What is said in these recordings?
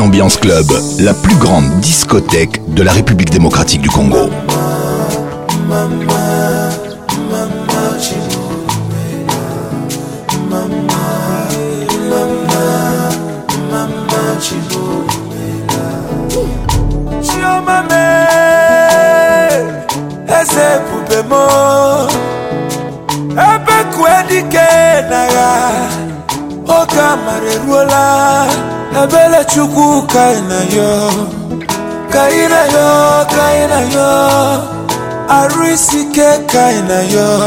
Ambiance Club, la plus grande discothèque de la République démocratique du Congo. Abele chuku kaina yo, arisike kaina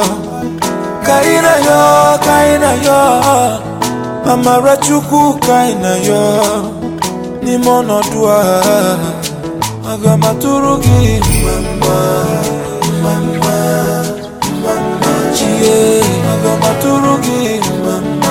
yo, amara chuku kaina yo, ni mono dua, agamaturugi mama, chie, agamaturugi mama.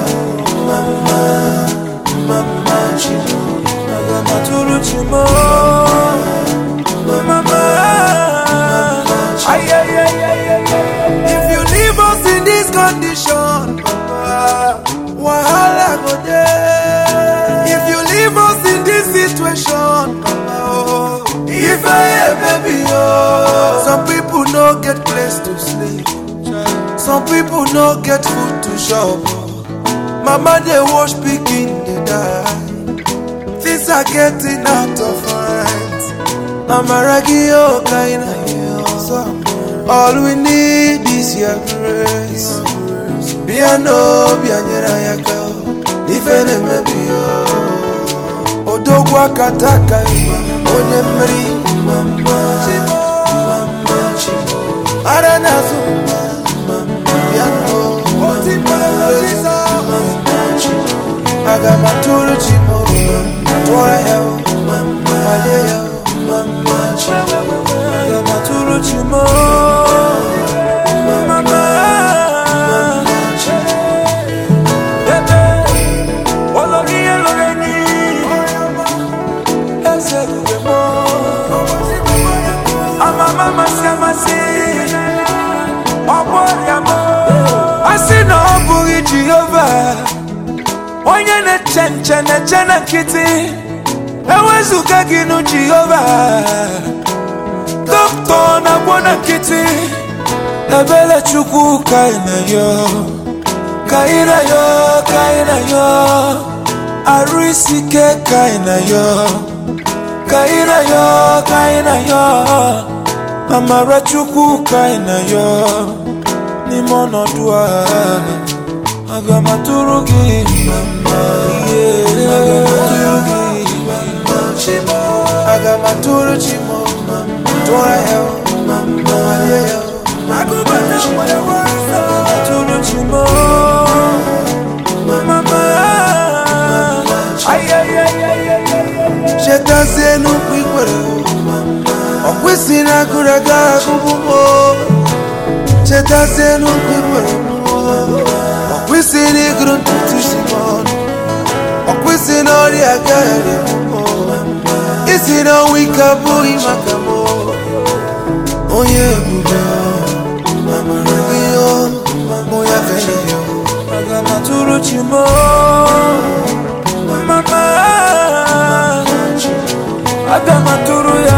If you leave us in this condition, wahala go there. If you leave us in this situation, if I am baby, some people no get place to sleep, some people no get food to shop. Mama they wash pikin they die. Things are getting out of hand. Mama ragio kaina yo. All we need is your grace. Biano bianyera yaka. Ifene mebio. Odogwa kataka onyemri mama. Mama chimo. Aranazo mama. Biano Agamaturu chimo, toya mama, mama chimo. Agamaturu chimo, mama chimo. Bebe, ologi elogeni, ese demo. Ama mama siamasi, obori amo. Asino obori Jehovah. Onye ne chena kiti ewezuga ginu Jehovah. Doctor na bona kiti ebele chuku kaina yo, arisike kaina yo, amara chuku kaina yo, ni mono dua. Agamaturugi mama, agamaturugi mama chimo, agamaturu chimo mama, toya mama, agamaturugi chimo mama, shetaze no kwikwere mama, okwesina kuraga kubumo, shetaze no kwikwere we see the ground to Simon. We see no the agari. It's in a week of boy macamo. Oh yeah, mama radio, moya venio. Agamaturu chimo, mama. Agamaturu ya,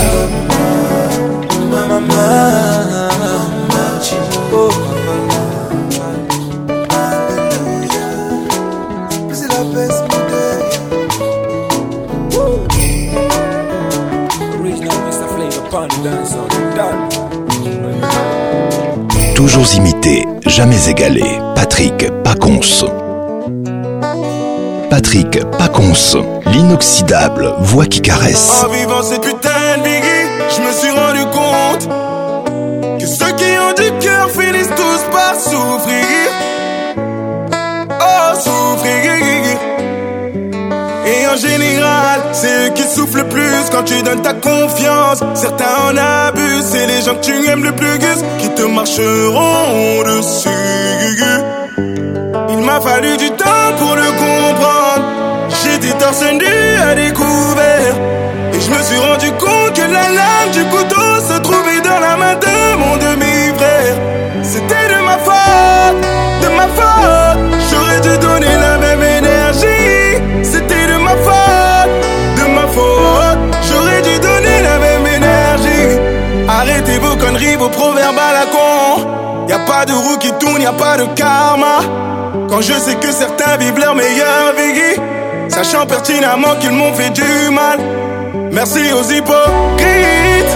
mama. Toujours imité, jamais égalé. Patrick Pacons. Patrick Pacons, l'inoxydable voix qui caresse. En vivant cette putain de biggie, je me suis rendu compte que ceux qui ont du cœur finissent tous par souffrir. Oh, souffrir. Et en général, c'est eux qui souffrent le plus quand tu donnes ta confiance. Certains en abusent, c'est les gens que tu aimes le plus qui te marcheront dessus. Il m'a fallu du temps pour le comprendre. J'étais torse nu à découvert. Et je me suis rendu compte que la lame du couteau se trouvait dans la main de mon demi-frère. C'était de ma faute, de ma faute. J'aurais dû donner la même énergie. C'était de ma faute, fini vos proverbes à la con. Y'a pas de roue qui tourne, y'a pas de karma. Quand je sais que certains vivent leur meilleure vie, sachant pertinemment qu'ils m'ont fait du mal. Merci aux hypocrites.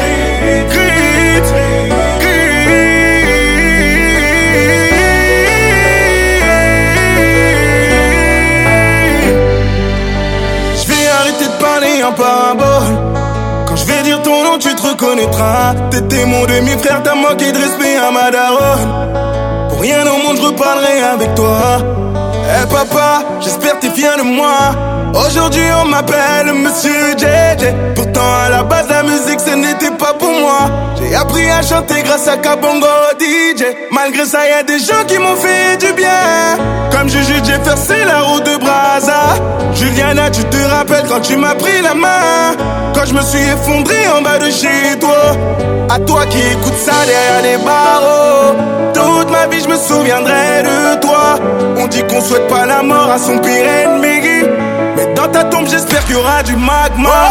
Je vais arrêter de parler en parabole. Quand je vais dire ton nom, tu te reconnaîtras. T'étais mon demi-frère, t'as manqué de respect à ma daronne. Pour rien au monde, je reparlerai avec toi. Eh papa, j'espère que t'es fier de moi. Aujourd'hui on m'appelle Monsieur JJ. Pourtant à la base la musique ce n'était pas pour moi. J'ai appris à chanter grâce à Kabongo DJ. Malgré ça y'a des gens qui m'ont fait du bien. Comme Juju Jefferson, la route de Brazza. Juliana, tu te rappelles quand tu m'as pris la main, quand je me suis effondré en bas de chez toi. À toi qui écoutes ça derrière les barreaux, toute ma vie je me souviendrai de toi. On dit qu'on souhaite pas la mort à son pire ennemi, mais dans ta tombe j'espère qu'il y aura du magma.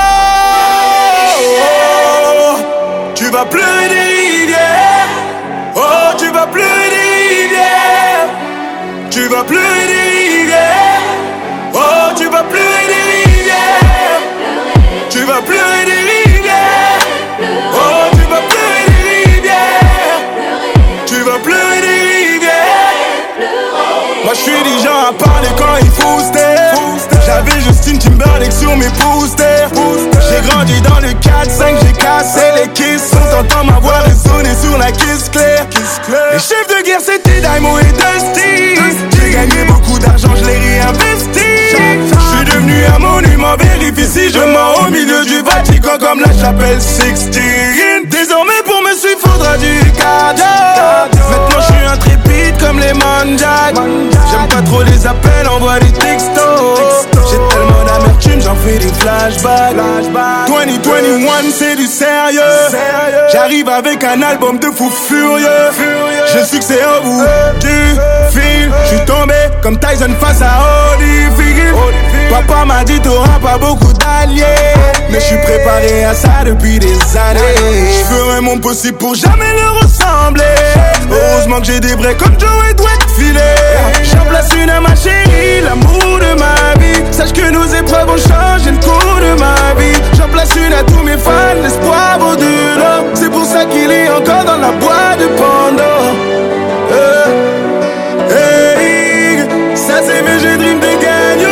Tu vas pleurer des rivières. Oh, tu vas pleurer des rivières. Tu vas pleurer des rivières. Oh, tu vas pleurer des rivières. Tu vas pleurer des rivières. Oh, tu vas pleurer des rivières. Tu vas pleurer des rivières. Moi je suis du genre à parler quand il faut se taire. J'avais Justin Timberlake sur mes posters. J'ai grandi dans le 4-5, j'ai cassé les kisses. On t'entend ma voix résonner sur la kiss claire. Les chefs de guerre c'était Daimo et Dusty. J'ai gagné beaucoup d'argent, je l'ai réinvesti. Je suis devenu un monument, vérifie si je mens au milieu du Vatican comme la chapelle Sixtine. Désormais pour me suivre faudra du cardio. Maintenant je suis intrépide comme les Manjak. J'aime pas trop les appels, envoie des textos. J'ai tellement d'amertume, j'en fais des flashbacks. 2021 c'est du sérieux. J'arrive avec un album de fou furieux. Je sais que c'est au bout du fil. J'suis tombé comme Tyson face à Holyfield. Papa m'a dit t'auras pas beaucoup d'alliés, mais j'suis préparé à ça depuis des années. J'ferai mon possible pour jamais leur ressembler. Heureusement que j'ai des vrais comme Joe et Dwight Filet. J'en place une à ma chérie, l'amour de ma vie. Sache que nos épreuves ont changé le cours de ma vie. J'en place une à tous mes fans, l'espoir au-delà. C'est pour ça qu'il est encore dans la boîte de Pandore. Hey, ça c'est VG Dream de Gagnon.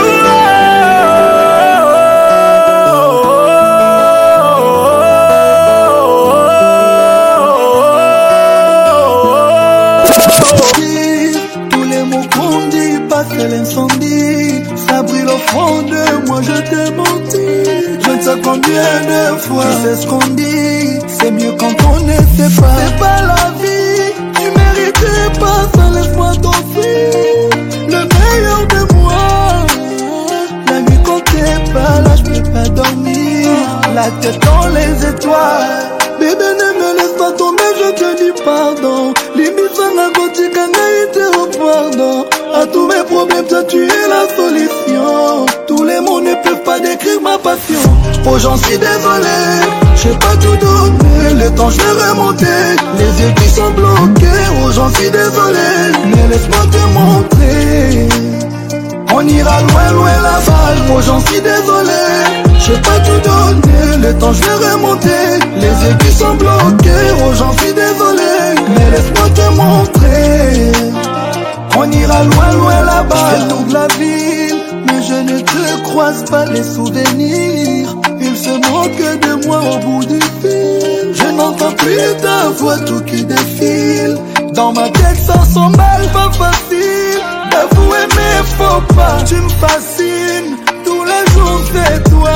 Tous les mots qu'on dit passent l'incendie. Ça brûle au fond de moi, je t'ai menti. Je ne sais combien de fois. Tu sais ce qu'on dit, c'est mieux quand on ne sait pas. C'est pas la vie, tu méritais pas ça, laisse-moi t'offrir le meilleur de moi. La nuit quand t'es pas là, je peux pas dormir. La tête dans les étoiles. Bébé ne me laisse pas tomber, je te dis pardon. Limite ça n'a pas dit qu'un été au pardon. À tous mes problèmes, toi tu es la solution. Tous les mots ne peuvent pas décrire ma passion. Oh j'en suis désolé, j'ai pas tout donné. Le temps je vais remonter, les yeux qui sont bloqués. Oh j'en suis désolé, mais laisse-moi te montrer. On ira loin, loin là-bas. Oh j'en suis désolé, j'ai pas tout donné. Le temps je vais remonter, les yeux qui sont bloqués. Oh j'en suis désolé, mais laisse-moi te montrer. On ira loin, loin là-bas. Je fais toute la ville, mais je ne te croise pas. Les souvenirs, ils se moquent de moi au bout du fil. Je n'entends plus ta voix, tout qui défile. Dans ma tête ça s'emballe, pas facile d'avouer mes faux pas. Tu me fascines, tous les jours c'est toi.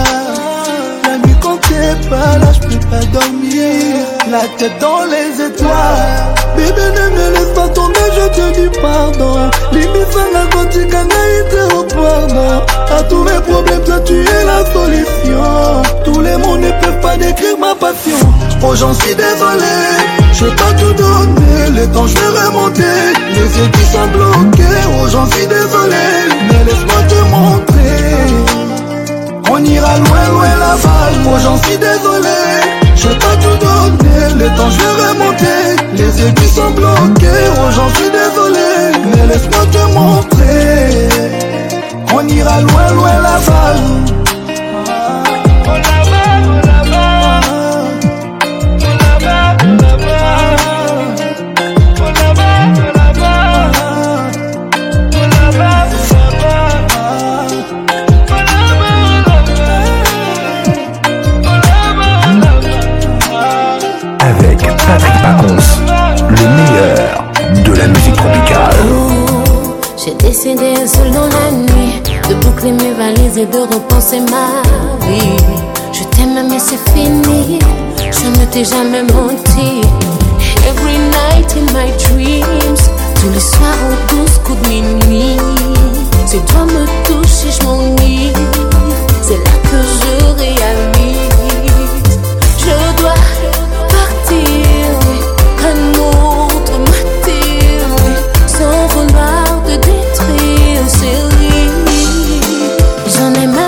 La nuit quand t'es pas là, je peux pas dormir. La tête dans les étoiles. Bébé ne me laisse pas tomber, je te dis pardon. Limite ça n'a pas dit qu'un été au pardon. À tous mes problèmes, toi tu es la solution. Tous les mots ne peuvent pas décrire ma passion. Oh j'en suis désolé, j'ai pas tout donné. Le temps je vais remonter, les yeux qui sont bloqués. Oh j'en suis désolé, mais laisse-moi te montrer. On ira loin, loin là-bas. Oh j'en suis désolé, j'ai pas tout donné. Le temps je vais J'ai décidé seul dans la nuit de boucler mes valises et de repenser ma vie. Je t'aime mais c'est fini, je ne t'ai jamais menti. Every night in my dreams, tous les soirs aux 12 coups de minuit, c'est toi me touches et je m'ennuie. C'est là que je réalise, je dois partir, un autre m'attire, sans vouloir te détruire, chérie. J'en ai marre.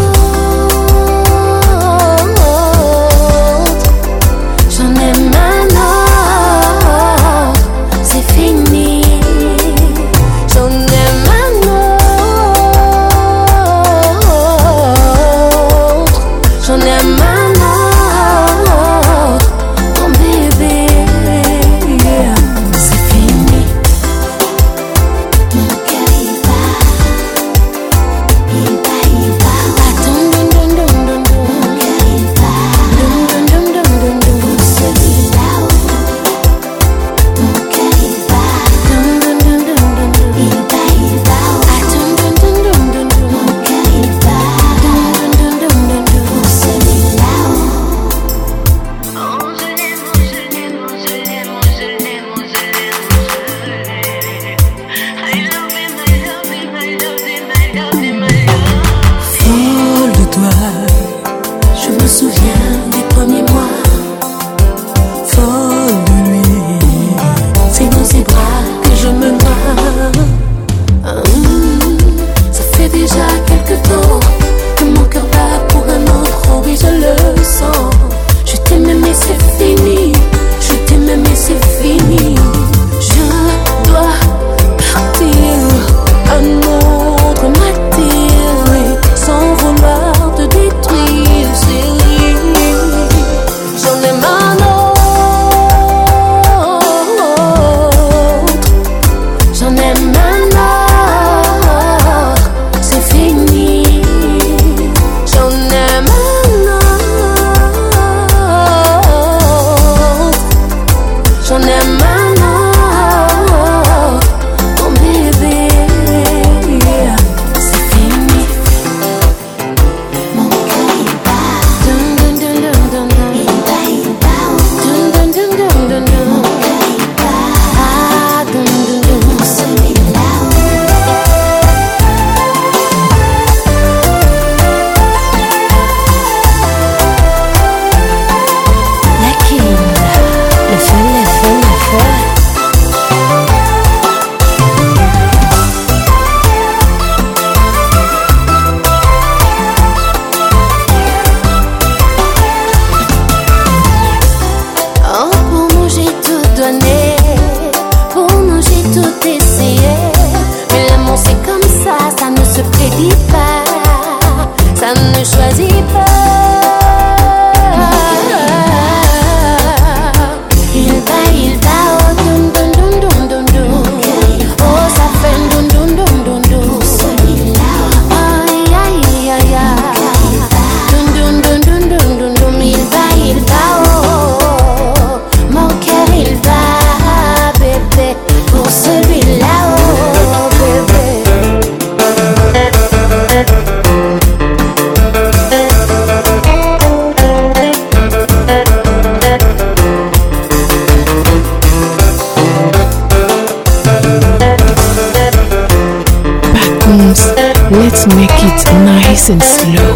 Let's make it nice and slow.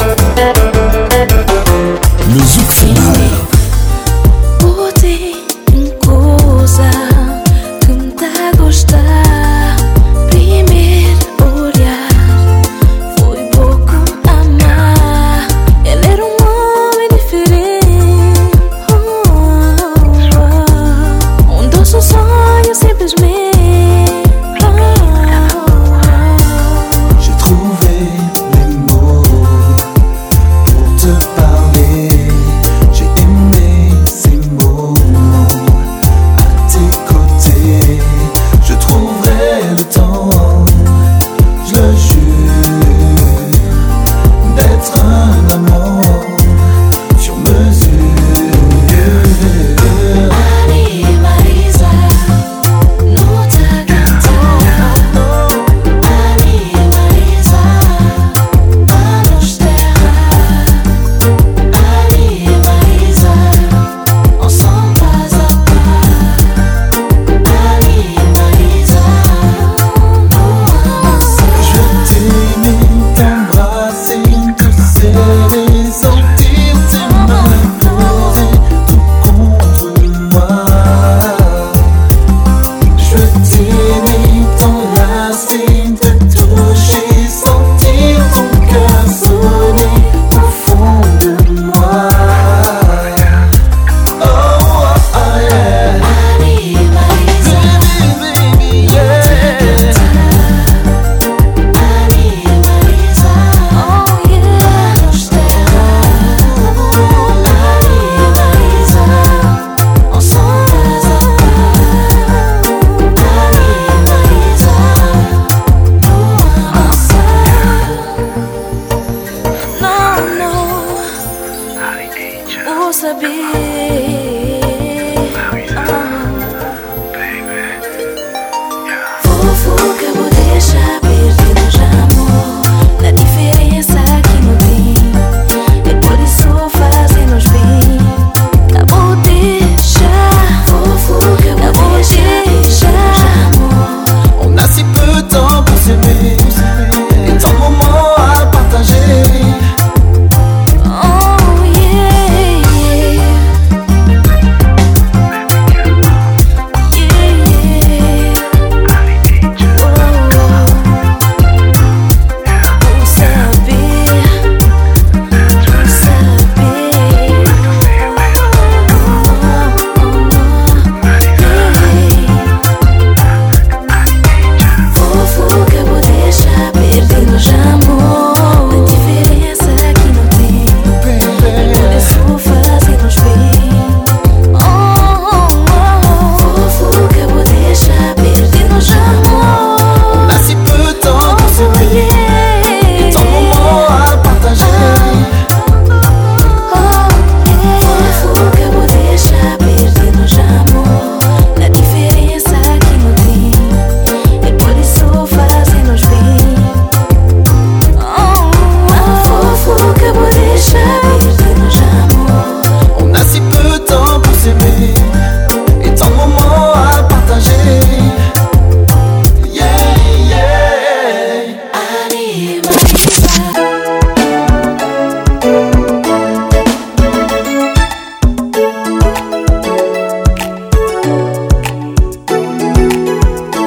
Le zouk fait mal. Pode coisa que me dá a gostar. Primeiro olhar foi pouco amar. Ele era homem diferente. Doce sonho simplesmente. J'ai trouvé les mots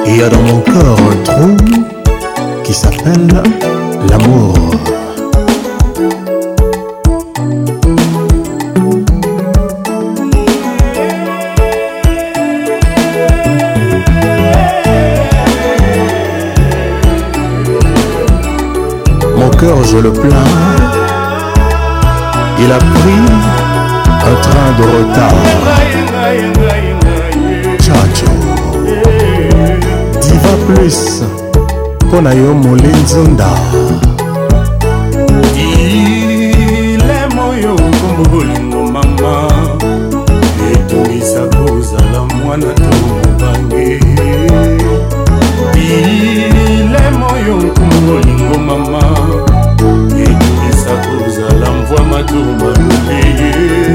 Il y a dans mon cœur un trou qui s'appelle l'amour. Mon cœur, je le plains. Il a pris un train de retard. Chacho Diva Plus Pona yo Molenzonda. Ile moyo kombolingo mama etumisa kozala mwana to mobange. Ile moyo kombolingo mama etumisa kozala mvwa matuma lule.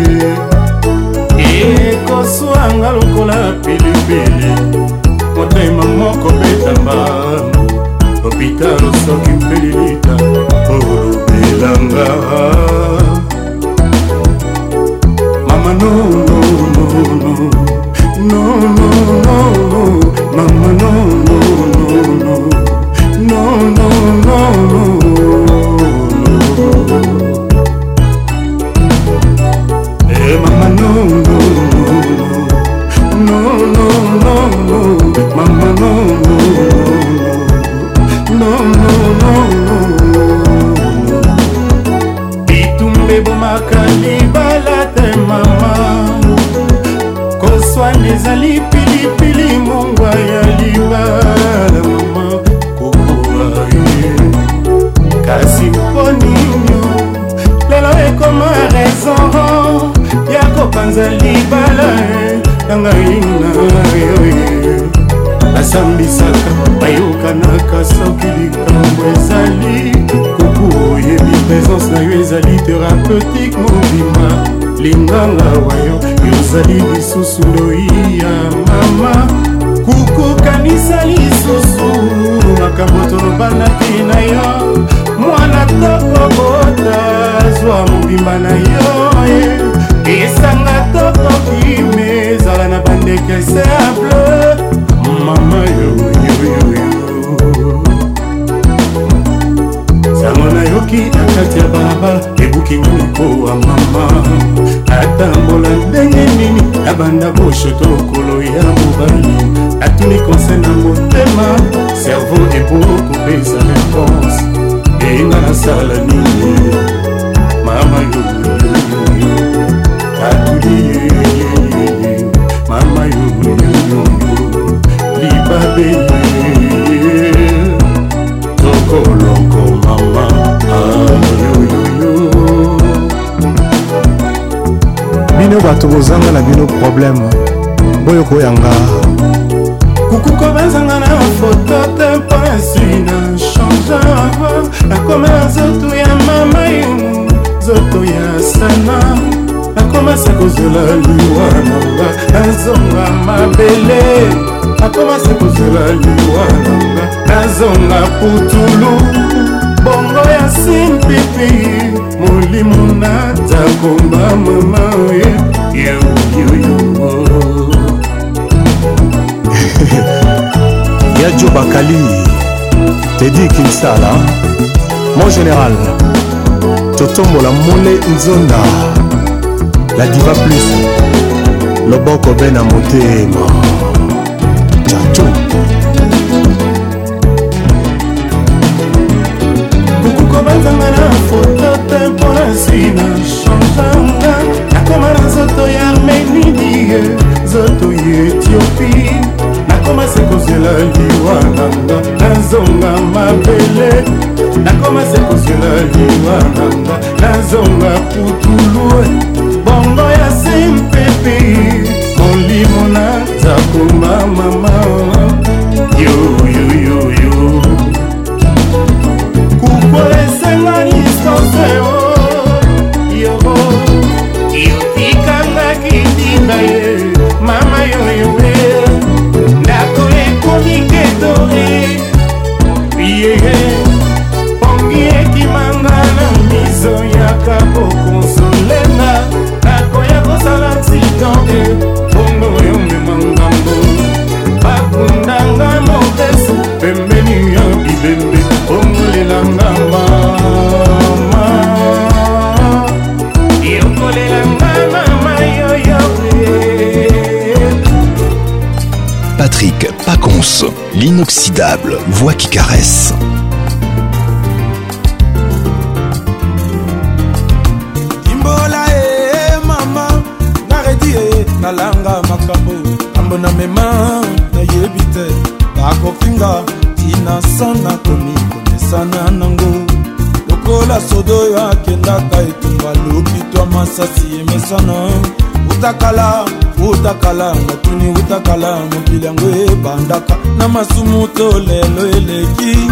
Ekoswanga lokola pilipili motema moko betamba hôpital soki mpelilita olobelanga. Mama no no no no no no no mama no no no no no no no mama no no no no no no mama no no no no bitumbe bomakali balate mama koswana ezali pilipili mongwa ya libala mama kokoa kasi mponinyo lelo ekoma raison ya kopanza libala nangaina asambisaka bayokanaka soki likambo ezali kuku oyebi présence na yo ezali thérapeutique mobima linganga wayo yozali lisusu ndoi ya mama kuku kanisa lisusu makambo tolobanaki na yo mwana tokobota zwa mobimba na yo esanga tokoki mezala na bandeke simple mama yoyoyoyo sango nayoki na kati ya balabala ebuki ngonikowa mama atambola ndenge nini abanda boshoto lokolo ya mobali atuni konse na motema cerveau ebokopesa réponse enga nasala nini mama yoyoyoyo atuli mama yoyoyoyo libabe tokoloko mama yoyoyo. Bino bato bozanga na bino problème boyo koyanga kukuko bazanga na foto te mpasi na change nakoma na zoto ya mama yo zoto ya sana nakomasa kozela liwa nanga nazonga mabele nakomasa kozela liwa nanga nazonga putulu bongo ya simpipi molimo natakomba mama yoyoyo. Yadjo Bakali Teddy Kinsala mon général Totombola Mole Nzonda la diva plus loboko bena motema chacho kukuko bazanga na foto te mpasi na changanga nakoma na zoto ya armenidie zoto ya ethiopie nakomase kozela liwa nanga nazonga mabele nakomase kozela liwa nanga nazonga putulu bongo ya simpepi molimo nazakoma mama yoyoyoyo kuko esenga nisoseo yobo yotikanga kitinga ye mama yoyoe ndako ekomikedore yeye pongi ekimanga na miso yaka bokonsolenga nakoya kosala accidente bongo yomema ngambo Pronce, l'inoxydable voix qui caresse. Imbola mama, naredi nalanga makambo, ambona mema na yebite, bakofinga tina sana komi konesana nango. Lokola sodo ya kendaka etumba lopitwa masasi emesana. Utakala matuni utakala mokili yango ebandaka na masumu to lelo eleki.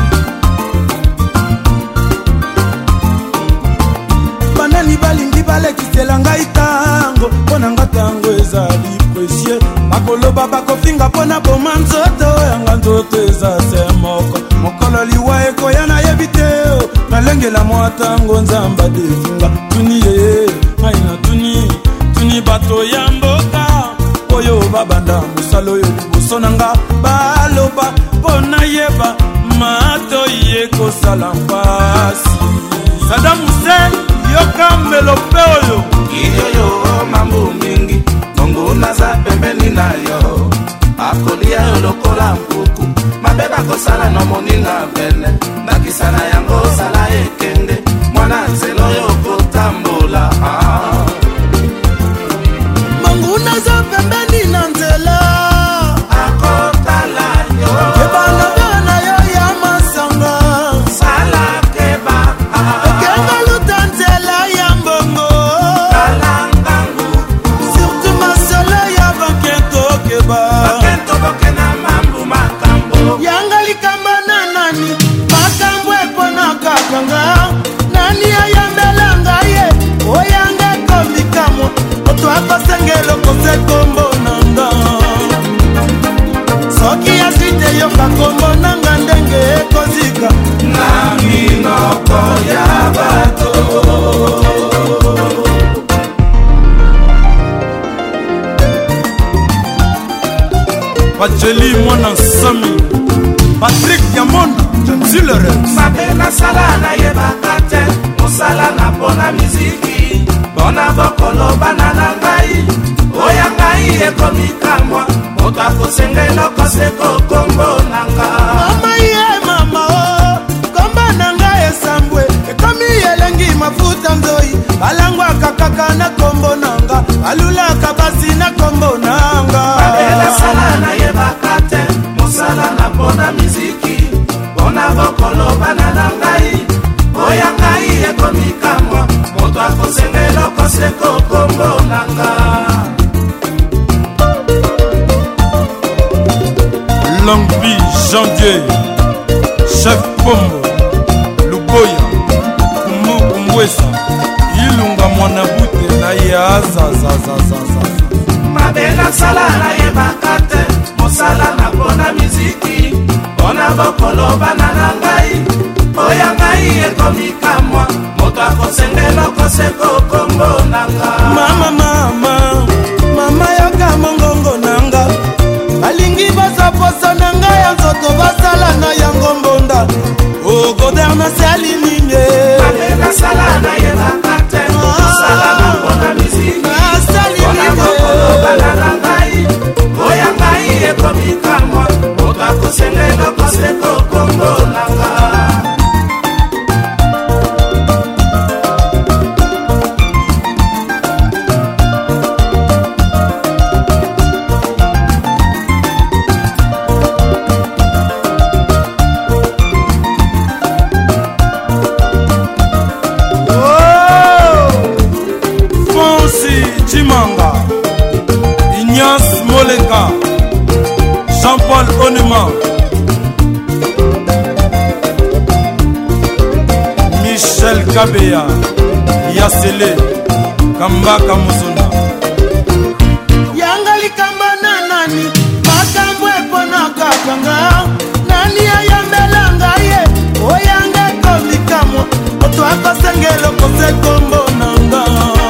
Banani balingi balekisela ngai tango mpona nga tango ezali presie. Bakoloba bakofinga mpona boma nzoto yanga nzoto eza se moko. Mokolo liwa ekoya nayebi te nalengela mwa tango nzamba definga. Tuni ye ngai na tuni bato ya mboka oyo babanda mosalo oyo liboso na nga baloba mpona yeba mato ye kosala mpasi. Saddam Hussein yoka melope oyo iyoyo mambo mingi mongo naza pembeni na yo akolia yo lokola mpuku mabe bakosala na moninga pene nakisana yango sala ekende mwana nzelo yo kotambola Unaza pembeni na nzela akotala yo ebana bana yo ya masanga sala keba ekenga luta nzela ya mbongo kalangangu surtout masolo ya bakento keba bakento bokena mambu makambo yanga likamba na nani makambo epona kakanga nani ayambelanga ye oyanga komikamo twakosengelo kose kombo nanga soki asite yoka kombo nanga ndenge ekozika na minoko ya bato. Pacheli mwana sami Patrick Yamonda Jamsilerex mabe nasala nayebaka te mosala na mpona miziki mpona bokolo bana na ngai oya ngai ekomikamwa moto akosengela koseko kombo nanga mama ye mama o kombo nanga esambwe ekomi elengi mafuta nzoi balangwaka kaka na kombo nanga balulaka basi na kombo nanga mabe nasala nayebaka te mosala na mpona miziki mpona bokolo bana na ngai oya ngai ekomikamwa moto akosengela koseko kombo nanga Langbi Janvier Chef Pombo Luboya Kumbwesa Ilunga mwana bute na ya zazazazaza mabe nasala nayebaka te mosala na mpona miziki mpona bokolo bana na ngai oya ngai ekomikamwa moto akosengela koseko kombo nanga mama yoka mongongo nanga balingi bazaposa na ngai ya nzoto basala na yango mbonda ogoderna salininye mabe nasala nayebaka te mosala na mpona miziki mpona bokolo bana na ngai oya ngai ekomikamwa moto akosengela koseko kombo nanga Jean-Paul Onema Michel Kabeya Yasele Kambaka Muzuna yanga likamba na nani makambo epona kakanga nani ayambelanga ye oyanga komikamwa oto akosengelo kose kombo nanga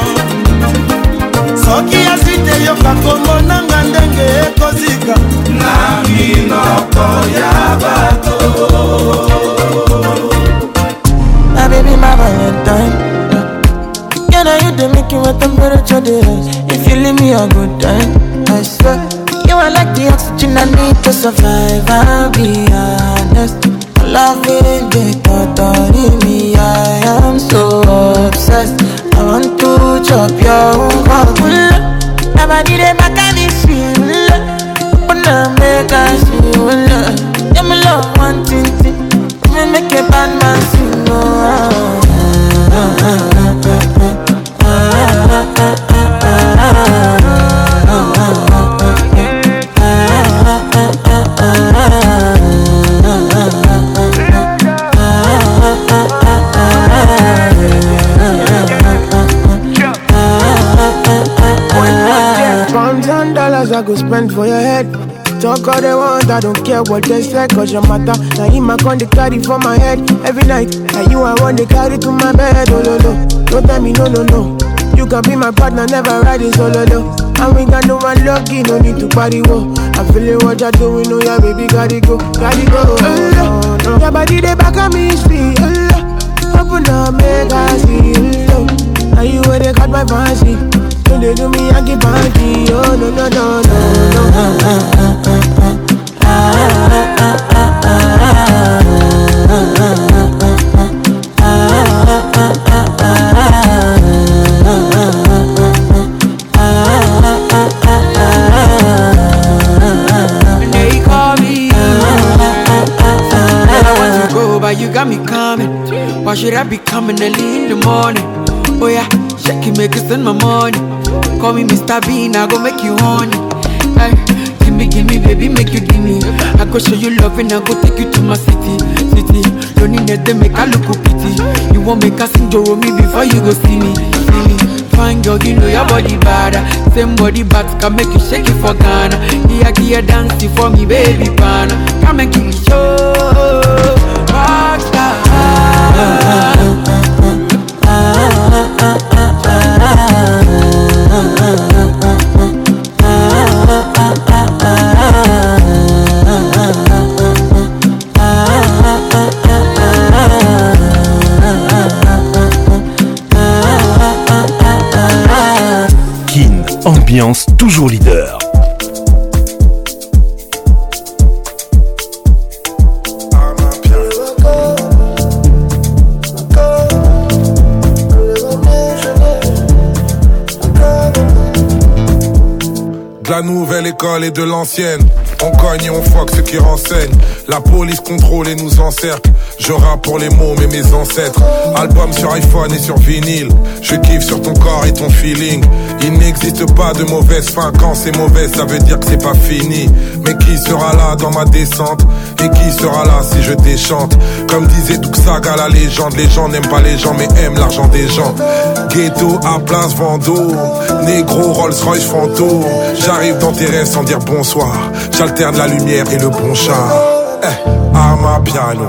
soki asite yoka kombo nanga ndenge ekozika na minoko ya bato. My baby, my Valentine. Can I you to make you a temperature days? If you leave me a good time, I swear you are like the oxygen I need to survive, I'll be honest. Love is the thought me, I am so obsessed. I want to chop your own. Never did it back at this shit. Open up, make us feel. Yeah, my love, one thing. Me make a bad man sing. I go spend for your head. Talk all they want, I don't care what they say, cause your matter. Now him I con they carry for my head every night. And you I want they carry to my bed, oh no no. Don't tell me no no no. You can be my partner, never ride it solo no. And we got no one lucky, no need to party wo. I'm feeling what you're doing, oh yeah baby, gotta go, gotta go. Oh, no. Your body they back on me, speed. Open up, make I see. Now you where they got my fancy. When they do me, I get banky. Oh no no no They call me. I want to go, but you got me coming. Why should I be coming early in the morning? Oh yeah, shake it, make it spend my money. Call me Mr. Bean, I go make you honey. Hey, give me, baby, make you give me. I go show you love and I go take you to my city. Don't need them, make I look pity. You won't make us sing Joro me before you go see me. Fine girl, you know your body bad. Same body but can make you shake it for Ghana. Here, dance for me, baby, pana. Come and give me show. Rockstar. Kin, ambiance toujours leader. De la nouvelle école et de l'ancienne, on cogne et on fuck ceux qui renseignent. La police contrôle et nous encercle. Je rappe pour les mômes et mes ancêtres. Album sur iPhone et sur vinyle. Je kiffe sur ton corps et ton feeling. Il n'existe pas de mauvaise fin. Quand c'est mauvais, ça veut dire que c'est pas fini. Mais qui sera là dans ma descente? Et qui sera là si je déchante? Comme disait Duxaga, la légende. Les gens n'aiment pas les gens mais aiment l'argent des gens. Ghetto à Place Vendôme, négro Rolls Royce fantôme. J'arrive dans tes rêves sans dire bonsoir. J'alterne la lumière et le bon char. À ma piano.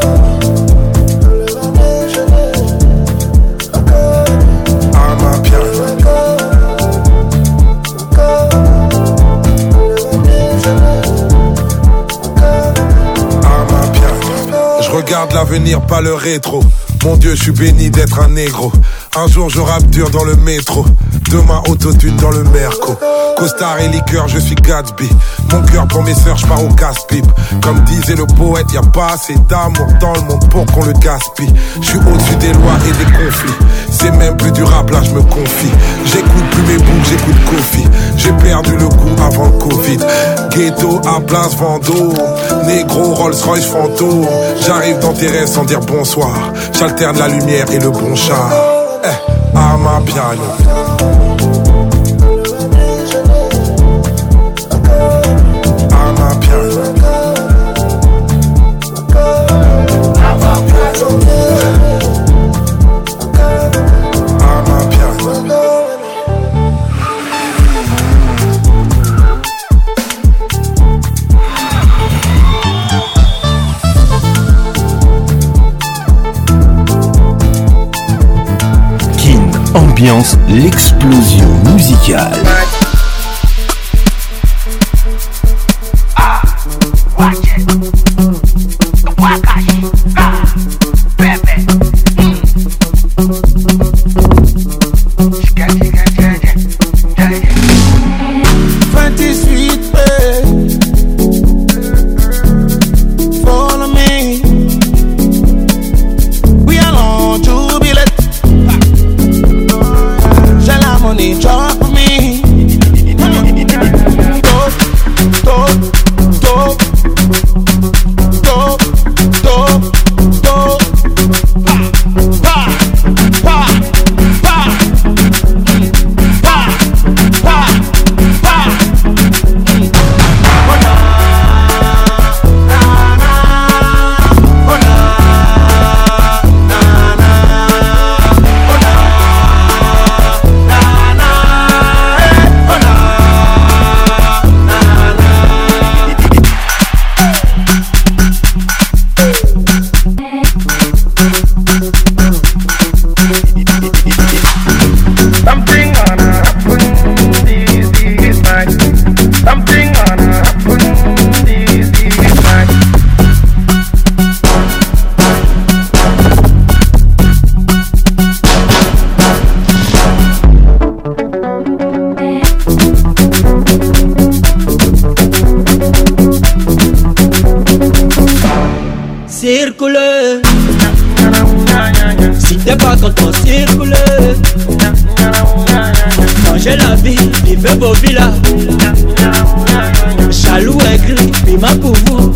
Je regarde l'avenir, pas le rétro. Mon Dieu, je suis béni d'être un négro. Un jour je rappe dur dans le métro. Demain autotune dans le Merco. Costard et liqueur, je suis Gatsby. Mon cœur pour mes sœurs, je pars au casse-pipe. Comme disait le poète, y'a pas assez d'amour dans le monde pour qu'on le gaspille. Je suis au-dessus des lois et des conflits. C'est même plus du rap, là je me confie. J'écoute plus mes boucs, j'écoute Kofi. J'ai perdu le goût avant le Covid. Ghetto à Place Vendôme, négro Rolls Royce fantôme. J'arrive dans tes rêves sans dire bonsoir. J'alterne la lumière et le bon char. À ma piano. Ambiance, l'explosion musicale. circuler. Si t'es pas content, circuler. Changer la vie, vivre beau villa. Jaloux aigri, piment pour vous.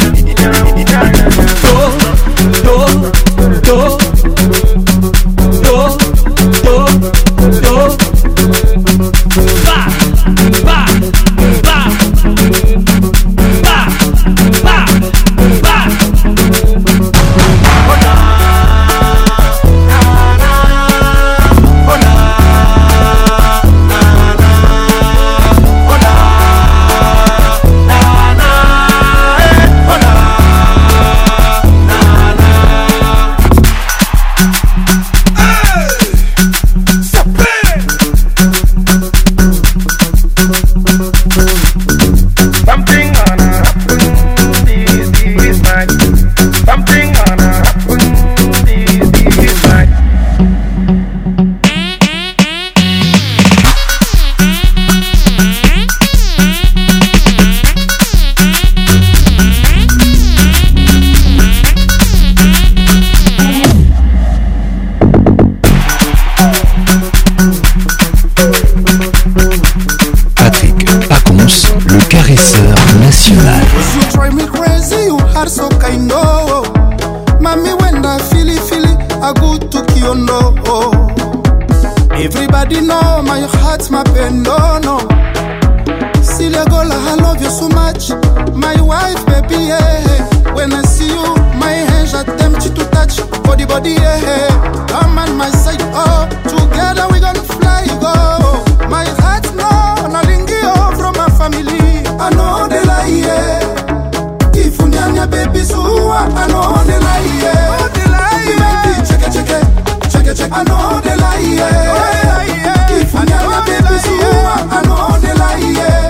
Everybody know my heart's my pen, no, no. Celia Gola, I love you so much. My wife, baby, yeah. When I see you, my hands are tempted to touch. Body, body, yeah. Come on my side, oh. Together we gonna fly, go. My heart, no, no lingio from my family. I know they lie, yeah. If you nyanya, baby, so I know they lie, yeah. Oh, they lie, yeah. Check it, check it, check it, check it. I know they lie, yeah. If you nyanya, baby, so I know they lie, yeah.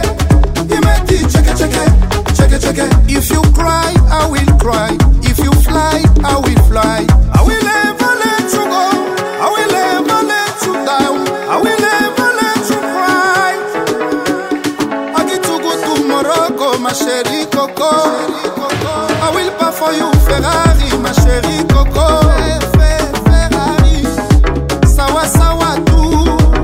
Check it. If you cry, I will cry. If you fly, I will fly. I will never let you go. I will never let you down. I will never let you cry. I get to go to Morocco, ma chérie Coco. I will buy for you Ferrari, ma chérie Coco. Ferrari, sawa sawa tu.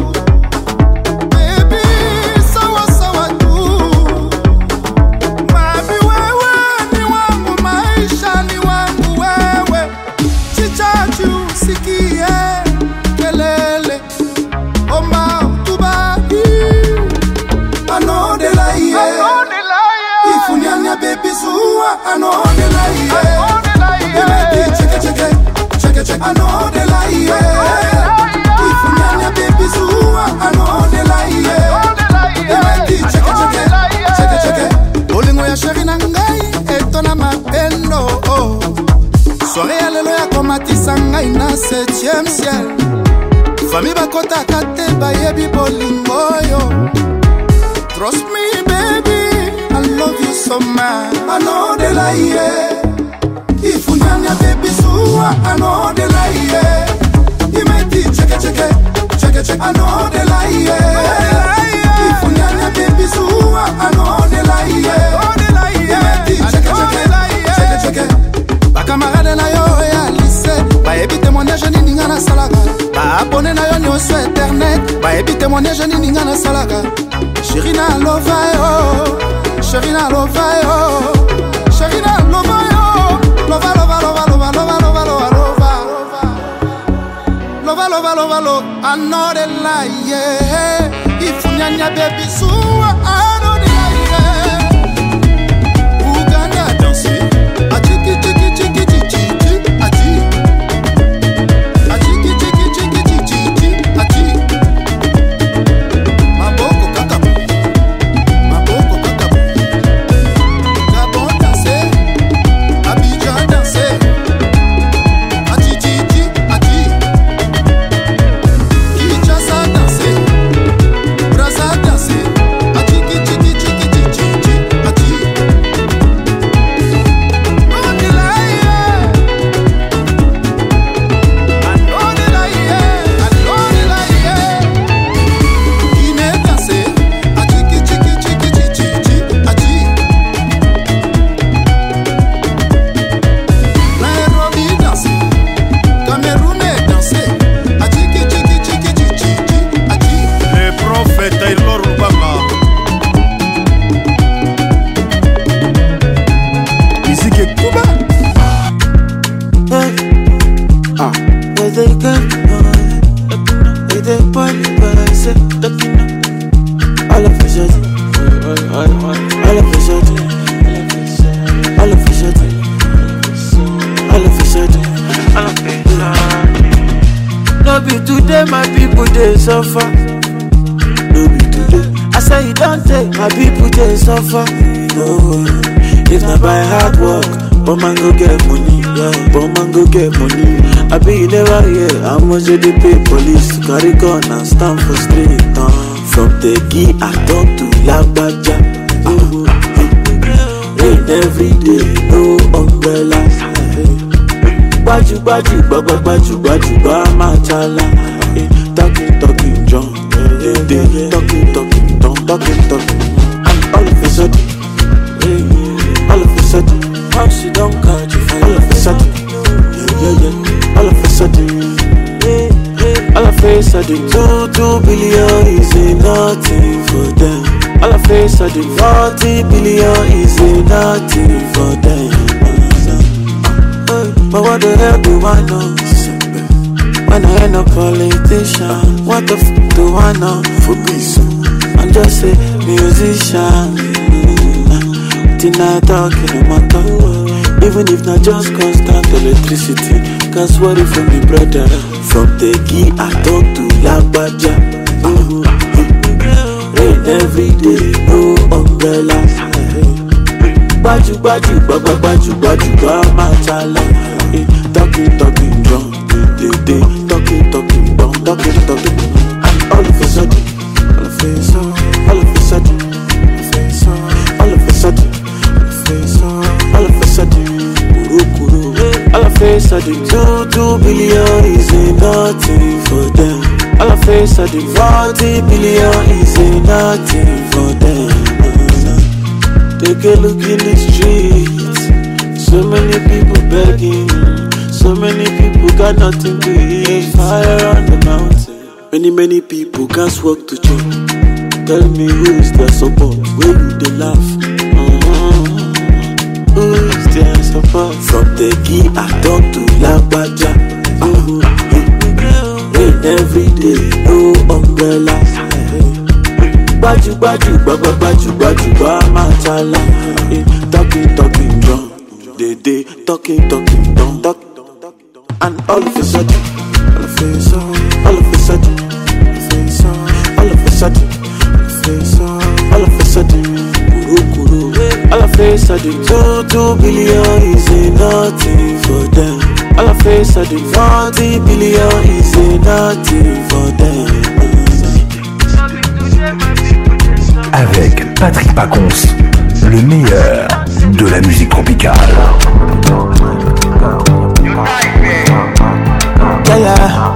I know they lie, yeah. Check it. I know they lie, yeah. If you nyanya baby suwa, I know they lie, yeah. Check it. Olingo ya sheri na ngai, etona mapendo, oh. Soirée ya lelo ya komatisa ngai na 7e ciel. Famille bakota kate bayebi bolingo yo. Trust me, baby, I love you so much. I know they lie, yeah. If you nyanya baby suwa, I know they lie, yeah. Imeti check it. I know they lie, yeah. If you nyanya baby suwa, I know they lie, yeah. Imeti check it. Ba camarade na yo ya lycée, ba ebi témoignage ni ninga na salaka. Ba abonné na yo nyonso internet, ba ebi témoignage ni ninga na salaka. Sherina lova yo. Sherina lova yo. Sherina lova yo. Lova. Lova. I know they lie, yeah. If you nyanya baby so I know they lie, yeah. Uganda danser. Achiki. Check be today my people they suffer. No be today. I say you don't take my people they suffer. No, if not by hard work, but man go get money. Yeah, but man go get money. I be you never hear how much they pay police to carry gun and stand for street. From the key I talk to Lagbaja. Rain every day, no umbrellas. Baju, machala. Talking, John. Talking. And all of a sudden, how she don't catch you. All of a sudden, yeah. All of a sudden, 2 billion is nothing for them. All of a sudden, 40 billion is nothing for them. But what the hell do I know? When I ain't a politician, what the f do I know? For peace, I'm just a musician. Till I talk in my tongue. Even if not just constant electricity, can swear it for me brother. From the key I talk to Lagbaja. Rain every day, no umbrellas. Baju, machala. Talking, drum. Talking, all of a sudden, sudden, 2 billion is nothing for them. All of a sudden, 40 billion is nothing for them. Take a look in the streets, so many people begging, so many people got nothing to eat. Fire on the mountain, many people can't walk to church. Tell me who is their support, where do they laugh? Who is their support? From the key I talk to Lagbaja. Rain every day, no umbrellas. Baju, machala. Talking, drum. They talking, drum. And all of a sudden, All of a sudden, 2 billion is nothing for them. All of a sudden, 40 billion is nothing for them. Avec Patrick Pacons, le meilleur de la musique tropicale. Yeah.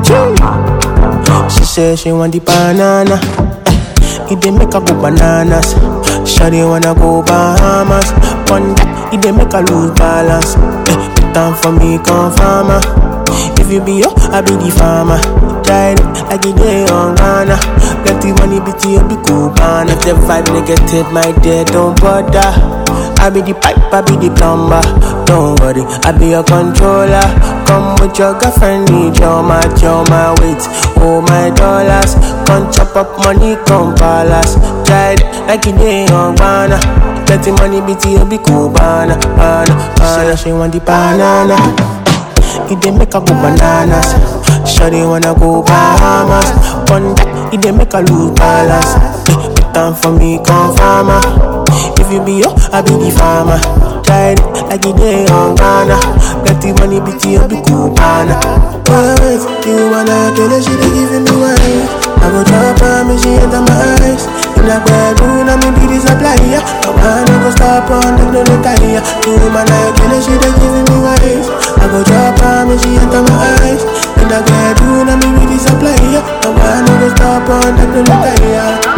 She said she want the banana. It dey make her go bananas. Shawty wanna go Bahamas. One that it dey make her lose balance. Put down for me, come farmer. If you be yo, I be the farmer. Tried it like it day on Ghana. Plenty money, bitty, you be cool, man. If the vibe negative, my dear, don't bother. I be the pipe, I be the plumber. Don't worry, I be your controller. Come with your girlfriend, need your match, your my weight, oh my dollars. Come chop up money, come palace. Tried like it day on Ghana. Plenty money, bitty, you be cool, banana. She want the banana. It dey make her go bananas. Shawty wanna go Bahamas. One that it dey make her lose balance. Put down for me, come farmer. If you be yo, I be the farmer. Tried it like it day on Ghana. Plenty money, bitty, you be cool, banana. Always, you wanna kill her, she dey giving me wine. I go drop her, me she enter my eyes. In that bedroom, I me be the supplier. No man go stop on the no tire. You wanna kill her, she dey giving me wine. I go drop her, me she enter my eyes. In that bedroom, I me be the supplier. No man go stop on the no tire.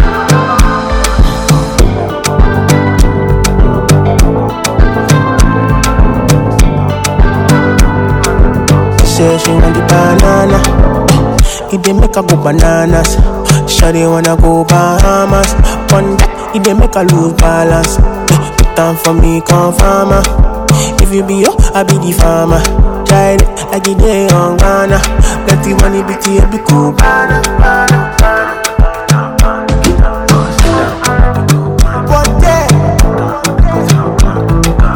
Say she want the banana. It dey make her go bananas. Shawty wanna go Bahamas. One that it dey make her lose balance. Put down for me, come farmer. If you be yo, I be the farmer. Tried it like it day on Ghana. Plenty money, bitty, you be cool.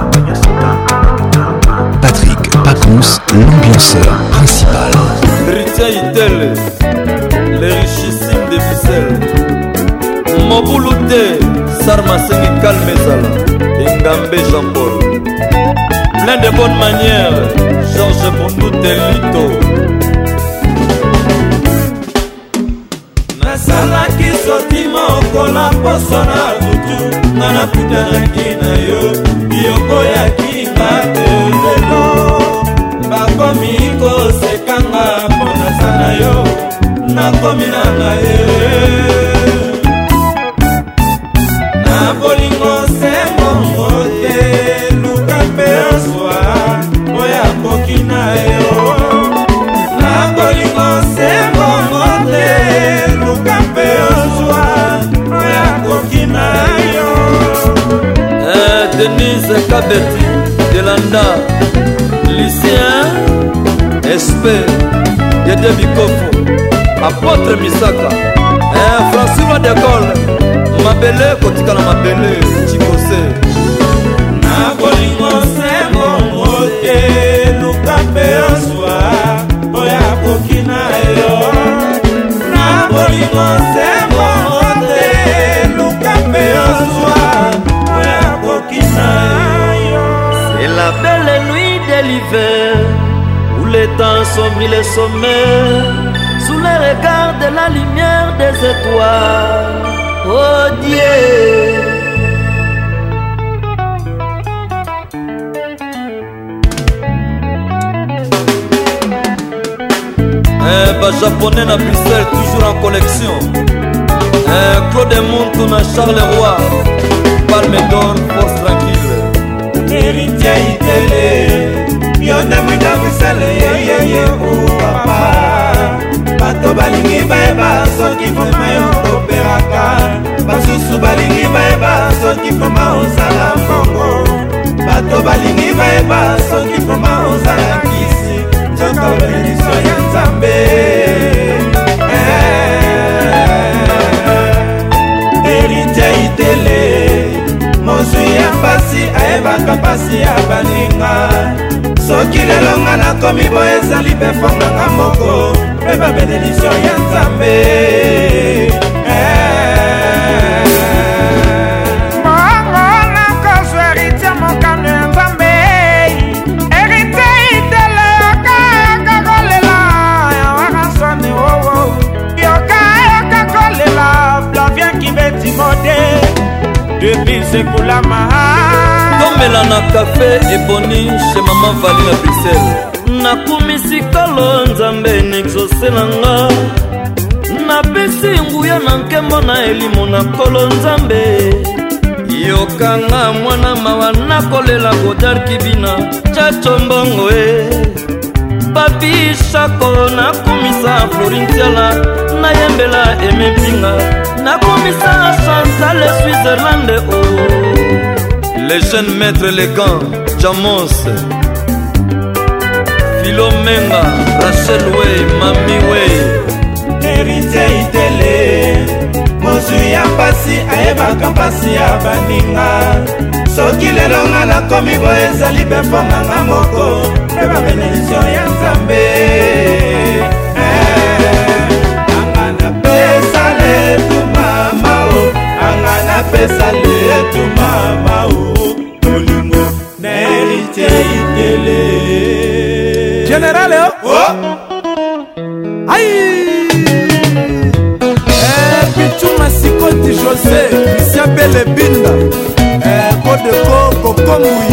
Patrick Pacons, l'ambianceur principal. Christian Itele, les richissimes de Bissel, Moboulute, Sarmasengi Kalmezala, Ngambe Jean-Paul. Plein de bonnes manières, Georges Bondou Telito. Nasalaki soti mokola poso na butu, ngana putanaki na yo, yokoyaki ngate lelo. Bakomi kosekanga mpona sana yo, nakomi nanga ye. Na bolingo sembo mote, luka mpe oswa, oya koki na yo. Na bolingo sembo mote, luka mpe oswa, oya koki na yo. Denise Kabeti, Delanda, Lucien, Espé, Yede Bikofo, Apôtre Misaka, François de Gaulle, Mabele, Kotikana Mabele, Chikose. Na bolingo sembo mote, luka mpe oswa, oya koki na yo. Na bolingo sembo mote, luka mpe oswa, oya koki na yo. C'est la belle nuit de l'hiver, où les temps sombrent les sommets, sous les regards de la lumière des étoiles. Oh Dieu, japonais na Bruxelles, toujours en collection. Claude Montona, Charles Roy, Palme d'Or, force tranquille. Héritier Itele, yonde mwinda Bruxelles, ye ou papa. Bato balingi baeba, soki foma yo koperaka. Basusu balingi baeba, soki foma ozala mbongo. Bato balingi baeba, soki foma ozala kisi. Nzoka benediction ya Nzambe. Héritier Itele, mozwi ya pasi ayebaka pasi ya baninga. Soki lelo nga nakomi boye ezali mpe fonganga moko, mpe babenediction ya Nzambe. Bongo nakozwa héritier mokano ya Nzambe. Héritier Itele yoka kolela ya wakasoni wowo. Yoka kolela Flavien Kibeti mode. Depuis sekula maha Tomela na café eboni chez maman Vali na Bruxelles. Nakumisi kalo Nzambe nexoselanga. Napesi nguya na nkembo na elimo na kolo Nzambe. Yokanga mwana mawa nakolela Godard Kibina Chacho mbongo Papi Shako nakumisa Florintiala Nayembela Emepinga Nakumisa Chantal Switzerland Les jeunes maîtres élégants Jamos Philomenga Rachel Way Mami Way Héritier Itele, mozwi ya pasi ayebaka pasi ya baninga. Soki lelo nga nakomi boye ezali mpe fonganga moko, mpe babenediction ya Nzambe. Anga napesa letu mama o, anga napesa letu mama o, bolingo na Héritier Itele. Général oh! Aïe! Pichuma Sikoti José, Christian Belebinda, Kodeko Kokomui.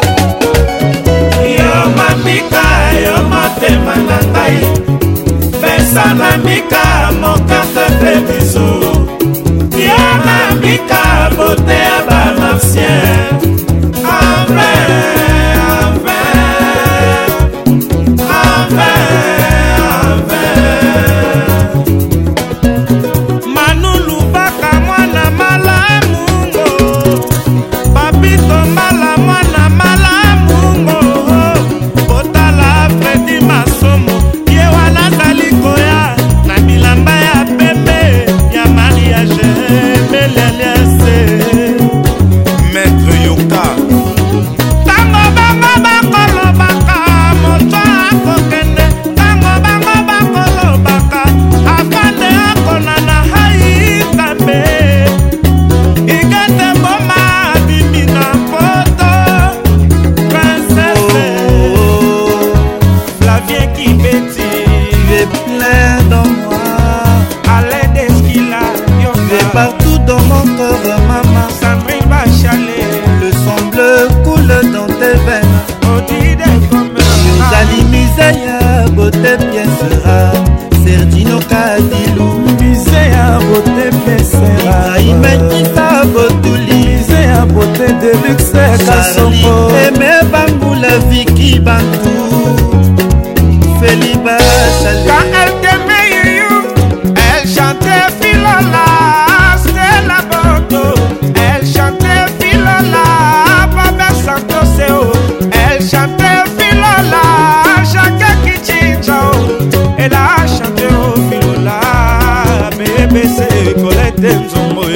Yo mamika, yo motema na ngai, pesa na mika, mokarte te biso. Yo mamika, bote ya bamafsien. Mwana seven. Zali Misaya, beauté pièce rare. Serdino Kadilou, Misaya, beauté pièce rare. Imaïta Botouli, Misaya, beauté de luxe. Kasongo, Aimé Bamboula, Vicky Bantou, Feliba Salé. Quand elle t'aimait, elle chantait Filola, c'est la Bordeaux. Elle chantait Filola, Baba Santoseo. Elle chantait Filola, Chaka Kichinchao. Elle a chanté au Filola, bébé c'est Colette Nzongoé.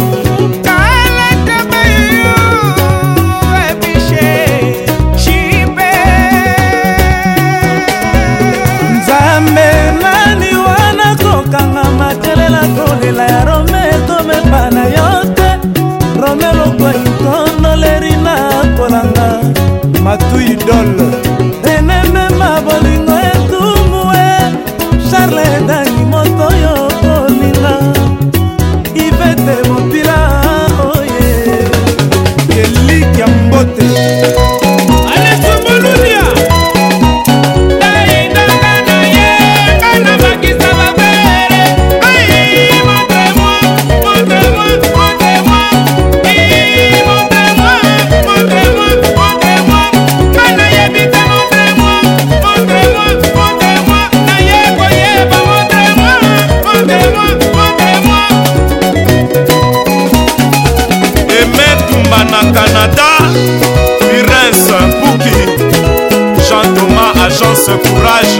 kolela ya rome komepa na yo te rome lokoitonoleri na kolanga matu idole enemema bolingo etumue charle edani moto yo kolinga ivete mopila oye kelikia mbote Canada, Pires, Bouki, Jean-Thomas, Agence Courage.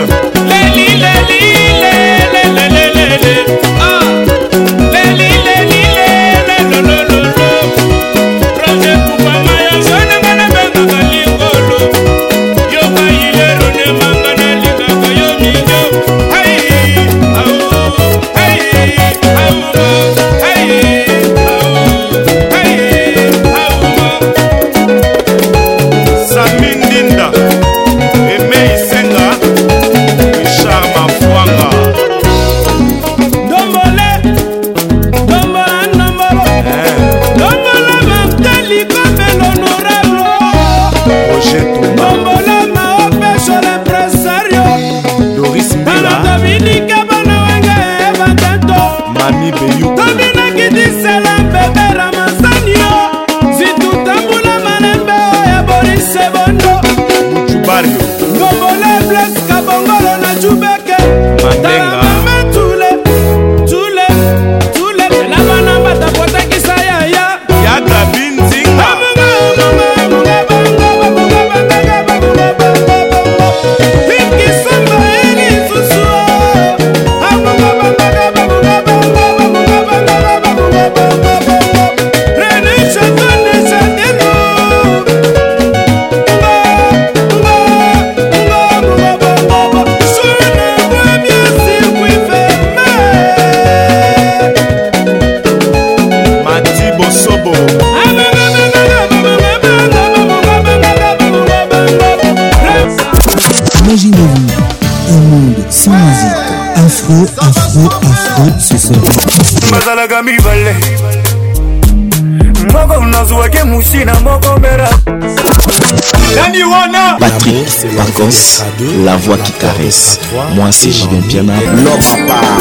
Patrick Pacos, la voix qui caresse. Moi c'est Julien Piana, l'homme à part.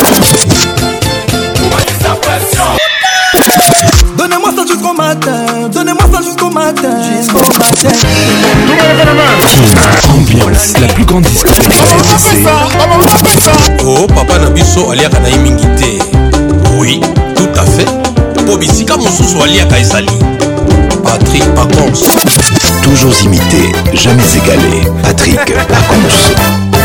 Donnez-moi ça jusqu'au matin, donnez-moi ça jusqu'au matin, jusqu'au matin. Ambiance, la plus grande discothèque RDC. Oh papa Nabiso aliaka na imingité. Oui, tout à fait. Pobisika mosusu aliaka esali. Patrick Pacons. Toujours imité, jamais égalé. Patrick Pacons.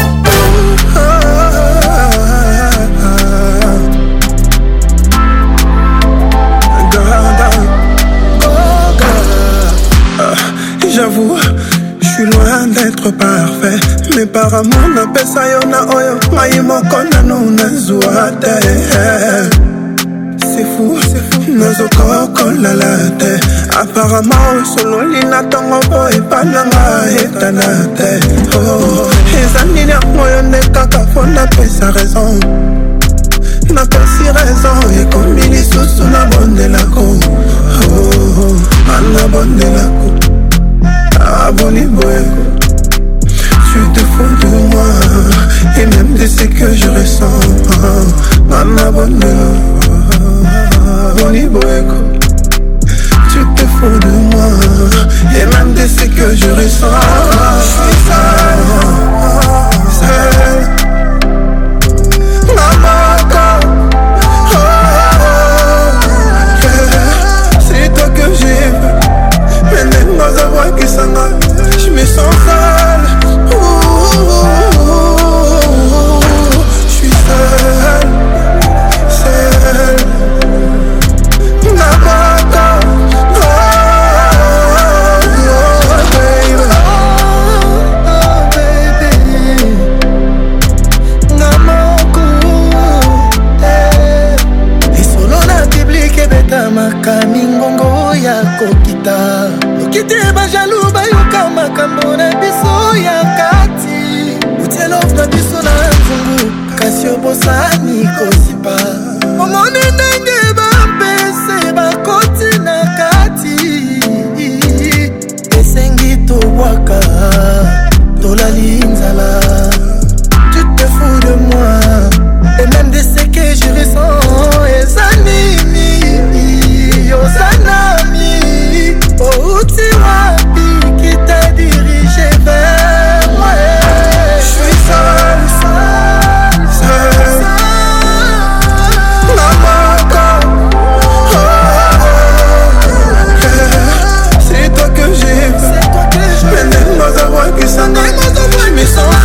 J'avoue, je suis loin d'être parfait. Mais par amour, n'appelle ça yona oyo. Maï mokona no nazuate. C'est fou, nazoko la te. Apparemment, solo lina tongo boy pananga etanate. Oh, ezanini moyo ne kaka fona pesa raison. Na pesi raison, et comme il est sous la bonne de la co. Oh, na bonne de la co. Aboni Je suis seul. Maman, c'est toi que j'ai vu. Mais même dans un voix qui s'en je me sens seul. Je suis seul. Kamingongo ya kokita lokite bajalou bayoka makambo na biso ya kati utelof na biso na nzungu kasi obosani kosipa omoni ndenge bampese bakoti na kati esengi tobwaka tolali nzala. Tu te fous de moi et même de ce que je ressens ezanini Yosanami, oh Tiwapi qui t'a dirigé vers moi. Je suis seul, maman, c'est toi que j'ai vu. Mais même dans un voix qui s'en je me sens seul.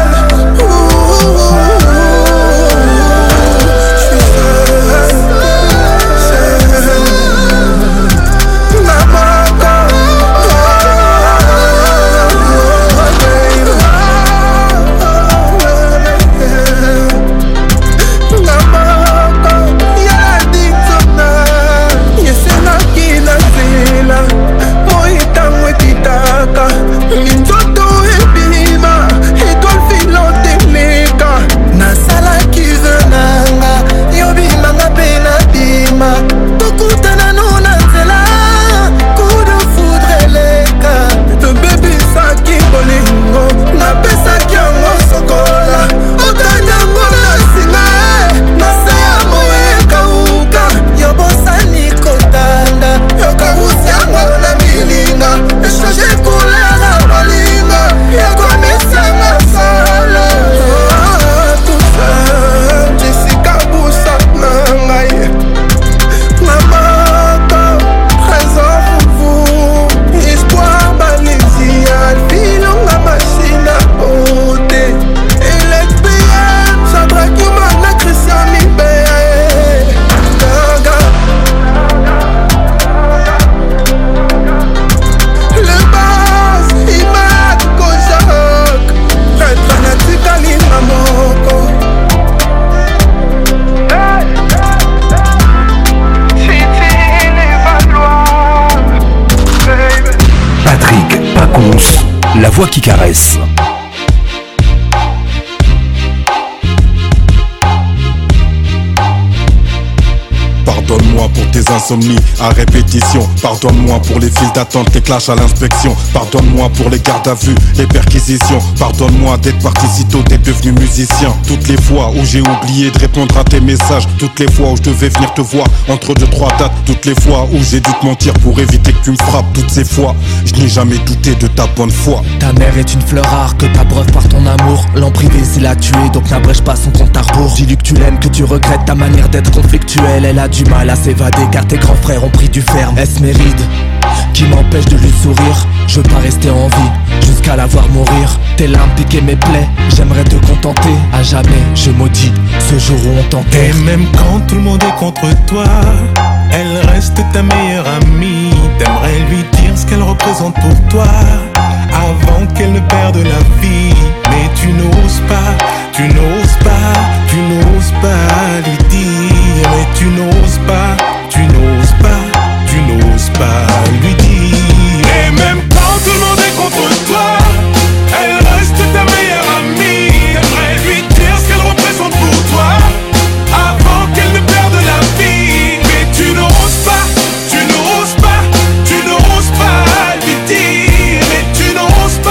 La voix qui caresse. Pardonne-moi pour tes insomnies à répétition. Pardonne-moi pour les files d'attente, les clashs à l'inspection. Pardonne-moi pour les gardes à vue, les perquisitions. Pardonne-moi d'être parti si tôt, d'être devenu musicien. Toutes les fois où j'ai oublié de répondre à tes messages. Toutes les fois où je devais venir te voir entre 2-3 dates. Toutes les fois où j'ai dû te mentir pour éviter que tu me frappes. Toutes ces fois, je n'ai jamais douté de ta bonne foi. Ta mère est une fleur rare que t'abreuves par ton amour. L'en privé c'est la tuer, donc n'abrège pas son compte à rebours. Dis-lui que tu l'aimes, que tu regrettes ta manière d'être conflictuelle. Elle a du mal à s'évader car tes grands frères ont pris du ferme. Est-ce mes rides qui m'empêchent de lui sourire? Je veux pas rester en vie jusqu'à la voir mourir. Tes larmes piquaient mes plaies, j'aimerais te contenter. À jamais je maudis ce jour où on t'enterre. Et même quand tout le monde est contre toi, elle reste ta meilleure amie. T'aimerais lui dire ce qu'elle représente pour toi avant qu'elle ne perde la vie. Mais tu n'oses pas, tu n'oses pas, tu n'oses pas lui dire. Mais tu n'oses pas, tu n'oses pas, tu n'oses pas lui dire. Et même quand tout le monde est contre toi, elle reste ta meilleure amie. T'aimerais lui dire ce qu'elle représente pour toi avant qu'elle ne perde la vie. Mais tu n'oses pas, tu n'oses pas, tu n'oses pas lui dire. Mais tu n'oses pas.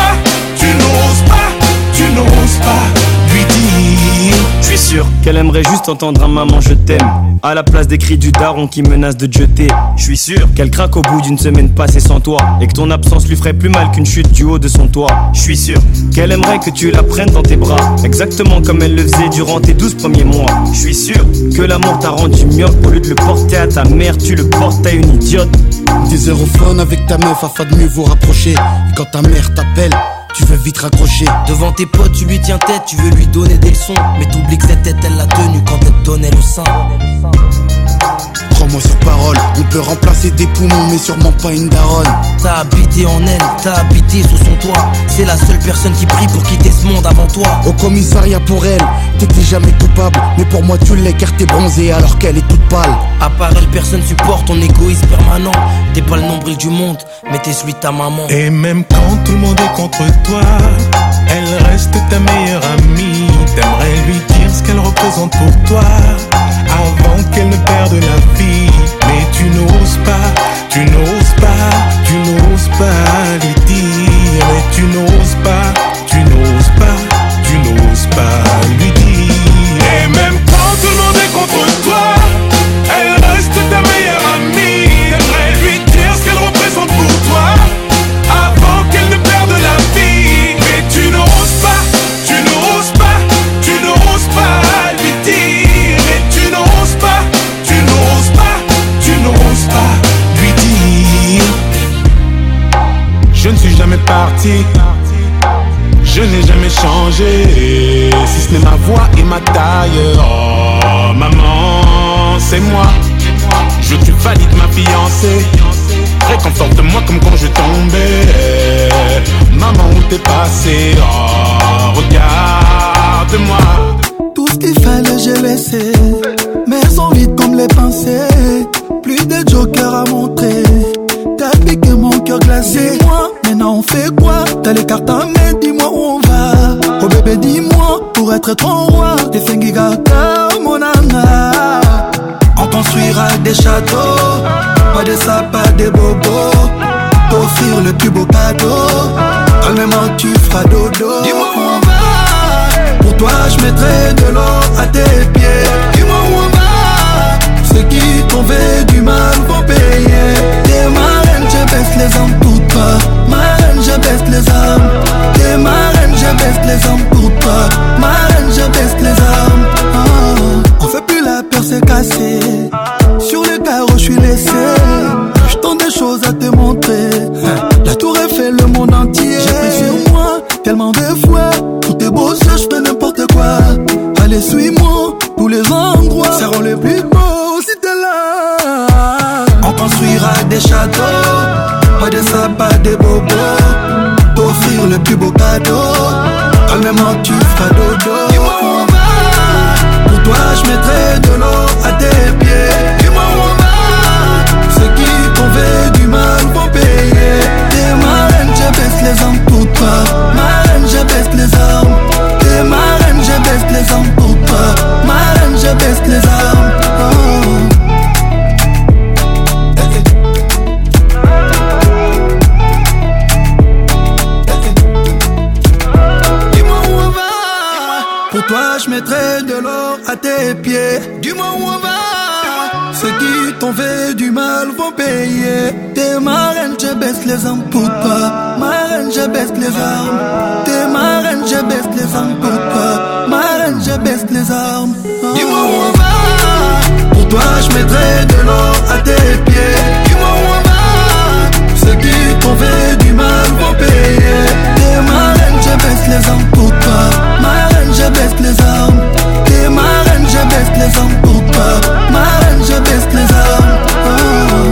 qu'elle aimerait juste entendre un maman je t'aime à la place des cris du daron qui menace de te jeter. Je suis sûr qu'elle craque au bout d'une semaine passée sans toi et que ton absence lui ferait plus mal qu'une chute du haut de son toit. Je suis sûr qu'elle aimerait que tu la prennes dans tes bras, exactement comme elle le faisait durant tes 12 premiers mois. Je suis sûr que l'amour t'a rendu myope, au lieu de le porter à ta mère, tu le portes à une idiote. Des aérophones avec ta meuf afin de mieux vous rapprocher. Et quand ta mère t'appelle, tu veux vite raccrocher. Devant tes potes tu lui tiens tête, tu veux lui donner des leçons, mais t'oublies que cette tête elle l'a tenue quand elle te donnait le sein. Prends-moi sur parole, on peut remplacer des poumons mais sûrement pas une daronne. T'as habité en elle, t'as habité sous son toit. C'est la seule personne qui prie pour quitter ce monde avant toi. Au commissariat pour elle, t'étais jamais coupable, mais pour moi tu l'es car t'es bronzée alors qu'elle est toute pâle. À part elle, personne supporte ton égoïsme permanent. T'es pas le nombril du monde, mais t'es celui de ta maman. Et même quand tout le monde est contre toi, elle reste ta meilleure amie. T'aimerais lui dire ce qu'elle représente pour toi avant qu'elle ne perde la vie. Mais tu n'oses pas, tu n'oses pas, tu n'oses pas lui dire. Mais tu n'oses pas, tu n'oses pas, tu n'oses pas lui dire. Et même quand tout le monde est contre toi, elle reste ta meilleure amie. T'aimerais lui dire ce qu'elle représente pour toi avant qu'elle ne perde la vie. Mais tu n'oses pas, tu n'oses pas, tu n'oses pas lui dire. Mais tu n'oses pas, tu n'oses pas, tu n'oses pas lui dire. Je ne suis jamais parti, je n'ai jamais changé, si ce n'est ma voix et ma taille. Oh maman, c'est moi, je te valide ma fiancée. Réconforte-moi comme quand je tombais. Maman, où t'es passé? Oh, regarde-moi. Tout ce qu'il fallait j'ai laissé, mais sont vides comme les pensées. Plus de joker à montrer, t'as piqué mon cœur glacé. Dis-moi, maintenant on fait quoi? T'as les cartes à main, dis-moi où on va. Oh bébé dis-moi, pour être ton roi, t'es fengigaka mon anga. On construira des châteaux, pas des sapins, des bobos. T'offrir le plus beau cadeau, calmement tu feras dodo. Dis-moi où on va, pour toi je mettrai de l'or à tes pieds. Dis-moi où on va, ceux qui t'ont fait du mal vont payer. T'es ma reine, je baisse les armes pour toi. Ma reine, je baisse les armes. T'es ma reine, je baisse les armes pour toi. Ma reine, je baisse les armes. Oh. On fait plus la peur, c'est cassé. Sur le carreau, je suis laissé. Je tente des choses à te montrer. La tour Eiffel, le monde entier. J'ai pris sur moi tellement de fois. Tout est beau, ça, je fais n'importe quoi. Allez, suis-moi, tous les endroits seront les plus beaux si t'es là. On construira des châteaux, pas des sapins, des bobos. T'offrir le plus beau cadeau, calmement tu feras dodo. Dis-moi où on va, pour toi je mettrai de l'or à tes pieds. Dis-moi où on va, ceux qui t'ont fait du mal vont payer. T'es ma reine, je baisse les armes pour toi. Ma reine, je baisse les armes. T'es ma reine, je baisse les armes pour toi. Ma reine, je baisse les armes. Oh. Pour toi je mettrai de l'or à tes pieds. Dis-moi où on va, ceux qui t'ont fait du mal vont payer. T'es ma reine, je baisse les armes pour toi. Ma reine, je baisse les armes. T'es ma reine, je baisse les armes pour toi. Ma reine, je baisse les armes. Oh. Dis-moi où on va, pour toi je mettrai de l'or à tes pieds. Dis-moi où on va, ceux qui t'ont fait du mal vont payer. T'es ma reine, je baisse les armes pour toi. Ma reine, je baisse les armes. T'es ma reine, je baisse les armes pour toi. Ma reine, je baisse les armes. Oh.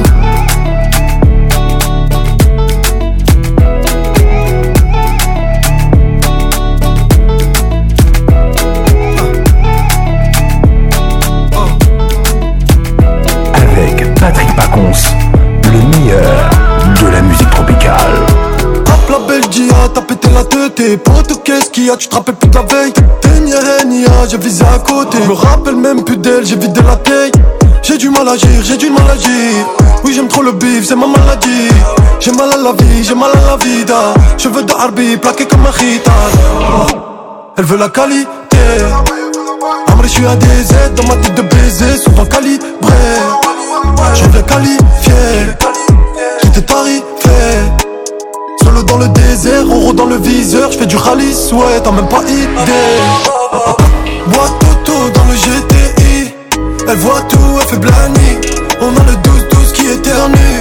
Avec Patrick Pacons, le meilleur de la musique tropicale. Hop la Belgique, t'as pété la tête. Tes potes, qu'est-ce qu'il y a, tu te rappelles plus de la veille. Nia, j'ai visé à côté. Je me rappelle même plus d'elle, j'ai vidé la taille. J'ai du mal à agir, j'ai du mal à agir. Oui j'aime trop le bif, c'est ma maladie. J'ai mal à la vie, j'ai mal à la vida. Cheveux de Harbi, plaqués comme un khitan. Elle veut la qualité. je suis à des aides dans ma tête de baiser, souvent calibré. J'en viens qualifié, j'étais tarifé. Solo dans le désert, Oro dans le viseur, j'fais du rallye, ouais, t'as même pas idée. Bois Toto dans le GTI, elle voit tout, elle fait blani. On a le 12-12 qui éternue.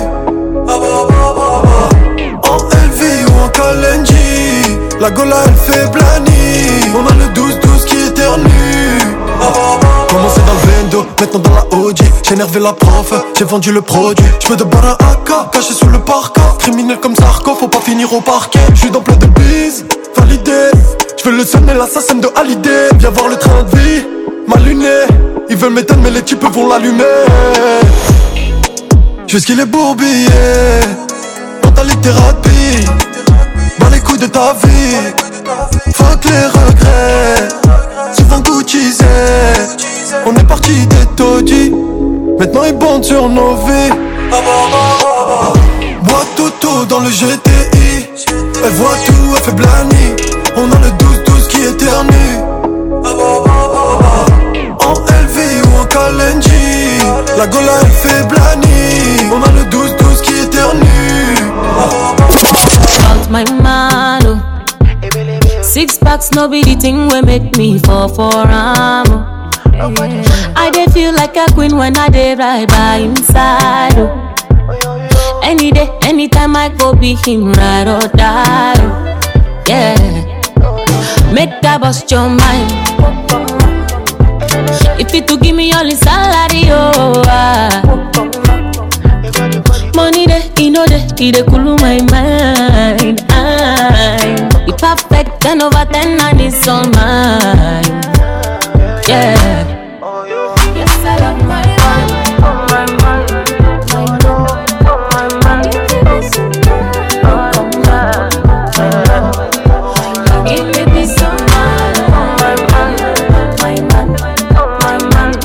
En LV ou en Kalenji, la Gola elle fait blani. On a le 12-12 qui éternue. Commencé dans le Vendo, maintenant dans la OG. J'ai énervé la prof, j'ai vendu le produit. J'me de bar à AK, caché sous le parka. Criminel comme Sarko, faut pas finir au parquet. J'suis dans plein de bise, validé. J'veux le seul mais l'assassin de Hallyday. Viens voir le train de vie, ma lunette. Ils veulent m'éteindre mais les types vont l'allumer. J'fais ce qu'il est bourbier, mentalité rapide. Dans les couilles de ta vie, fuck les regrets. Souvent Guccisé, on est parti des taudis. Maintenant ils bondent sur nos vies. Bois Toto dans le GTI, elle voit tout, elle fait blani. On a le 12-12 qui éternue. En LV ou en Kalenji, la Gola elle fait blani. On a le 12-12 qui éternue. About my man, oh. 6 packs, no be the thing we make me fall for am. I dey feel like a queen when I dey right by inside. Oh. Any day, anytime I go be him ride or die. Oh. Yeah, make that bust your mind. If you to give me all the salary, oh. Money dey, you know dey, it dey cool my mind. You perfect 10 over 10 and it's all mine. Yeah. Yes, I love my man. Oh my man, my man. Oh man, give me this man. Oh my man, my man.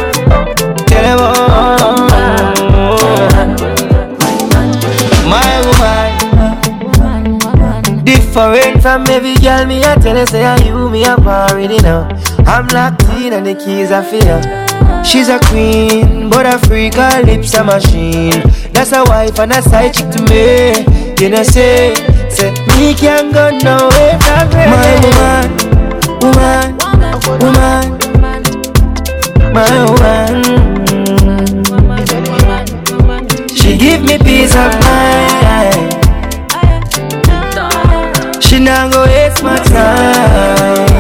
Different from every girl, me I tell her say I you me up already now. I'm locked in and the keys are for her. She's a queen, but a freak, her lips a machine. That's a wife and a side chick to me. You know say me can't go nowhere from her. My woman, my woman. She give me peace of mind. She not go waste my time.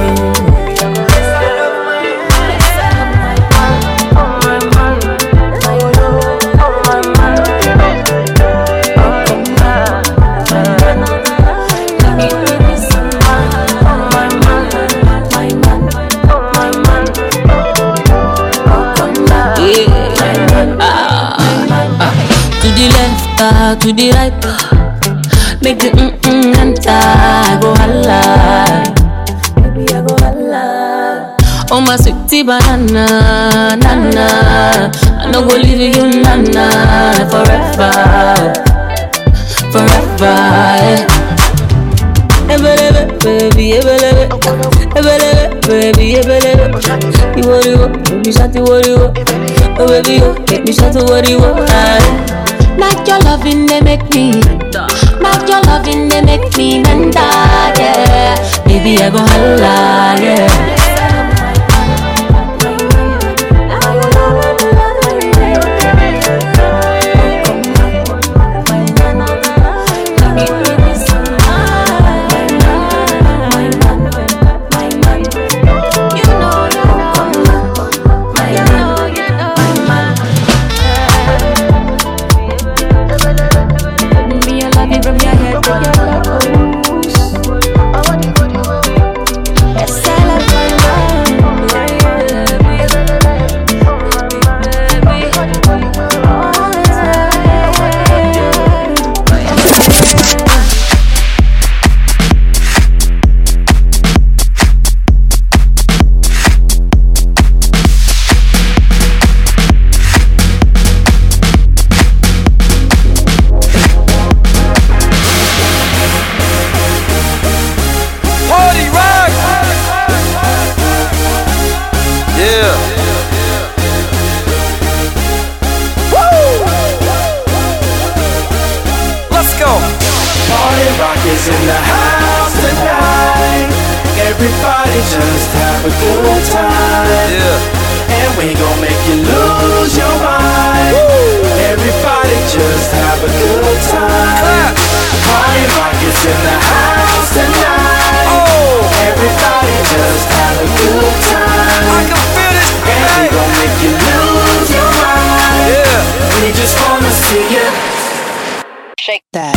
To the left, to the right, make the enter. I go holla, baby I go holla. Oh my sweetie banana, nana, I no go leave you nana forever, forever. Baby, baby, you worry, baby, shut the worry, oh baby, make me shut the worry, not your loving, they make me. Not your loving, they make me mental, yeah. Baby, I go holla, yeah. Everybody's in the house tonight. Oh, everybody just have a good time. I can feel it. And we gon' make you lose your mind. Yeah. We just wanna see you shake that.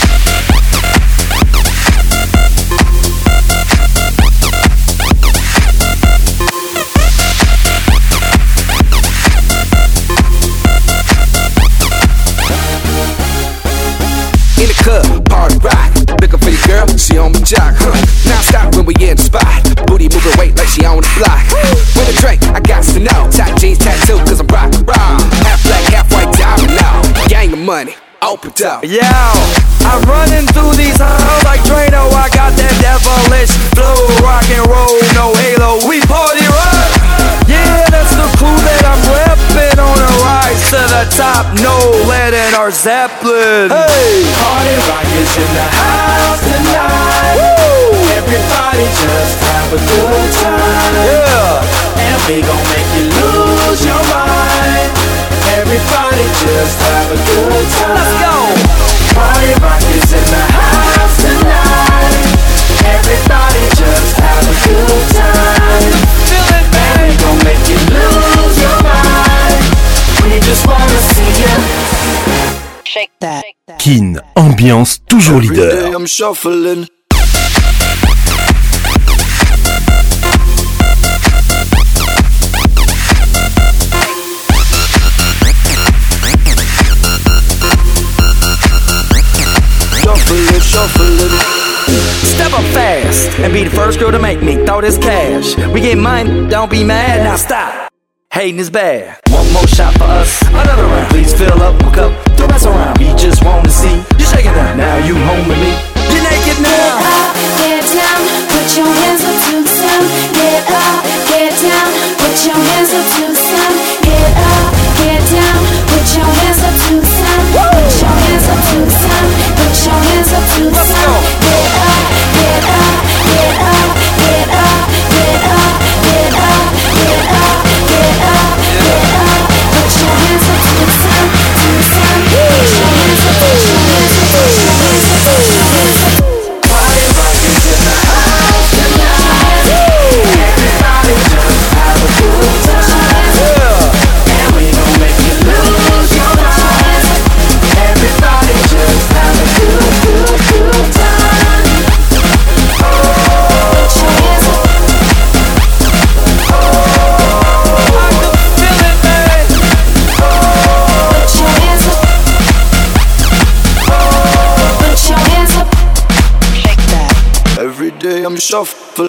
In the club, party rock. Looking for your girl, she on my jock. Now stop when we in the spot. Booty moving weight like she on the block. With a drink, I got to know. Tight jeans tattoo, cause I'm rock and roll. Half black, half white diamond now. Gang of money, open up. Yo, I'm running through these halls like Drano. I got that devilish flow, rock and roll, no halo. We party rock. Yeah, that's the clue that I'm reppin' on a rise to the top. No lead in our Zeppelin. Hey, party rock is in the house tonight. Woo! Everybody just have a good time. Yeah, and we gon' make you lose your mind. Everybody just have a good time. Let's go. Party rock is in the house tonight. Everybody just have a good time. Feel it, man. We gon' make you lose your mind. We just wanna see you shake that. Kin, ambiance toujours leader. Every day I'm shuffling. Shuffling. step up fast and be the first girl to make me throw this cash. We get money, don't be mad, now stop. Hating is bad. One more shot for us, another round. Please fill up my cup, don't mess around. We just want to see you shaking down. Now you home with me, you're naked now. Get up, get down, put your hands up to the sound. Get up, get down, put your hands up to the sound. Get up, get down, put your hands up to the sound. Put your hands up to the sound. Put your hands up to the sound. Get up, get up, get up, get up, get up, get up, get up, get up, get up. Put your hands up to the sound, to the sound. Put your hands up, put your hands up, put your hands up, put your hands up. Party rock is in the house tonight. Everybody just have a good time. And we gon' make you lose your mind. Everybody just have a good time. Oh, put your hands up. Oh, I can feel it, man. Oh, put your hands up. Oh, put your hands up. Every day I'm shuffling.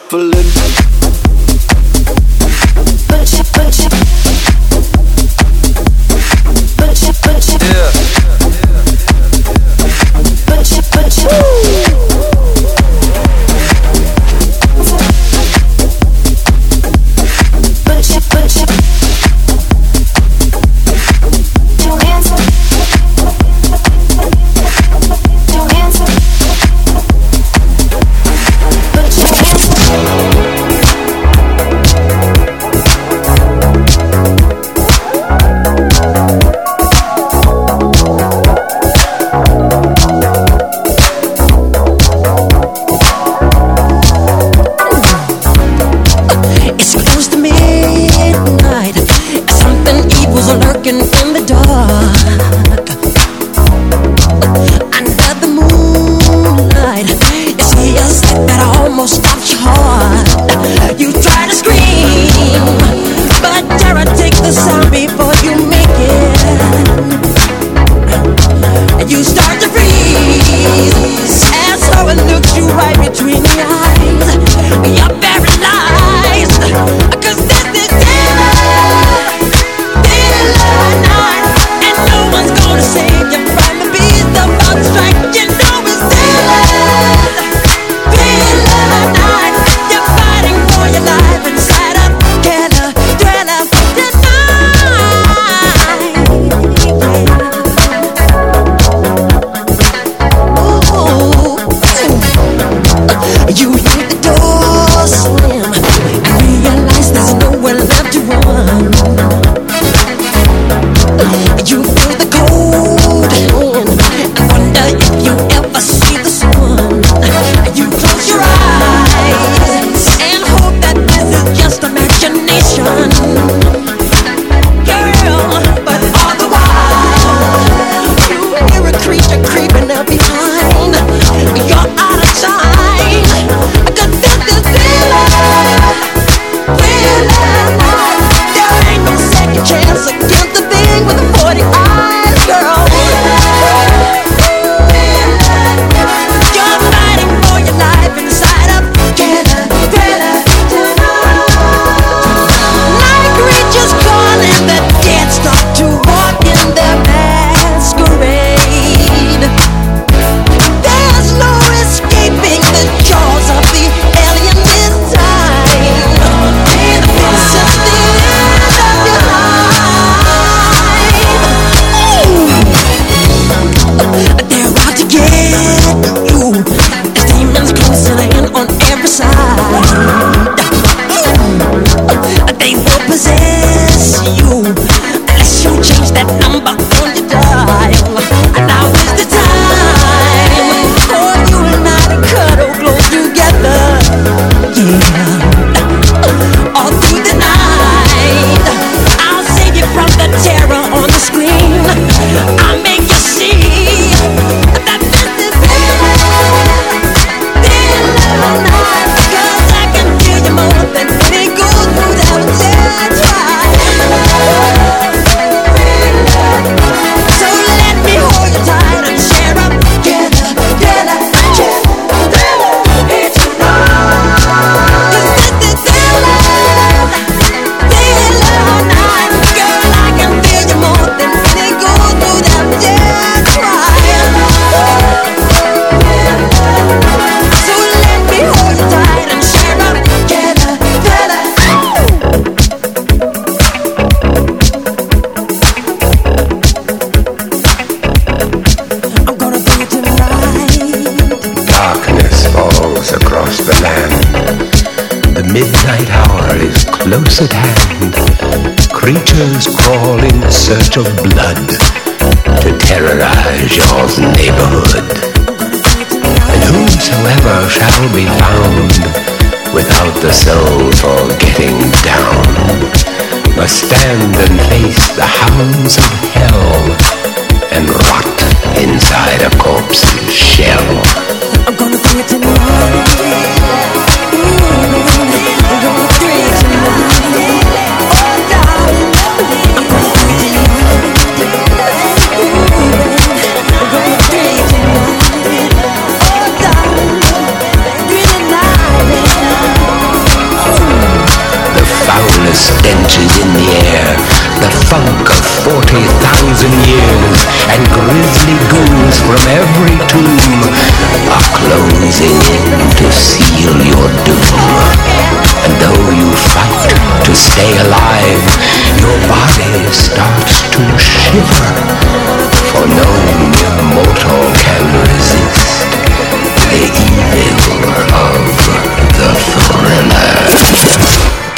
midnight hour is close at hand. Creatures crawl in search of blood to terrorize your neighborhood. And whosoever shall be found without the soul for getting down must stand and face the hounds of hell and rot inside a corpse's shell. I'm gonna bring it tonight. I'm gonna bring it tonight. Oh, darling, I'm gonna bring it tonight. I'm gonna bring it tonight. Oh, darling, bring it tonight. The foulest stench is in the air, the funk of 40,000 years, and grisly ghouls from every tomb are closing in to seal your doom. And though you fight to stay alive, your body starts to shiver, for no mere mortal can resist the evil of the thriller.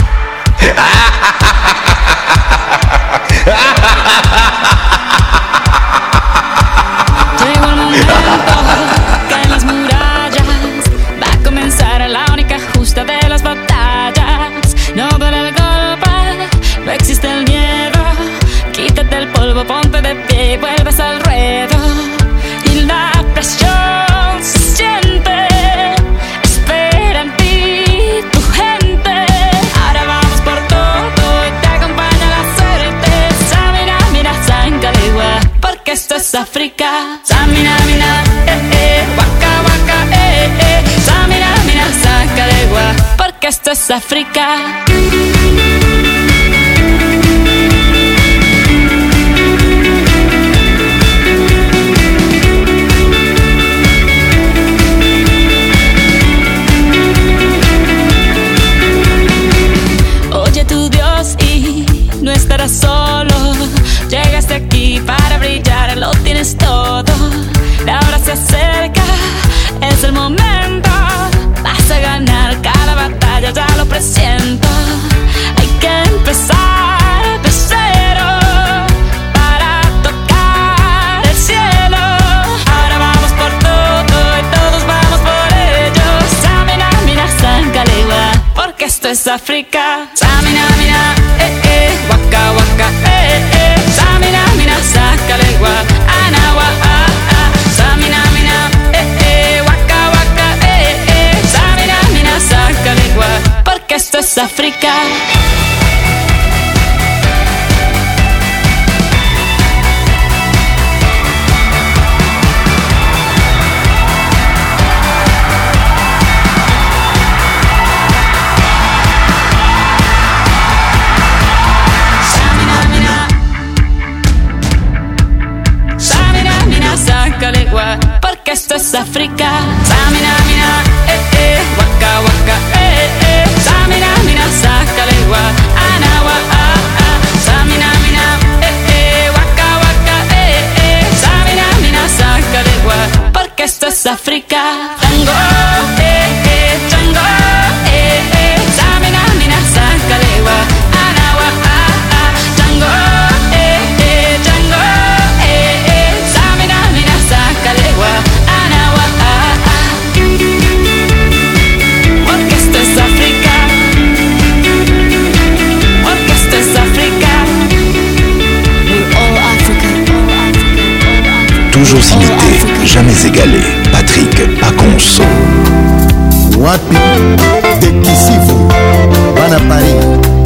Llegó el momento que en las murallas va a comenzar la única justa de las batallas. No duele el golpe, no existe el miedo. Quítate el polvo, ponte de pie y vuelves al ruedo. Y la presión se siente, espera en ti tu gente. Ahora vamos por todo y te acompaña la suerte. Samina, mira, Sangalegua, porque esto es África. Samina, mina, waka, waka, Samina, mina, Sangalegua, porque esto es África. Oye tu Dios y no estarás solo. Llegaste aquí para brillar, lo tienes todo. La hora se acerca, es el momento. Vas a ganar cada batalla, ya lo presiento. Hay que empezar de cero para tocar el cielo. Ahora vamos por todo y todos vamos por ello. Samina, mina, Sangalegua, porque esto es África. Samina, mina, waka, waka, Samina, mina, Sangalegua, anawa, Samina, mina, waka, waka, Samina, mina, Sangalegua, porque esto es África. Porque esto es África. Samina, mina, waka, waka, Samina, mina, Sangalegua, anawa, Samina, mina, waka, waka, Samina, mina, Sangalegua, porque esto es África. Tango, tango, Samina, mina, Sangalegua, anawa, tango, tango, Samina, mina, Sangalegua, anawa, porque esto es África, porque esto es África. All Africa, Toujours imité, jamais égalé. Patrick Pacons. Wapi de Kisifu, Bana Paris.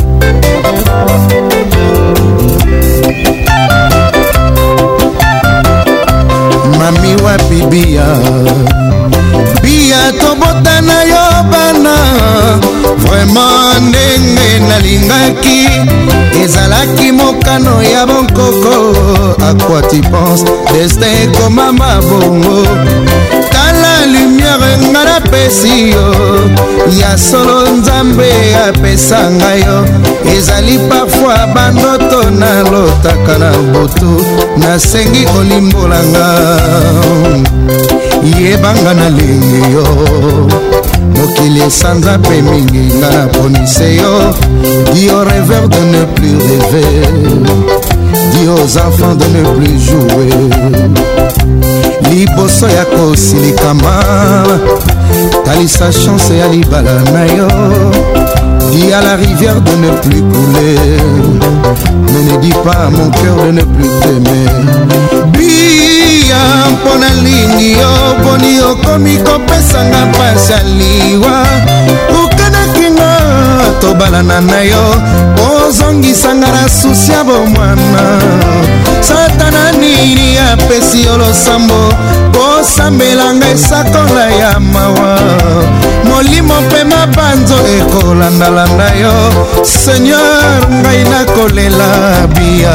Mami wapi bia, bia tobota na yo bana. Vraiment ndenge nalingaki, ezalaki mokano ya bonkoko. À quoi tu penses, destin koma mabongo. Tala lumière nga napesi yo, ya solo nzambe apesa ngai yo. Ezali parfois bandoto nalotaka na butu, nasengi olimbolanga. Yebanga nalingi yo, mokili esanza mpe mingi nga naponise yo. Dis aux rêveurs de ne plus rêver, dis aux enfants de ne plus jouer. Liboso ya kosilikama talisa chance ya libala na yo. Dis à la rivière de ne plus couler, mais ne dis pas à mon cœur de ne plus t'aimer. Bia mpona lingi yo boni okomi kopesanga mpasi ya liwa. Okanaki nga tobalana na yo ozongisanga na susi ya bomwana. Satana nini apesi yo losambo kosambelanga esakola ya mawa. Molimo mpe mabanzo ekolandalanda yo. Seigneur ngai nakolela bia.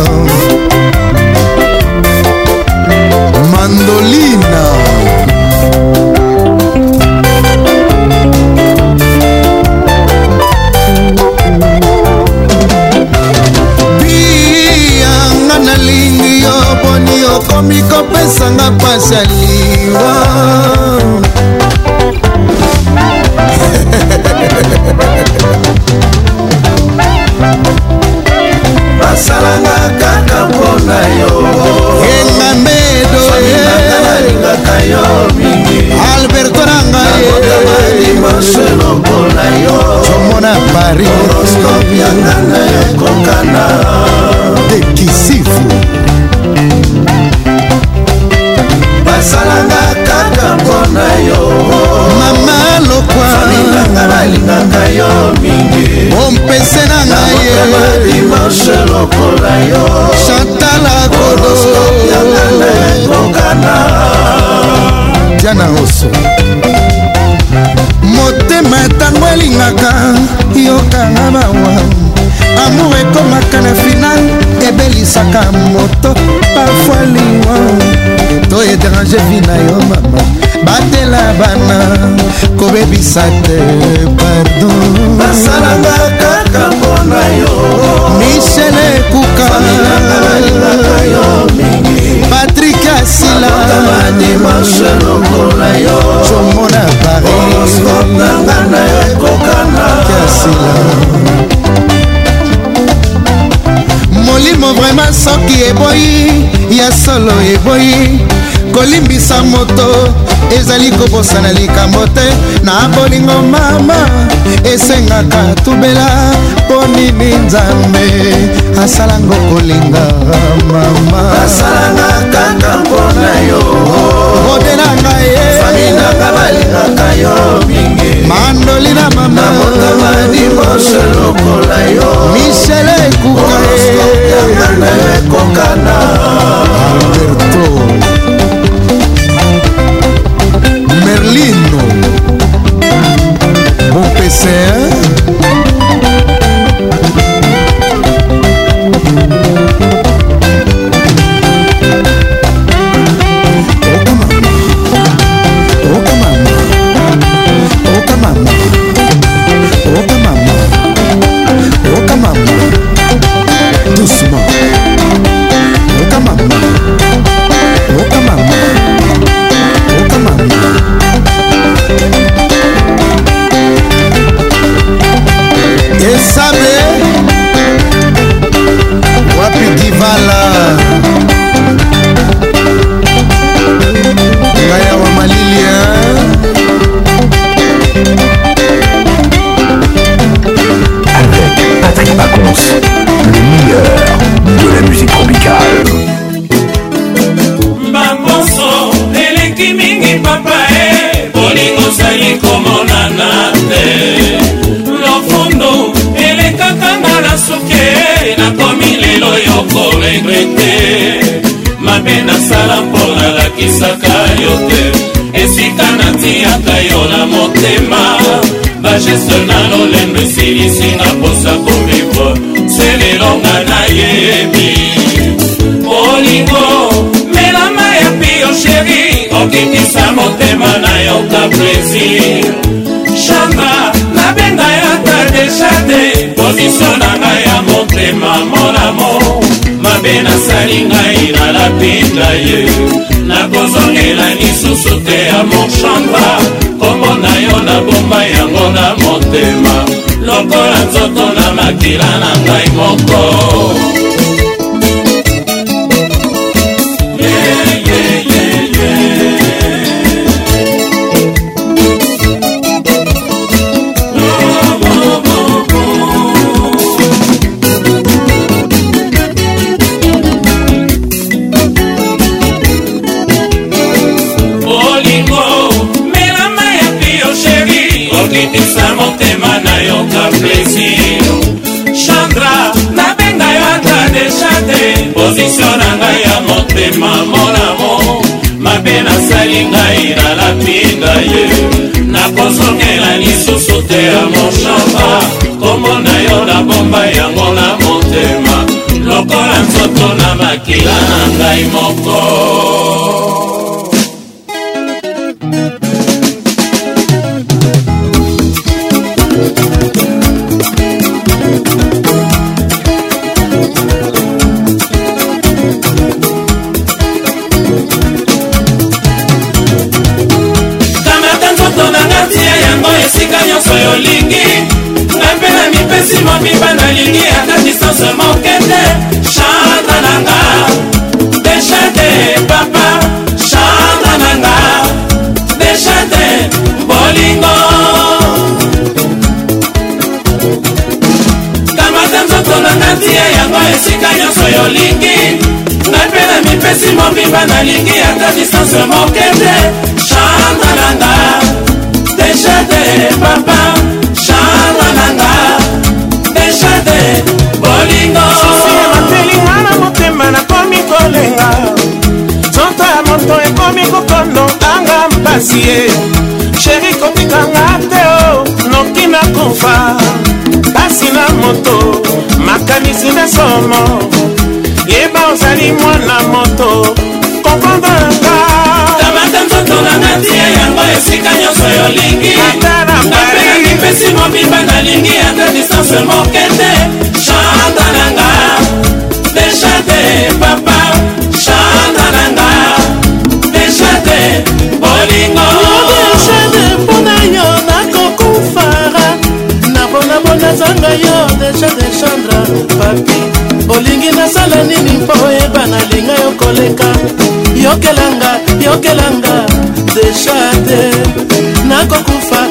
Mandolina bia nga nalingi yo boni okomi kopesanga pasi ya liwa. basalanga kaka mpona yo enga mbedo nalingaka yo mingi Alberto nanga dimaselo mpona yo tomona Paris horoscope yanga na ekokana de Kisifu. basalanga kaka mpona yo mama lokwa nanga nalingaka yo mingi ompese nanga ye dimanche lokola yo Chantala Kodo yanga na ekokana Diana Oso. Motema tango elingaka yokanga bawa. Amour ekomaka na final ebelisaka moto parfois liwa. To étranger vi na yo mama batela bana kobebisa te pardon. basalanga kaka mpona yo Michel Ekuka Patrick Asila dimanche lokola yo tomona Paris horoscope nanga na ekokana Asila molimo vraiment soki eboyi ya solo eboyi kolimbisa moto ezali kobosana likambo te na bolingo mama esengaka tubela mpo nini nzambe asalango kolinga mama basalanga kaka mpona yo odelanga ye faminanga balingaka yo mingi mandolina mama motama dimanche lokola yo Michel Ekuka yanga na ekokana Alberto Merlino bon PC doucement. Oka mama. Oka mama. Oka mama. Esabe wapi Divala Ngaya wa Malilia avec Patrick Pacons, le meilleur de la musique tropicale. Bamboso eleki mingi papa bolingo zali komonana te lofundo elekaka nga na suke nakomi lelo yoko regrete mabe nasala mpo nalakisaka yo te esika natiaka yo na motema bageste na lolendo esilisinga mposa kovivre selelonga nayebi bolingo melama ya pio sheri okitisa motema na yoka plaisir chamba nabenga yaka deja te pozisio na ngai ya motema monamo mabe nasali ngai nalapinda ye nakozongela lisusu te ya mochamba kombo na yo nabomba yango na motema lokola nzoto na makila na ngai moko. okitisa motema na yo ka plaisir Chandra nabenga yo ata deja te position na ngai ya motema mon amour mabe nasali ngai nalapinda ye nakozongela lisusu te ya mochamba kombo na yo nabomba yango na motema lokola nzoto na makila na ngai moko. esika nyonso yolingi ngai mpe na mipesi mobimba nalingi ata distance moke te Chandra nanga deja te papa Chandra nanga deja te bolingo kamata nzoto nanga tia yango esika nyonso yolingi ngai mpe na mipesi mobimba nalingi ata distance moke te Chandra nanga deja te papa Chandra nanga deja te bolingo matelinga na motema nakomi kolenga nzoto ya moto ekomi kokondo anga mpasi ye sheri kotikanga te o noki nakufa pasi na moto makanisi na somo yeba ozali mwana moto komprendanga kamata nzoto nanga tia yango esika nyonso yolingi napena mipesi mobimba nalingi ata distance moke te Chandra nanga deja te papa Chandra nanga deja te bolingo deja te mpona yo nakokufara nabonabona zanga yo deja te Chandra papi olingi nasala nini mpo oyeba nalinga yo koleka yokelanga deja te nakokufa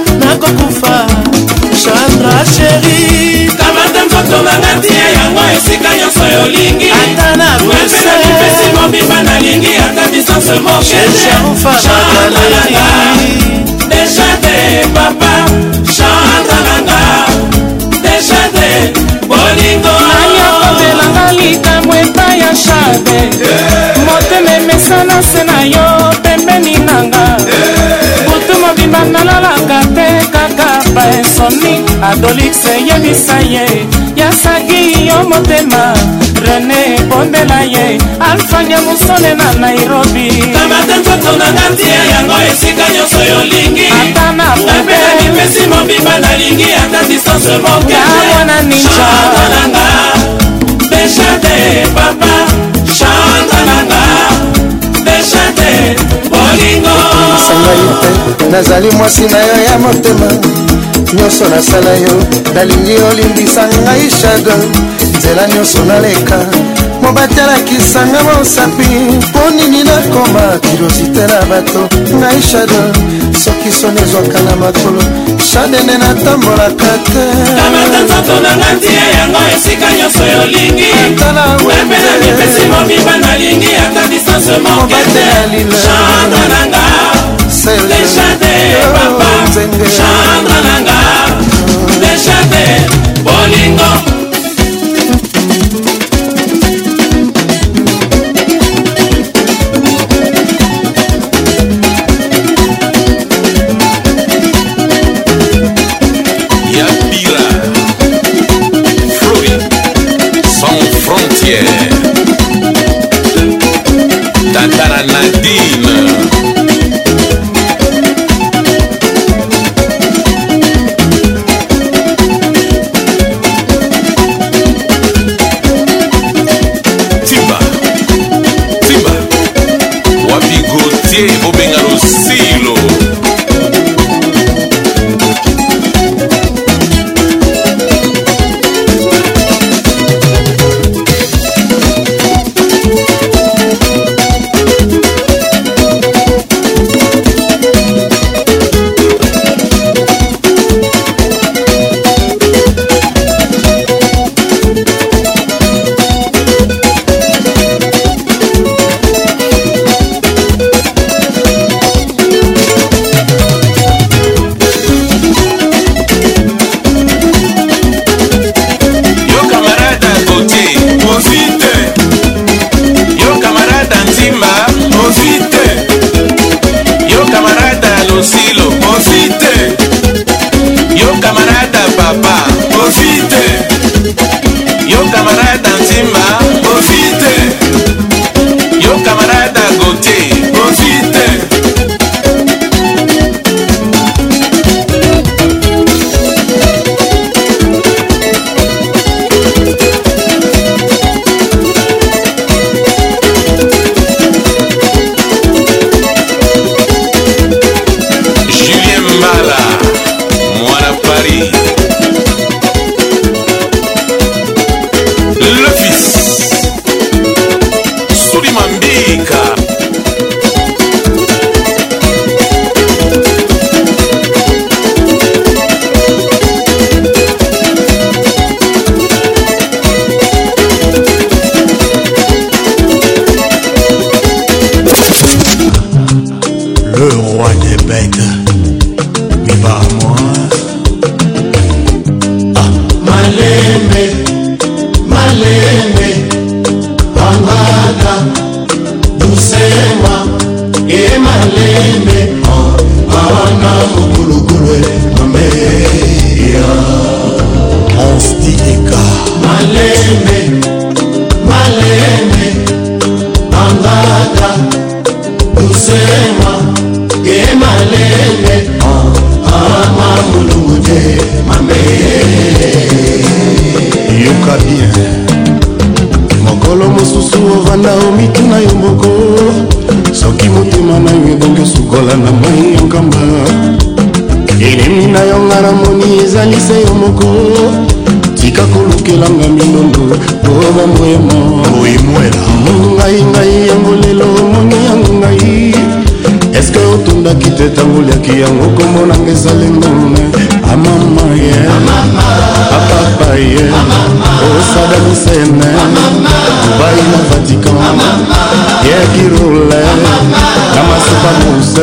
Chandra chéri kamata nzoto nanga tia yango esika nyonso yolingi ata na wepena mipesi mobimba nalingi ata distance moke Chandra nanga deja te papa Chandra nanga deja te bolingo nayokotelanga likambo epai ya shade motema emesana se na yo pembeni nanga butu mobimba nalalaka te kaka baensomni adolixe yebisa ye yasaki yo motema rene bondela ye alfanya musole na Nairobi kamata nzoto nanga tia yango esika nyonso yolingi ata na napena mipesi mobimba nalingi ata distance moke mwana ninja Chandra nanga deja te papa Chandra nanga deja te bolingo sangai te nazali mwasi na yo ya motema nyonso nasala yo nalingi olimbisa ngai shago nzela nyonso naleka mobatelakisanga mosapi mpo nini nakoma kirosite na bato ngai shado soki soni ezwaka na makolo shadene natambolaka te kamata nzoto nanga tia yango esika nyonso yolingi napena mipesi mobimba nalingi ata distance moke te Chandra nanga deja te papa Chandra nanga deja te bolingo Tantara Nadine lisusu ovanda omituna yo moko soki motema na yo ebongi osukola na mai ya nkamba enemi na yo nga na moni ezali se yo moko tika kolukelanga minondo po bamoyemo oyimwela ngai yango lelo omoni yango ngai eske otundaki te ntango liaki yango komonanga ezali ngone amama ye apapa ye osada misene dubai na vatican yekirule na masupa muse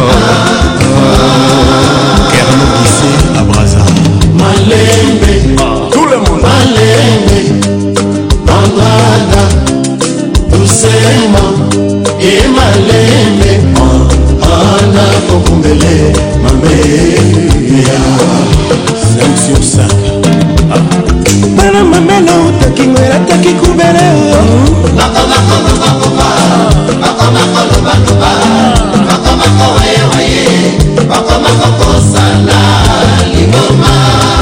kernokise à Braza Malembe tout le monde Malembe Andrada doucement et Malembe Ana Kokumbele Mameya 5 sur 5 Mana mamena utaki mwera taki kubere Mako mako mako mako mako luba luba Mako mako waye waye Mako mako kosala Liboma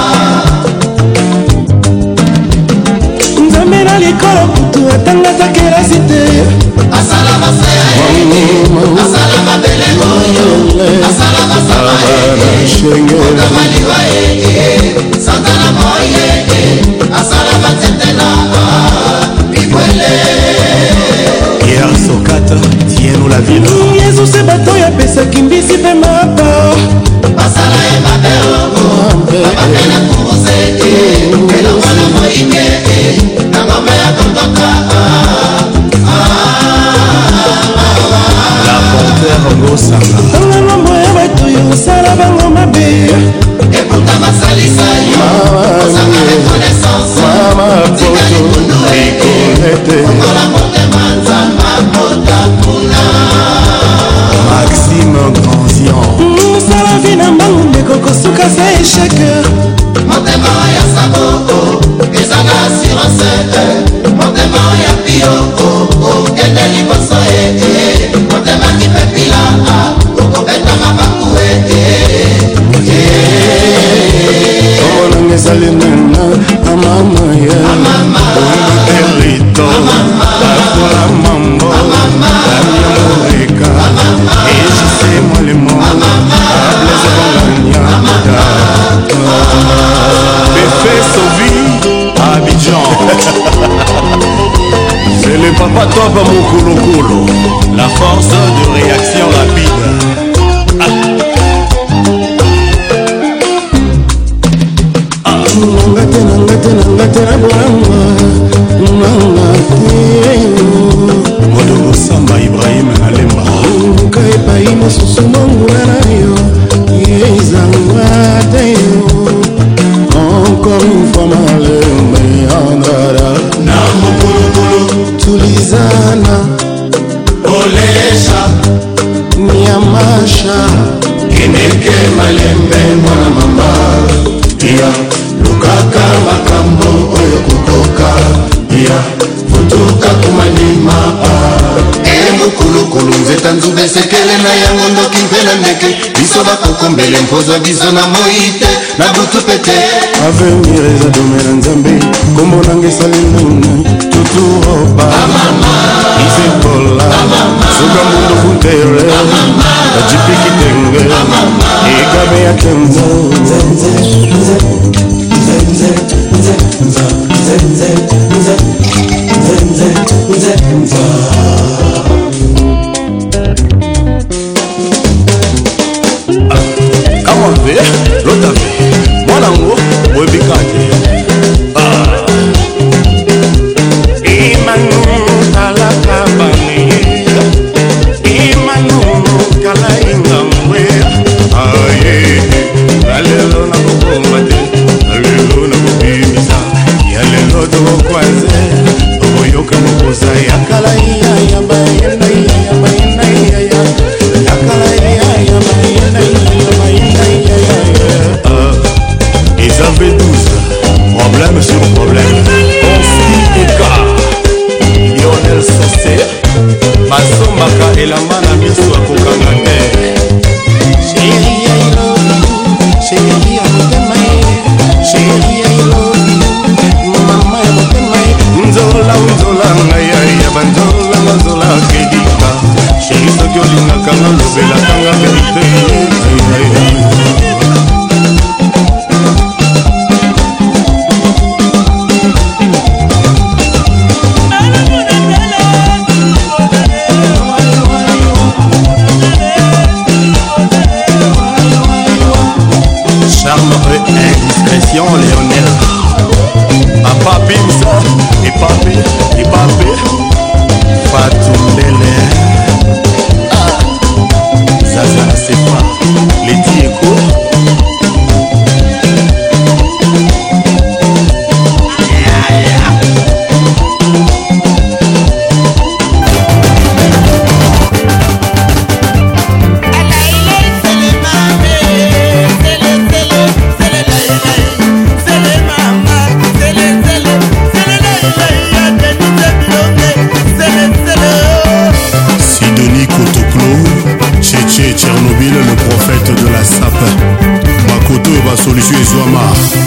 Nzambe na likolo kutu atanga takera site Asala maseye Asala mabele moyo Asala masala Okamali waye Santana moye Asala matetela Bibwele Hier Sokata Tiens-nous la ville Yesu se bato ya pesa kimbisi pe mapa Asala ya mabeo Mabakena kuruse Kela wana moinge Nangome ya kondoka La panthère ngosanga Tangana moya bato yo Sala bango mabe Ekuta masalisa yo Osanga reconnaissance Mama poto Ikolete Ongola mote manza Mapota kuna Maxime Grandian Sala vina mbangu ndeko kosuka sa échec Motema ya saboko Ezanga assurance Motema ya pio Kende liboso Motema kipepila Okobeta mabaku Omonanga ezali nena Amama ya Erito Afola mambo Damia Moreka Ejise Molemo Ableze Bonganya Befé Sovi Abidjan C'est le papa top Mokulokolo La force de réaction rapide Modogo Samba Ibrahim Nalemba Luka epai mosusu mongula na yo Yezangwa yo Encore une fois Malembe Andrada Namukulu Tulizana Olesha Niamasha Kineke Malembe mwana mama Pia Lukaka makambo oyo kukoka Pia Futuka kumanima Mukulukulu nzeta nzube sekele na yango ndoki mpe na ndeke biso bakokombele mpozwa biso na moite na butu pete avenir eza dome na nzambe kombo nanga esali nini tuturoba isekola suka mbundo funtere ajipiki tenge igabe ya kenzo L'autre mon amour, moi bikate. Imanu kala kabani, imanu kala ingangwe. Aye, alelo na kukomate, alelo na kubimisa, yalelo to kwanze, oboyoka mokoza yakala iya yabayena yabayena ya, yakala iya yabayena yabayena ya. Ils avaient 12 problème sur problème. Ponski Eka Lionel Sosé Masombaka Elamana Miso Akokanga te Chérie I love you Chérie I motema Chérie I love you Mama ya motema Nzola nzola ngaya ya Christian Léonel Papa Pimsa et Papé Fatoumele Zaza Sefa Leti Eko Tchernobyl, le prophète de la sape. Makoto va solution et Zouama.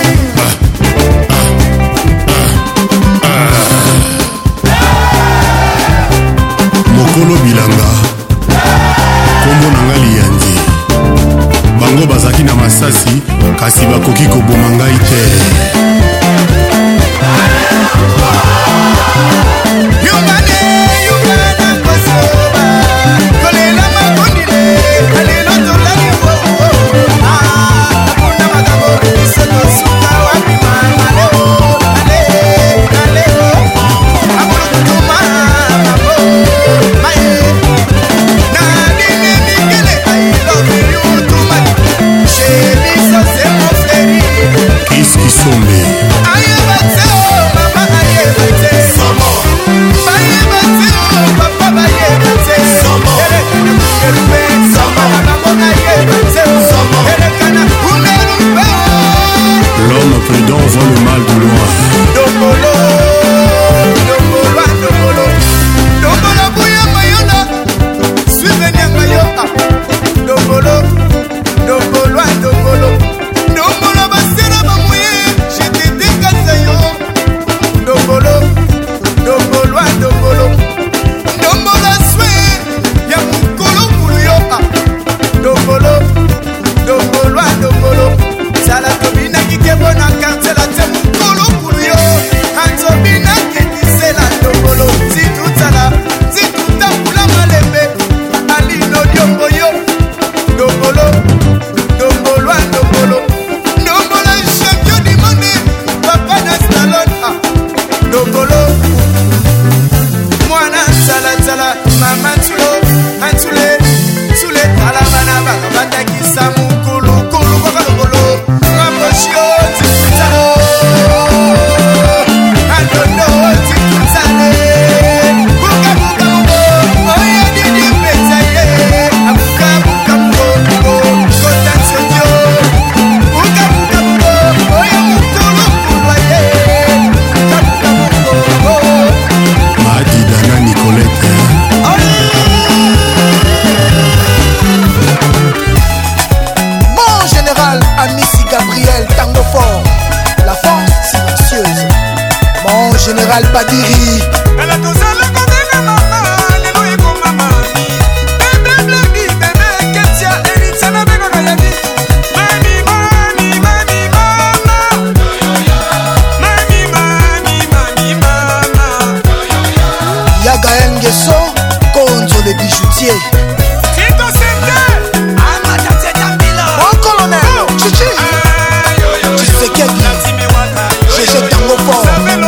Mokolo Bilanga. Kombo nanga liyandi. Bango bazaki na masasi kasi bakoki koboma ngai te. L'homme prudent voit le mal de loin. Dombolo, Dombolo, Dombolo, Dombolo, Bouya Mayona, suivez Mayoka. Dombolo, Dombolo, Dombolo, Dombolo, Basera Mamouye, j'étais décalé. Dombolo, Dombolo, Dombolo, Dombolo, Swé, Yamukolo, Kuluyoka. Dombolo, Dombolo, Dombolo, Salatobina qui kebona kantela te mukolo kuluyo Antobina qui disela Dombolo, Zitutala, Zituta pula malembe Alino Diomboyo, Dombolo, Dombolo, Dombolo, Dombolo, champion du monde, Papa Nastalon, Dombolo, Mwana Salatala, Mama Tulo, Antule, Tule, Talabana, Bataki Samu, Kulu, Kulu, Kulu, Général Badiri. Elle a tous le côté de maman, alléluia pour maman. Bébé Blabby, bébé Ketia, Elitza, la bébé Gayadi. Mani, mani, mani, mama. Mani, mani, mani, mama. Yaga Nguesso, contre les bijoutiers. Tito Sente, Amada Tetambila. Bon colonel, Chichi. Chisekedi, Chichi Tango Fort.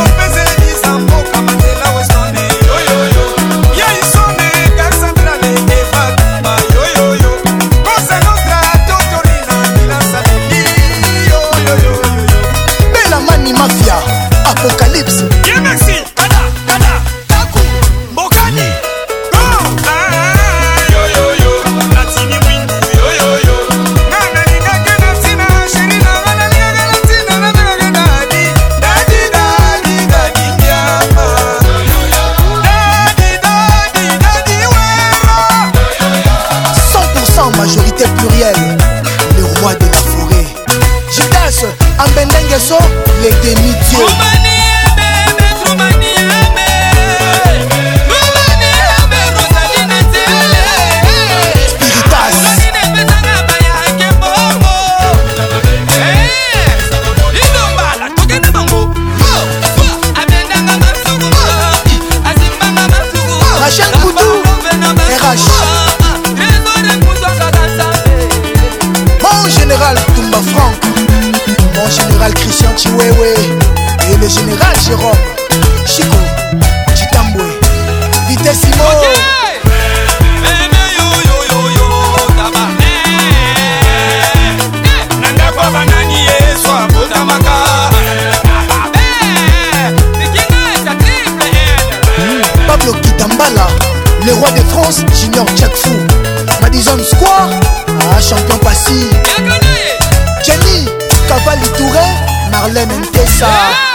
Apocalypse. Yeah, merci. Kada, kada, taku, mbokani. Go. Yo yo yo. Latini windu. Yo yo yo. Nana linga kena tina, sherina nana linga kena tina, nana linga dadi, dadi, dadi, dadi nyama. Dadi, dadi, dadi wera. 100% majorité plurielle. Le roi de la forêt. Judas, Ambendengeso, les demi-dieux. Mon général Toumba Franck, mon général général Christian Chiwewe et le général Jérôme Chico Chitambwe Vitessimo Pablo Kitambala, le roi de France, Junior Tchakfou, Madison Square, champion Passy, Jenny, Cavalli Touré, Marlène Ntessa,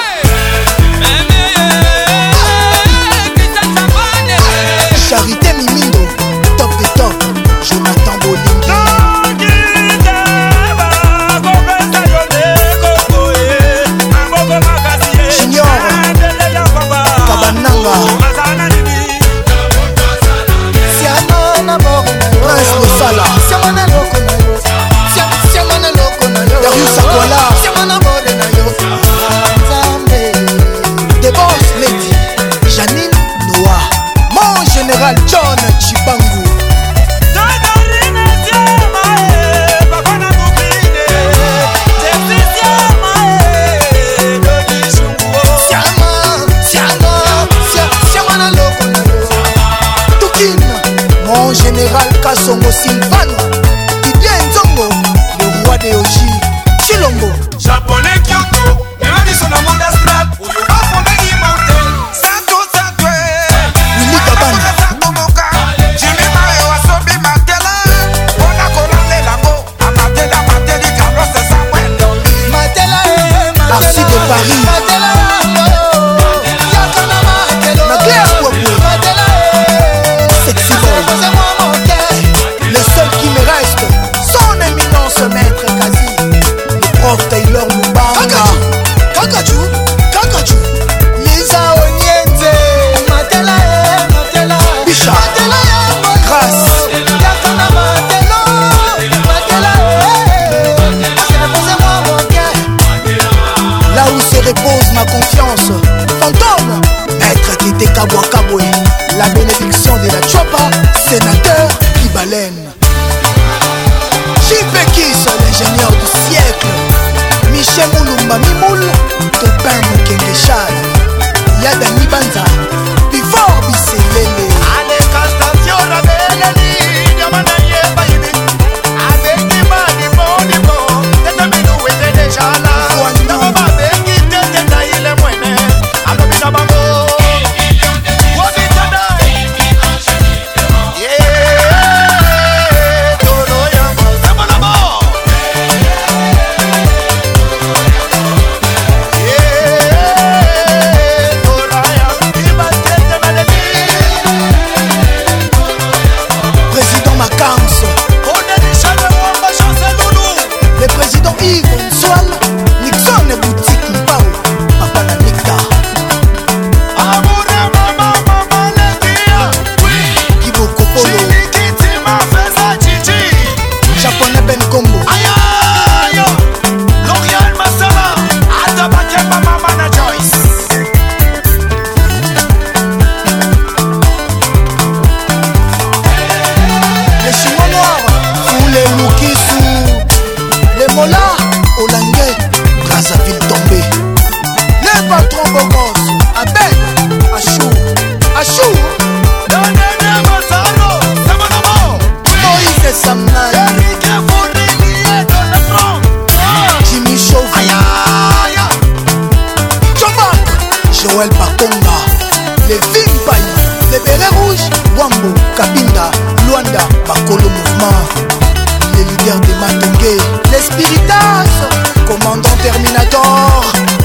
Charité Mimindo, top de top, Jonathan Bolingi. Junior Kabananga Prince Losala Darius Akwala The Boss Lady Janine Noah Mon général John Chibangu Mon général Kassongo Sylvano Didier Nzongo, le roi des Oji Chilombo Japonais Kyoto, même sur la monde astral où il va fonder l'immortel Santo Santo Willy Kabana Jimmy Mario Asobi Matela On a coloré la go A Matela Mateli Carlos Samuel Matela Arsi de Paris Matela Sexy boy. Le seul qui me reste, son éminence maître Kazi, le prof Taylor Mubanga Kakaju, Kakaju Lisa Onienze Matela Bicha Grâce là où se repose ma confiance, fantôme maître Kite Kabwa Kabwe, la bénédiction de la Chopa, sénateur Kibalen. J.P. Kiss, l'ingénieur du siècle. Michel Moulumba Mimoul, Topin Mokengeshal. Yadani Banza, Before Bisselele. Allez, Castation, la belle ligne, Yamana Yeba Yidi. Avec des mains, des bons, t'es un bilou et t'es déjà là. Dans ma main, qui t'es taillé les moines. Alors, Bisabango. Le président Yves Nsoal, Nixon et Boutique Mbao, Papa la Nicta. Kiboko Polo, Japonais Ben Combo, L'Orial Masala, Atabake Mama Mana Joyce. les Chinois noirs, ou les Loukissou, les Mola, Olangais, Brazzaville tombé. Les patrons Bogos, Abel, Achou, Moïse Samnay, Jimmy Chauvet, Chobak, Joël Pakonga, les Vimpaï, les Bérets Rouges, Wambo, Kabinda, Luanda, Bakolo Mouvement, les leaders des Matongue, les Spiritas, commandant Terminator,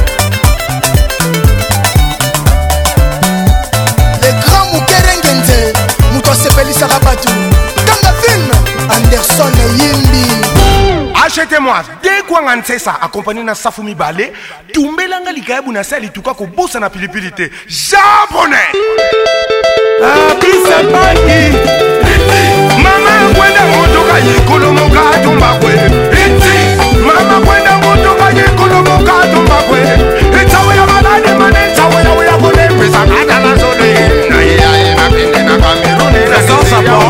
les grands Moukerengenze, Mouto Sepeli Sarabatu, Kanga Film, Anderson Yimbi. Achetez-moi deux kwanga nsesa accompagné na Safumi Balé, tumbelanga likayabu na sali tuka ko bossa na pilipilité japonais. Abisa bangi. Mama kwenda motoka yikolo moka tumba kwe. Mama kwenda motoka yikolo moka tumba kwe. Itawe ya balade mane itawe ya kone pesa kada la zone. Na ya na pinde na Cameroun na South Africa.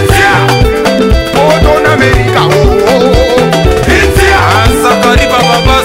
America, oh, India, Sakari Baba.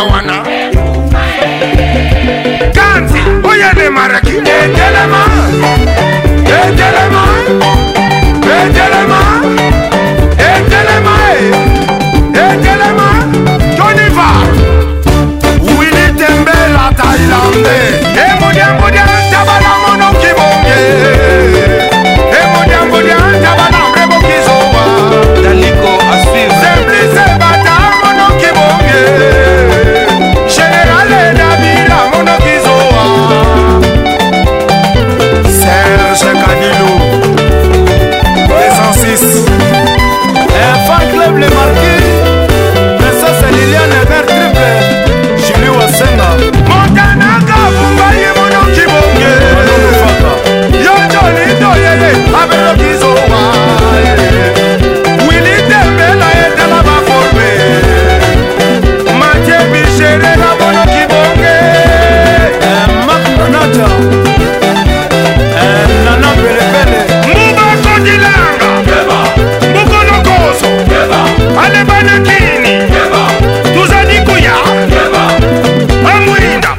wana Kanzi oyene maraki Etelema Etelema Etelema Etelema Etelema Toniva Willy Tembela Thaïlandais Emodia Tabala Mono Kibonge Emodia Tabala Rebo Kizowa Daliko à suivre Simplice Bata Mono Kibonge Général Nabila Mono Kizowa Serge Canilou 206 Un fan club les marqués Princesse Liliane Ever Triple Julie Wassenga Montana Kabumbaye Mono Kibonge Yo Johnny Doyele Abero Kizowa Willy Tembela était là-bas formé Mathieu Bichere na Mono Kibonge Marc Nonata Nana Pelepele Mouba Kodilanga Moukono Koso Alebana Kini Tuzani Kuya Amouinda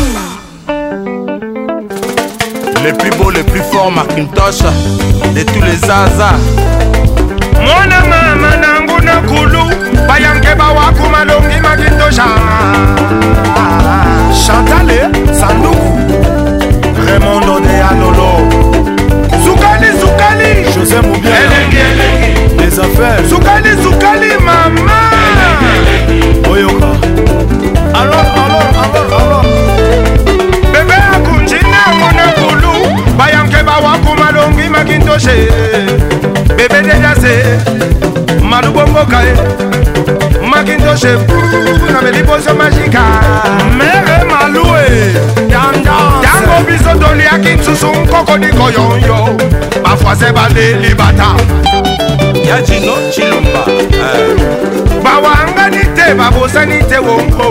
Les plus beaux, les plus forts, Macintosh de tous les Zaza. Mwana mama nangu na kulu Bayange bawaku malongi Makintosha Chantale Sanduku Raymond de Alolo Soukali José Moubier Les affaires Soukali mama Oyoka Alors Bébé akunjina mwana kulu Bayange bawaku malongi Makintoshe Bébé Dejase Malubongo Kae Makintoshe Na Beliposo Magika Mere Maloué Dango biso doli akinsusu Nkoko di koyonyo Bafwa se bale libata Yajino Chilumba Bawanga nite babosa nite wonko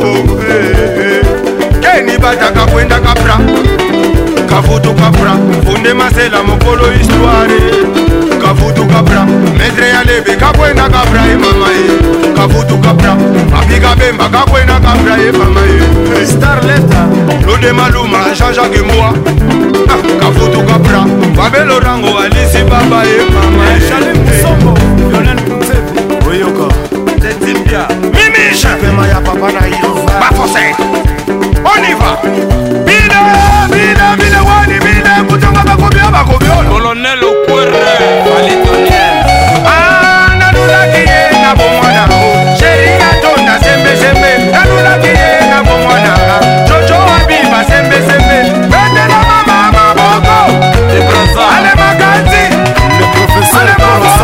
Keni bata kakwenda kapra Kafutu kapra Funde masela mokolo histoire Kafutu kapra Medre ya lebe kakwenda kapra mama Kafutu kapra Abiga bemba kakwenda kapra mama Starleta Lode Maluma Jean-Jacques Moua Kafutu kapra Babelo Rango Alice Baba mama Chalim Sombo Lionel Kunsefu Oyoka Tetimbia Mimisha Pema ya papa na Yova Bafose On y va Bide wani bide Kutunga bakobio Colonel Okwere Valitoniel Nanula kiye na bomwana Sheri Katonda sembe Nanula kiye na bomwana Jojo Habiba sembe Bende la mama maboko Ale Makanzi Le professeur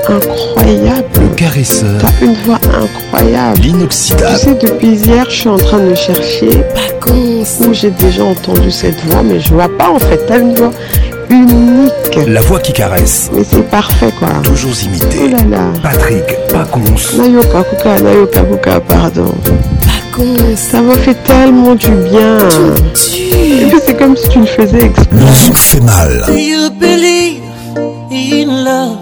incroyable. Le caresseur. T'as une voix incroyable. L'inoxydable. Tu sais, depuis hier, je suis en train de chercher où j'ai déjà entendu cette voix, mais je vois pas en fait. T'as une voix unique. La voix qui caresse. Mais c'est parfait quoi. Toujours imité. Oh là là. Patrick Pacons. Nayoka Kuka, pardon. Ça m'a fait tellement du bien. Et puis c'est comme si tu le faisais exprès. Le zouk fait mal. Do you believe in love?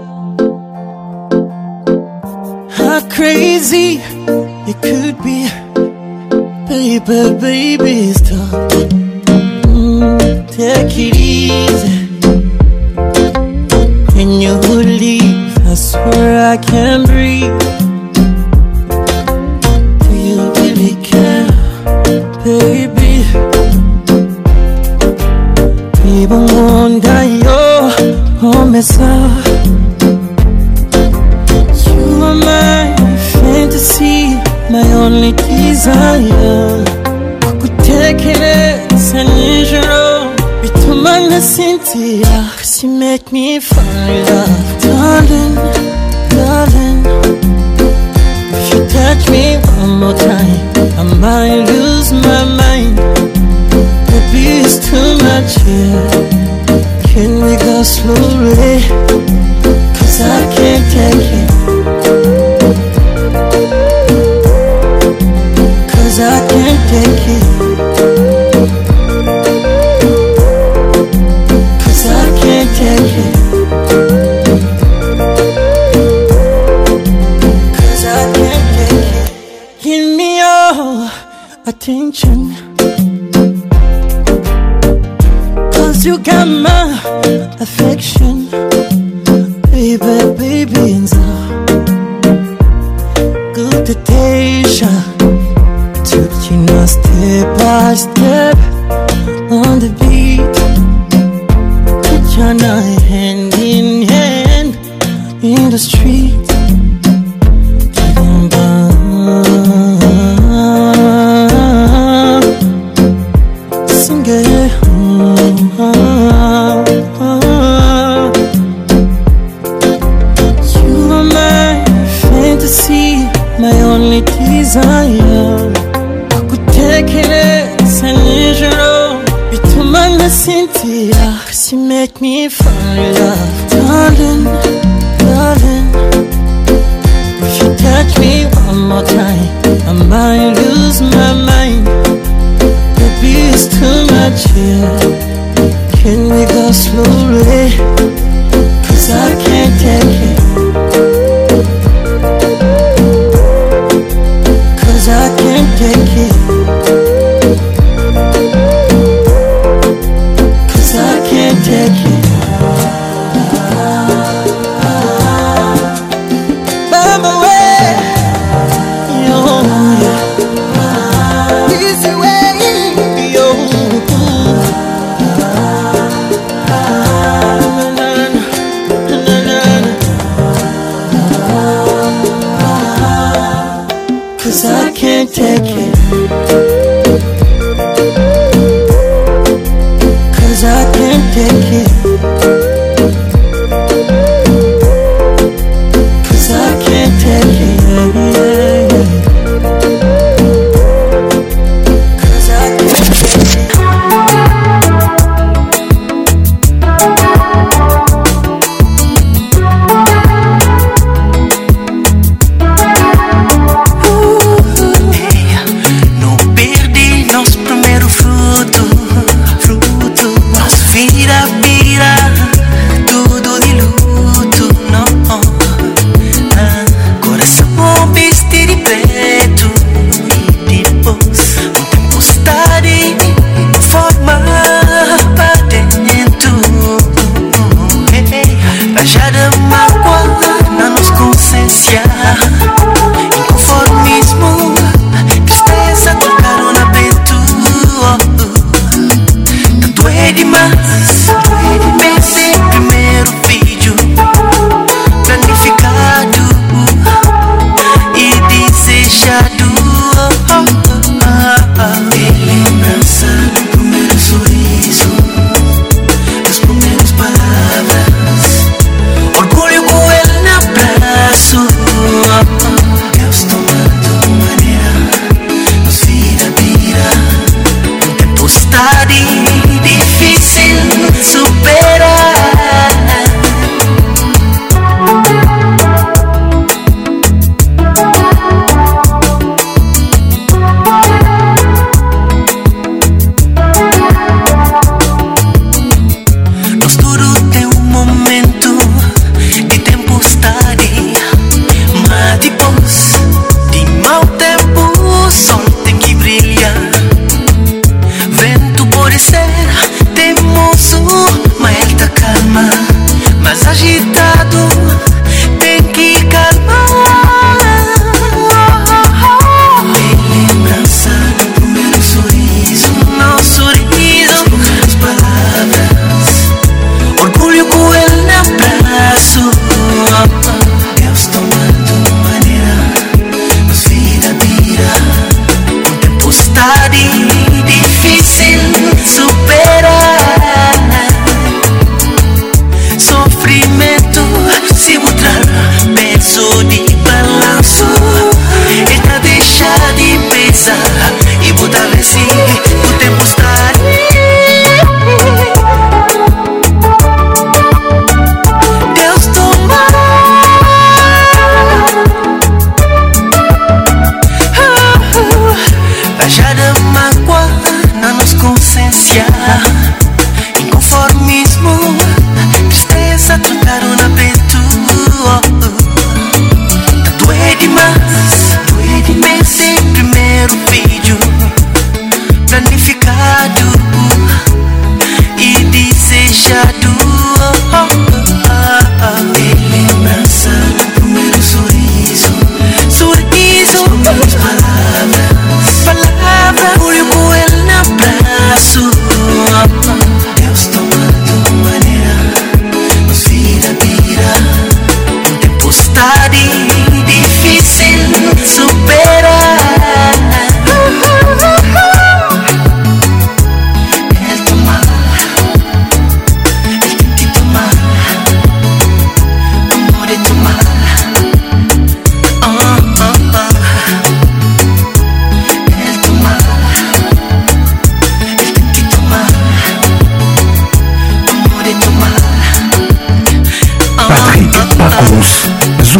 How crazy it could be. Baby, stop. Take it easy. When you leave, I swear I can't breathe. Do you really care, baby? Even wonder your homicide. You are my fantasy, my only desire. Kukutekereza nijoro bituma nasinzira, 'cause you make me fall in love. Darling, if you touch me one more time, I might lose my mind. Baby, it's too much here. Can we go slowly? 'Cause I can't take it. 'Cause I can't take it. 'Cause I can't take it. 'Cause I can't take it. Give me your attention. 'Cause you got my affection. Baby, and so good to taste. Taking us step by step on the beat. Put your night hand in hand in the street. Sing it. You are my fantasy, my only desire. Kukutekereza nijoro bituma nasinzira, 'cause you make me fall in love. Darling, if you touch me one more time, I might lose my mind. Baby, it's too much here. Can we go slowly? 'Cause I can't take it. 'Cause I can't take it. 'Cause I can't take it. By my way, yo, easy way, yo. Cause I can't take it. Cause I can't take it. Cause I can't take it. Cause I can't take it. No perdi nosso primeiro fruto. Nossa vida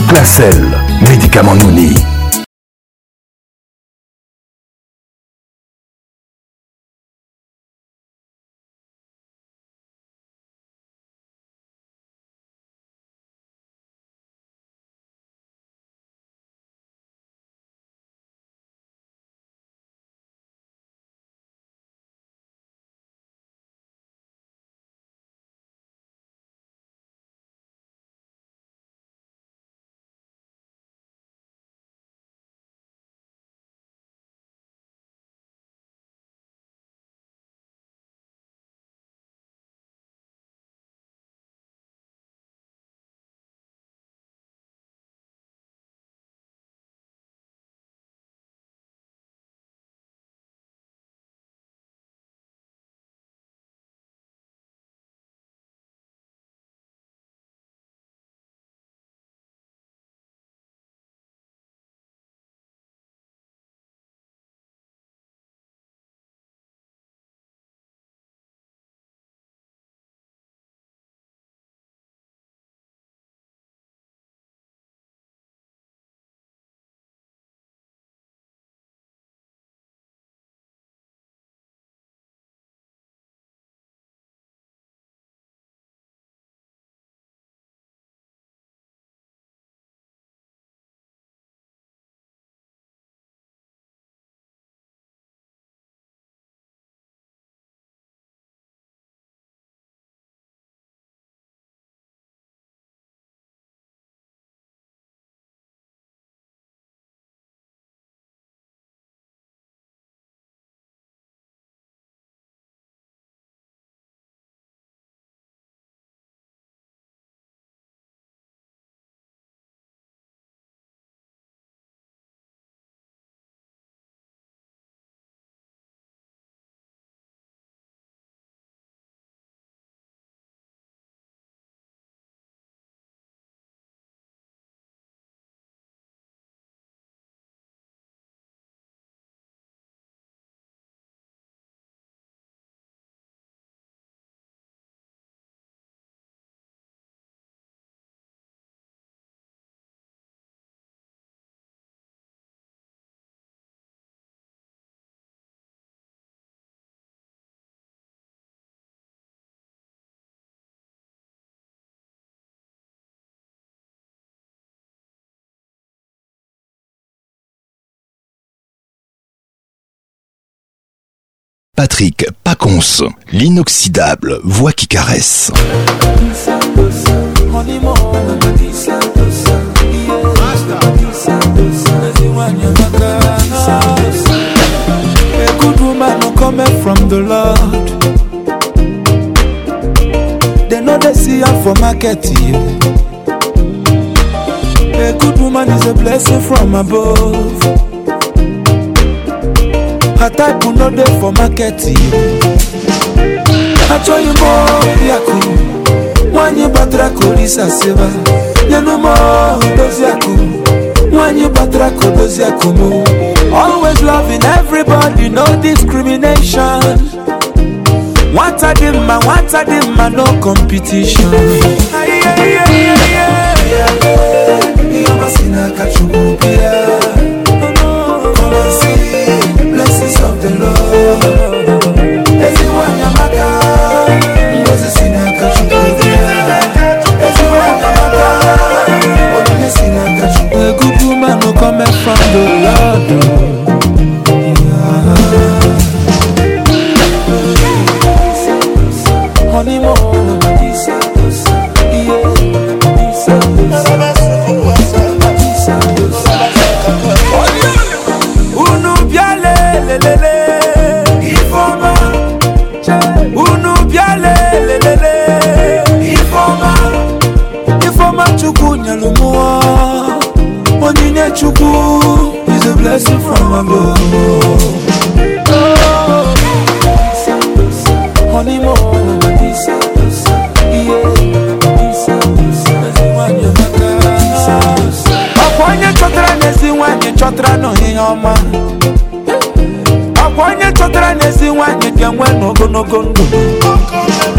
Placel, médicament Nouni. Patrick Pacons, l'inoxydable voix qui caresse. A good woman who cometh from the Lord. They know they see her for market. A good woman is a blessing from above. Her type will not there for market. I told you more, Yaku. When you batra kolisa seva, you know more, those Yaku. When you batra those Yakumo. Always loving everybody, no discrimination. What a dimma, no competition. Blessings of the Lord. Everyone Yamaka, Moses in a a good woman who cometh from the Lord. Honeymoon, Chuku is a blessing from above. Honeymoon, Akwanya chotra nesi wanye chotra no hiyoma. Akwanya chotra nesi wanye kenwe no gonogondo.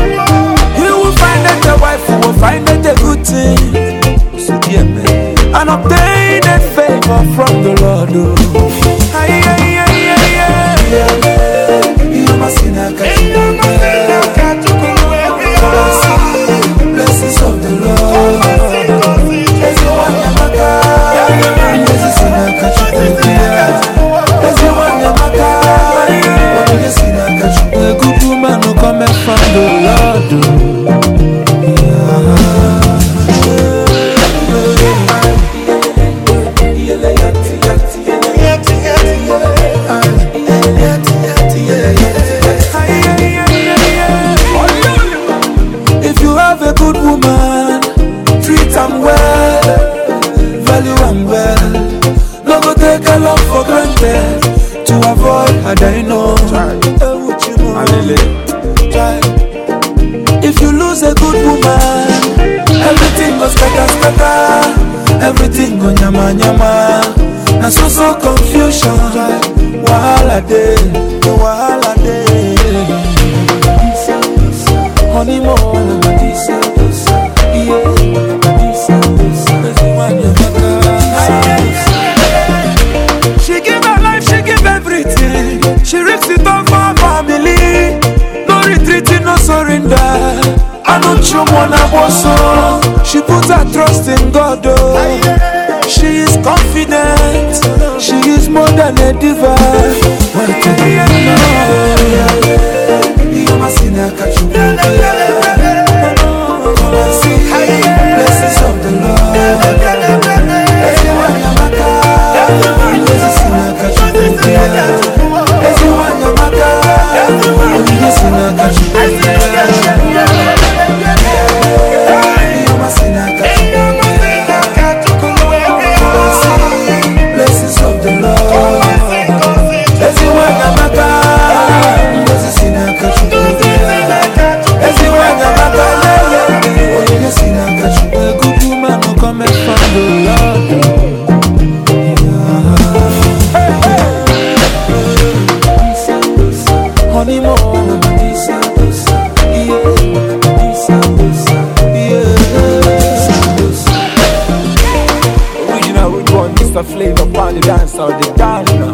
You will find that the wife will find that a good thing. So dear man, and obtain a favor from the Lord. Blessings of the Lord. A good woman who come from the Lord. If you have a good woman, treat am well, value am well. No go take a love for granted to avoid a dino. If you lose a good woman, everything goes scatter. Everything go nyama nyama. Na so confusion. Wahala day, wahala day. Honey more, she give her life, she give everything. She risks it all for her family. No retreating, no surrender. I know Chumwana Boso. She puts her trust in God. Oh. She is confident. She is more than a diva. Blessings of the Lord. Flavor upon the dance or the dance now.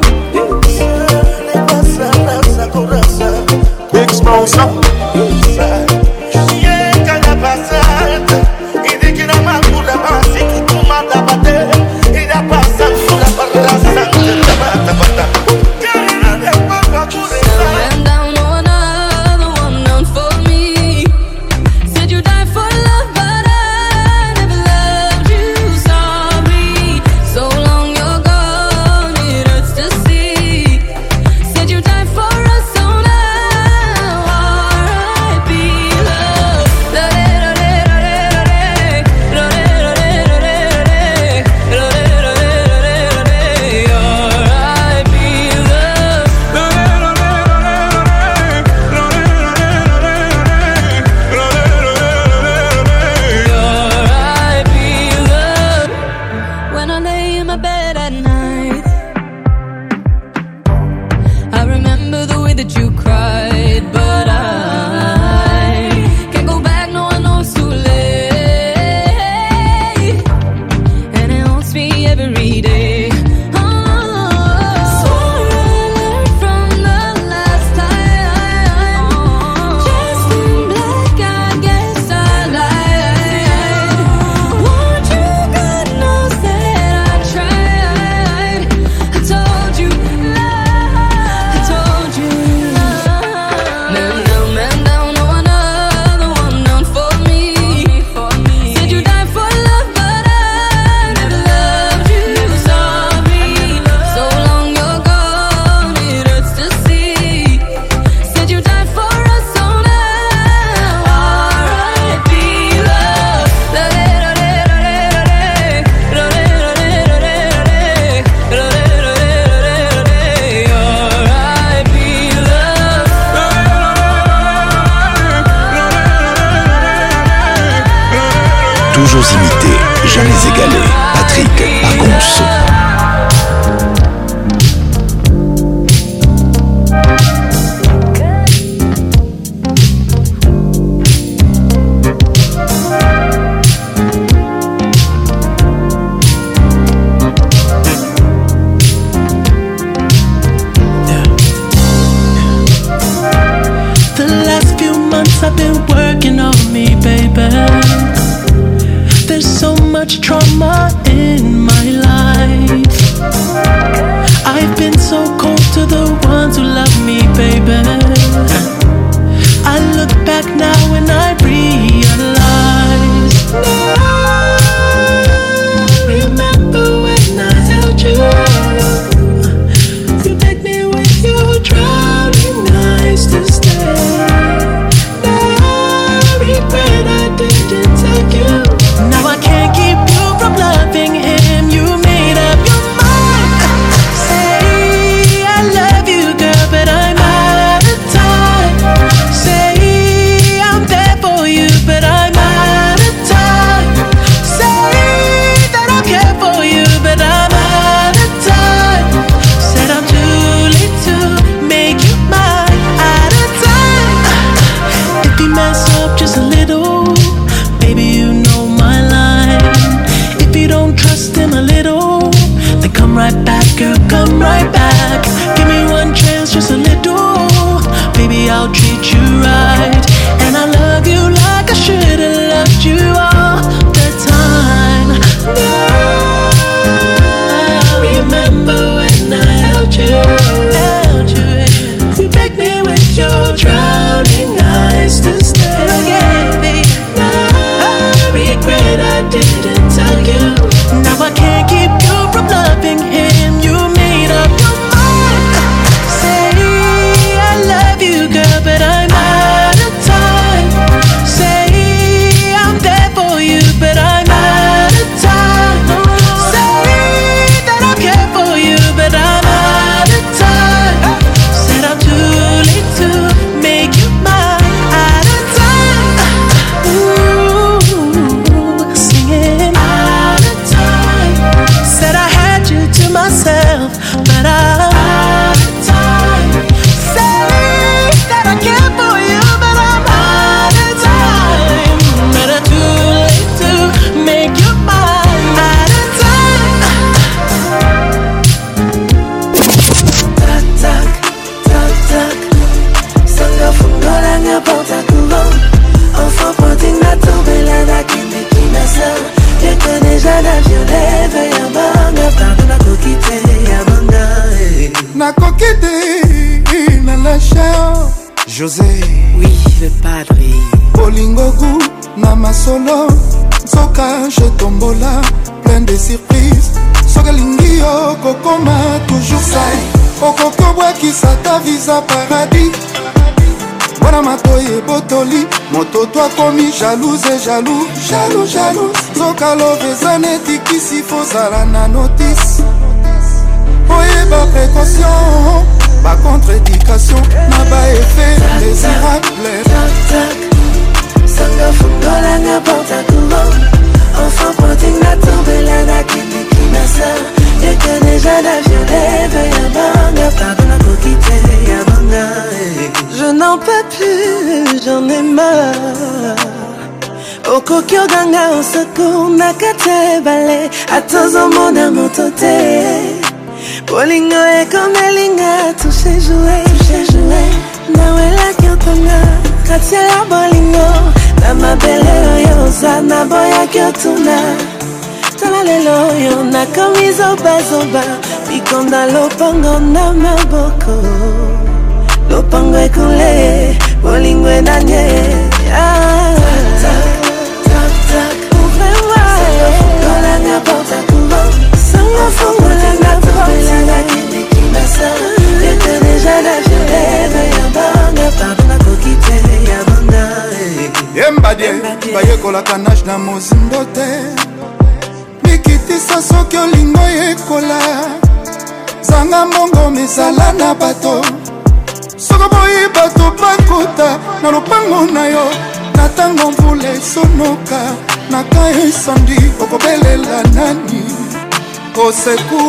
Big sponsor. For us, so now the ones who love me, baby. I look back now and I realize. Remember when I held you? You begged me with your drowning eyes to stay. Now I regret I didn't take you. Now I can't keep you from loving him. You made up your mind. Say I love you, girl, but I'm out of time. Say I'm there for you, but I'm out of time. Say that I care for you, but I'm out of time. Said I'm too late to make you mine. Out of time. If you mess up just a little, baby, you know my line. If you don't trust him a little, then come right back, girl, come right back. Give me one chance, just a little. Baby, I'll treat you right. And I love you like I should've loved you all the time. Now, remember when I held you? You begged me with your drowning eyes to stay. I regret I didn't tell you. Now I can't keep you from loving him. You made up your mind. Say I love you, girl, but I'm out of time. Say I'm there for you, but I'm out of time. Say that I care for you, but I'm out of time. Said I'm too late to make you mine. Out of time. Ooh, singing out of time. Said I had you to myself, but I'm out of time. Say that I care for you, but I'm out of time. But I'm too late to make you mine. Out of time. Tac, tac, tac, tac. Sanga fungola nga porta couvent. Enfant pointing na tombela na kende kinasa. Yeko déjà na violet veille à banga. Pardon na kokite ya banga. Na kokite na la chao José. Oui, le padre. Bolingogu na masolo. Soka je tombola. Plein de surprises. Soka lingio kokoma toujours ça. Okoko bwakisa ta visa paradis. Wana matoye botoli. Moto toi komi jalouse et jaloux. Jaloux, jaloux. Soka lovezane tikisi fozala na notice. Oyeba précaution, ba contre-éducation, na ba effet désirable. Tac, tac. Sanga fungola nga porta couvent. Enfant pointing na tombela na kende kinasa. Yeko déjà na violet veille à banga. Pardon na kokite ya banga. Je n'en peux plus, j'en ai marre. Okokyo ganga osako nakate bale. Atozo mona motote. Bolingo e komelinga touché joué, touché joué. Nawela kyotonga katia ya bolingo. Na mabele oyo zana boya kyotuna. Tala lelo yo na kamizo bazoba. Bikonda lopango na maboko. Lopango e kule, bolingo e nanye. Tac, tac, tac. Ouvre-moi. Sango nga porta couvent. Sango fungola nga tombela na kende kinasa. Yeko déjà na violet veille à banga. Pardon na kokite ya banga. Yembadie, bayekolaka nage na mozindo te. Mikitisa soki olingo yekola. Zanga mbongo mezala na bato. Soko boyi bato bakuta na lopango na yo. Na tango mvula esonoka. Naka esandi okobelela nani. Oseku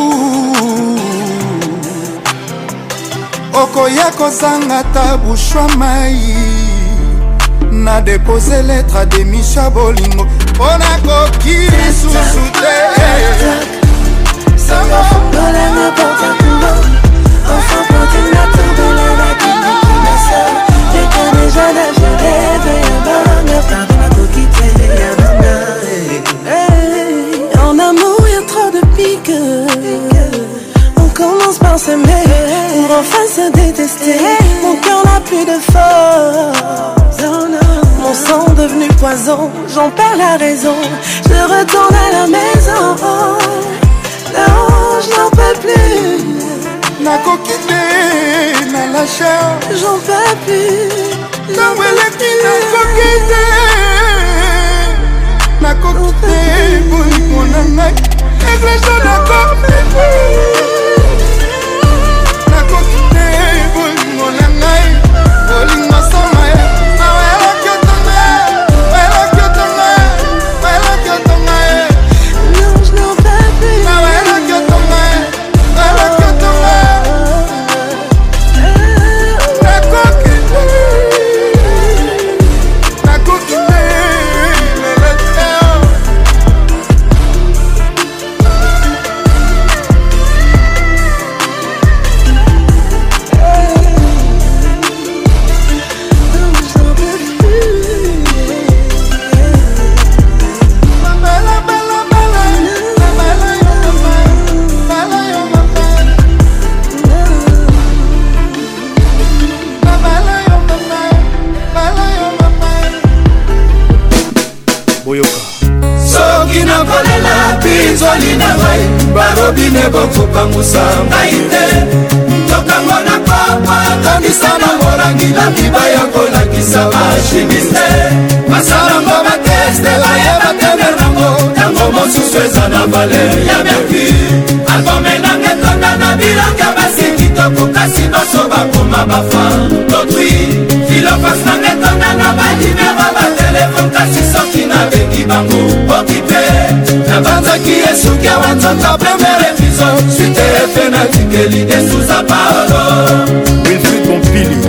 okoya kozanga tabushwa mai. Na dépose lettre à Demisha Bolingo. Pona koki susu te. Sanga fungola nga porta couvent. Enfant pointing na tombela na kende kinasa. Yeko déjà na violet veille à banga. Pardon na kokite ya banga. En amour y'a trop de pique. On commence par s'aimer pour enfin se détester. Mon cœur n'a plus de force. Mon sang devenu poison, j'en perds la raison. Je retourne à la maison. Non, je n'en peux plus. Na kokite, na la chair. J'en peux plus. Na weleki, na kokite. Na kokite, boy, mon anak. Église na kokite. Na kokite, boy, mon anak. Boling masama, na wela kyotonga. Wela kyotonga. Wela kyotonga. Non, je n'en peux plus. Na wela kyotonga. Wela kyotonga. Na kokite. Na kokite. Soki na kolela pinzoli na ngai barobine bokopangusa ngai te tokango na papa kandisa na molangi na bibaya kolakisa bashimiste basalango bateste bayeba temer nango ntango mosusu eza na valer ya mercure albome nange tonda na bilanga basi kitoko kasi baso bakoma bafan d'autrui filofas nange tonda na balimero batelefone kasi soki nabengi bango okipe nabanzaki esuki awanzanga premier épisode suterefe natikeli desuza paolo Wilfried Bompili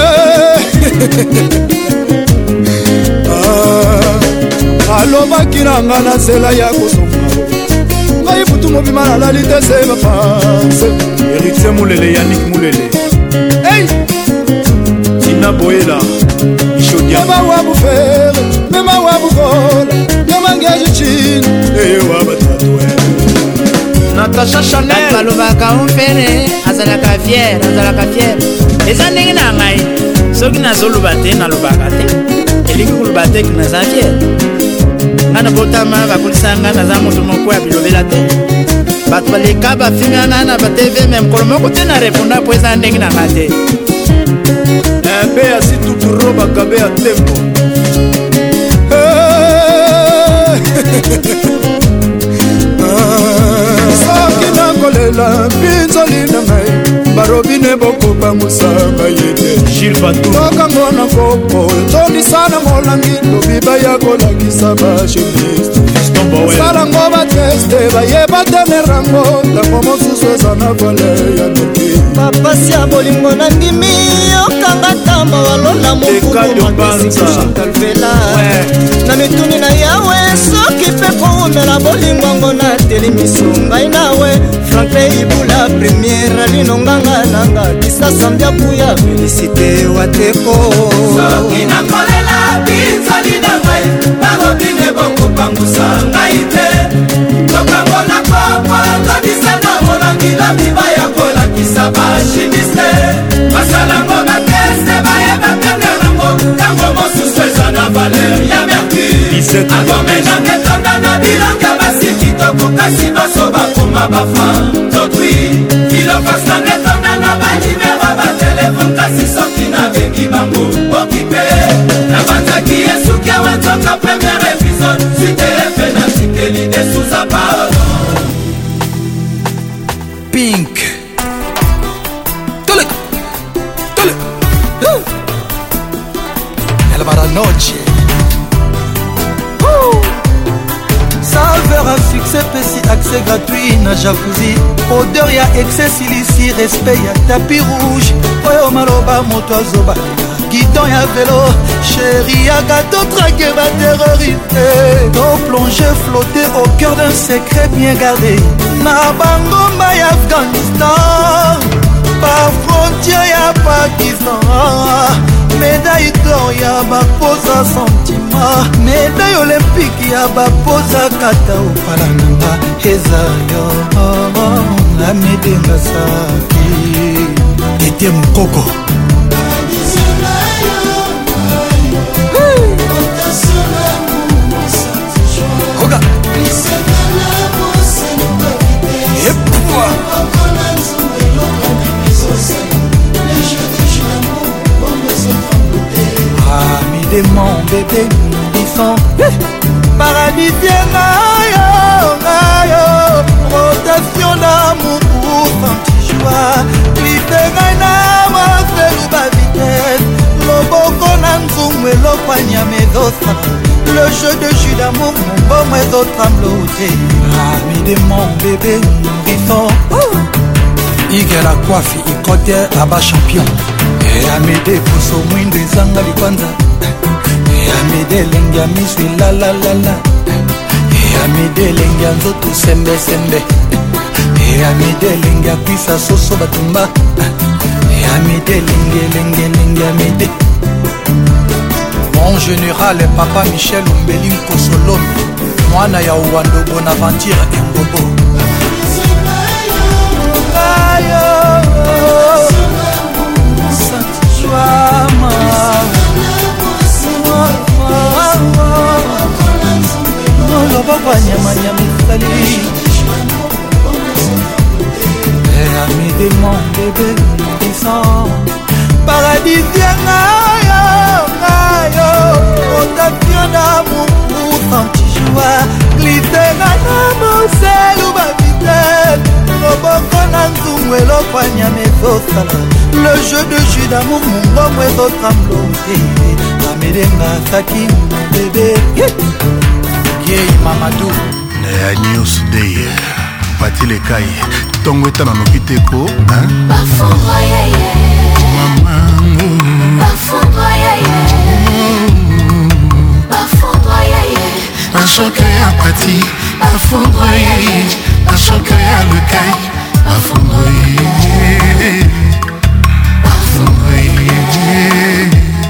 alobaki na nga na nzela ya kosonga ngai butu mobima nalali te se bapanse Erixe Moulele, Yannick Moulele Tina Boela mema wa bufere mema wa bukola nyamangeji chini ewa batatwe Natasha Chanel balobaka omfere azalaka fier eza ndenge na ngai soki nazoloba te nalobaka te elingi koloba te naza fier nga na botama bakolisa nga naza moto moko ya bilobela te bato baleka bafinga nga na batv me mokolo moko te na reponda po eza ndenge na nga te mpe ya situturo bakabe ya tembo soki nakolela mpinzoli na ngai barobine bokopangusanga ye te tokango na kopo tondisa na molangi lobiba ya kolakisa bashimiste salango bateste bayeba temerango ntango mosusu eza na vale ya noki bapasi ya bolingo na ndimi okanga tamba walola mokumomaesikushantalvela na mituni na yawe soki mpe koumela bolingongo na telemiso ngai nawe franklin ibula premiere linonganga nanga kisasambia kuya felicite wateko soki nakolela pinzali na ngai barobine bokopangusa ngai te tokango na papa todisa na molangi na bibaya kolakisa bashimiste basalango bateste bayeba pene nango ntango mosusu eza na valer ya mercure albome nange tonda na bilanga basi kitoko kasi baso bakoma bafan d'autrui filofas nange tonda na balimero batelefone kasi soki nabengi bango okipe nabanzaki esuki awanzoka premier épisode suiterefe natikeli desuza paolo Pink la noche Salveur à succès, petit accès gratuit na jacuzzi odeur ya excès ici respect ya tapis rouge oyo maloba moto azoba guidon ya vélo chéri ya gâteau traqué va terroriser ton plongé flotter au cœur d'un secret bien gardé na bangomba ya Afghanistan par frontière ya Pakistan médaille d'or ya bapoza sentiment médaille olympique ya bapoza kata opala nanga eza yo Amede Ngasaki Ete Mukoko Oga Epouwa Amede mon bébé Bifon Paradisien Ayo Rotation d'amour pour Santijoie Glissera na Marcelo Bavitesse Loboko na nzungu elopanya medosa Le jeu de jus d'amour mon bon mes autres amloté Ami de mon bébé Bifon Ige la coiffe ikote aba champion Et Amede Pousso Mwindo Izanga Likwanza Et Amede Lengia Miswi la la la la Amede lengi nzoto sembe sembe Amede lengi akwisa soso batumba Amede lengi Amede Mon général papa Michel Umbeli Nkosolomi Mwana ya Uwando Bonaventure Ngobo Ayo Santijoama Loboko nyama sali Ami de mon bébé Disant Paradisien Ayo Rotation d'amour pour Santijoie Glissera na Marcelo Bavitesse Loboko na nzungu elopanya mesosala Le jeu de jus d'amour mon gomme ezotramlote Amede Ngasaki mon bébé Yei Mamadou News Day Pati Lekai Tongo eta na nokiteko Bafondra yeye Maman Bafondra yeye Bafondra yeye Bachoke ya Pati Bafondra yeye Bachoke ya Lekai Bafondra yeye Bafondra yeye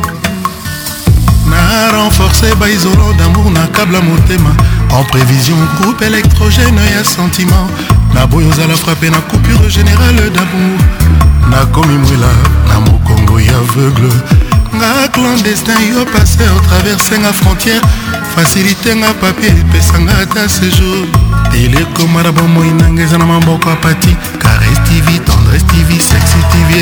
Na renforcé ba isolant d'amour na câble à motema En prévision groupe électrogène ya sentiment Na boyoza la frappé na coupure générale d'amour Na komi mwela na mokongo ya aveugle Nga clandestin yo passé au traverser nga frontière Facilité nga papier pesa nga ta séjour Télécomara bomo inangeza na mamboko a Pati Caresse TV, tendresse TV, sexy TV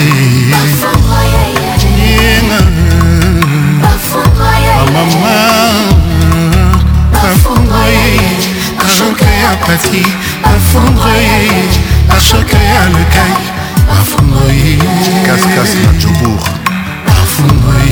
Maman Bafondre Achoke ya Pati Bafondre Achoke ya Lekai Bafondre Cascas na Djobour Bafondre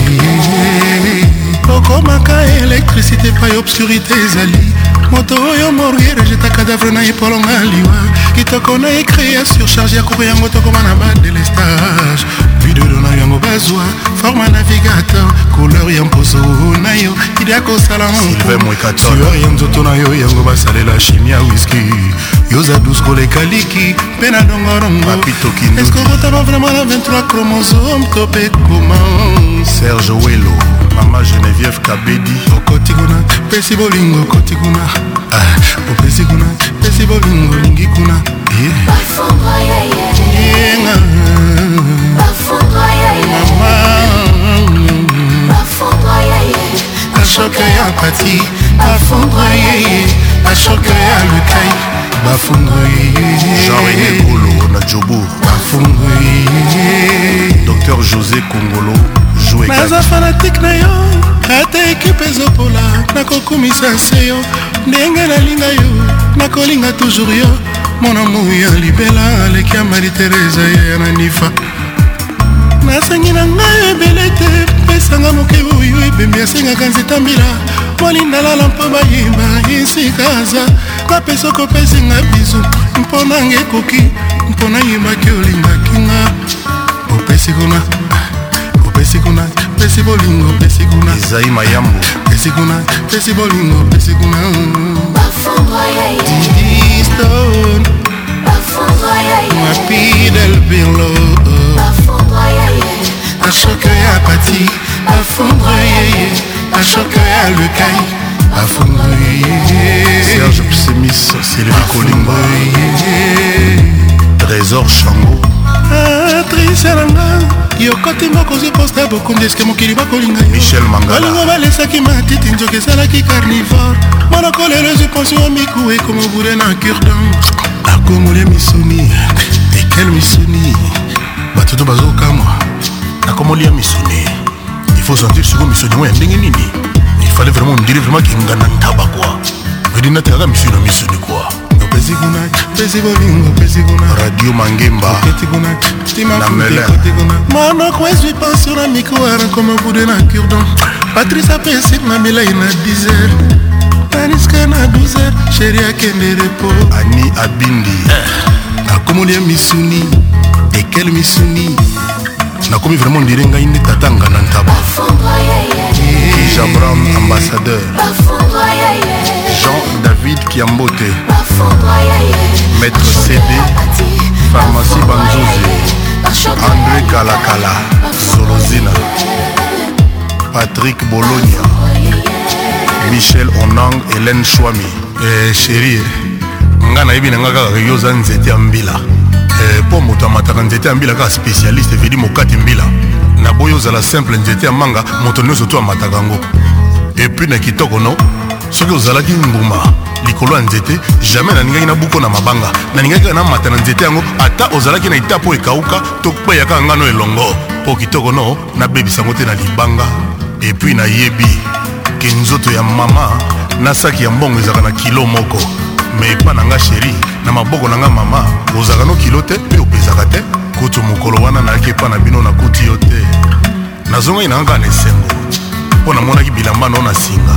Okomaka électricité pa obscurité ezali Moto oyo morguere jeta cadavre na epolonga liwa Kitoko na écrit surcharge ya koko yango tokoma na ba délestage Video na yango bazwa format navigateur couleur ya mposo na yo idia kosala tueur ya nzoto na yo yango basalela chimie ya whisky yoza douce koleka liki mpe na dongorongo est-ce que rotama vraiment la 23 chromosome tope comment Serge Welo Mama Geneviève Kabedi okotikuna pesi bolingo kotikuna opesikuna pesi bolingo lingi kuna Bafondra yeye Bafondra yeye Bafondra yeye Achoke ya Pati Bafondra yeye Achoke ya Lekai Bafondra yeye Jean-René Golo na Djobour Bafondra yeye Dr José Kongolo joué naza fanatique na yo ata ekipe ezopola nakokumisa se yo ndenge nalinga yo nakolinga toujours yo mona moi ya libela aleki ya Marie Teresa ya nanifa nasengi na ngai ebele te pesanga moke oyo ebembi asengaka nzeta mbila molindalala mpo bayeba esika aza napesa kopesinga bizu mpo nanga ekoki mpo nayebaki olingaki nga opesi kuna opesi kuna pesi bolingo pesi kuna Isaïe Mayambo pesi kuna pesi bolingo pesi kuna Bafondra yeye Didi Stone Bafondra yeye Mapi del Birlo Bafondra yeye Achoke ya Pati Bafondra yeye Achoke ya Lekai Bafondra yeye Serge Psemis Sylvie Kolimba Trésor Chango Patricia Langa yokoti mokozi posta bokundi eske mokili bakolinga Michel Mangala balingo balesaki matiti nzoka ezalaki carnivore monokolo elezi pension miku ekomobure na cure-dent akomolia misuni ekel misuni bato to bazokamwa nakomolia misuni il faut sentir siko misuni ngo ya ndenge nini il fallait vraiment me dire vraiment kingana ntaba quoi medina tekaka misuni na misuni quoi Radio Mangemba na Mele monoko ezwi pension na mikoara comme bude na cure-dent Patrice apesik na milai na 10h aniska na 12h chéri akende repo Ani Abindi nakomolia misuni ekel misuni nakomi vraiment ndire ngai nde tatanga na ntaba Jabram ambassadeur Jean-David Kiambote Maître CD Pharmacie Banzoze André Kalakala Solozina Patrick Bologna Michel Onang Hélène Chouami chérie nga nayebi na nga kaka yoza nzete ya mbila po moto amataka nzete ya mbila kaka spécialiste evedi mokati mbila na boyo ozala simple nzete ya manga moto nyonso to amataka yango epuis na kitoko no soki ozalaki mbuma likolo ya nzete jamais naningaki na buko na mabanga naningaki kaka namata na nzete yango ata ozalaki na ita po ekauka to kpeyaka ngano elongo po kitoko no nabebisa yango te na libanga epuis nayebi ke nzoto ya mama na saki ya mbongo ezalaka na kilo moko me epa na nga sheri na maboko na nga mama ozalaka no kilo te mpe opezaka te kutu mokolo wana nayaki epa na bino nakuti yo te nazongai na nga na esengo mpo namonaki bilamba no na singa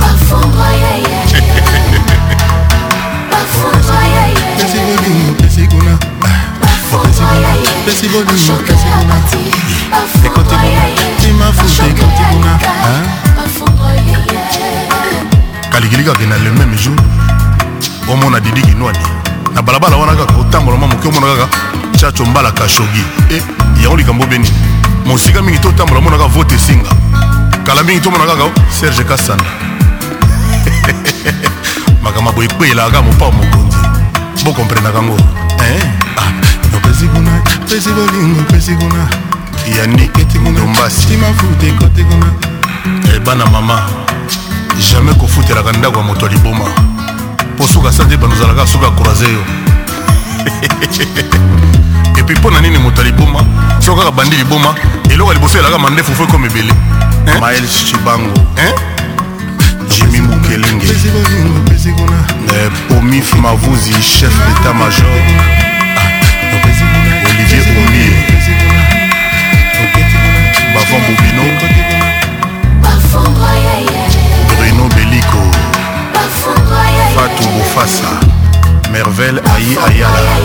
kalikili kaka na le même jour omona Didi Kinwani na balabala wana kaka kotambola mwa moke omona kaka chacho mbala kashogi yango likambo beni mosika mingi totambola monaka vote esinga kala mingi tomona kaka Serge Kasanda makambo boye ekpeyelaka kaka mopao mokonzi bokomprenaka yango opesi kuna pesi bolingo pesi kuna yaniki ndombasi bana mama jamais kofutelaka ndako ya moto ya liboma po suka sa te banozalaka suka akroise yo epuis mpo na nini moto ya liboma soki kaka bandi liboma eloko ya liboso elaka mandefu fo ekoma ebele Miles Chibango Jimmy Mukelenge Pomif Mavuzi chef d'état-major Olivier Oumie Bavon Bobino Bruno Bellico Fatou Boufassa Merveille Ayi Ayala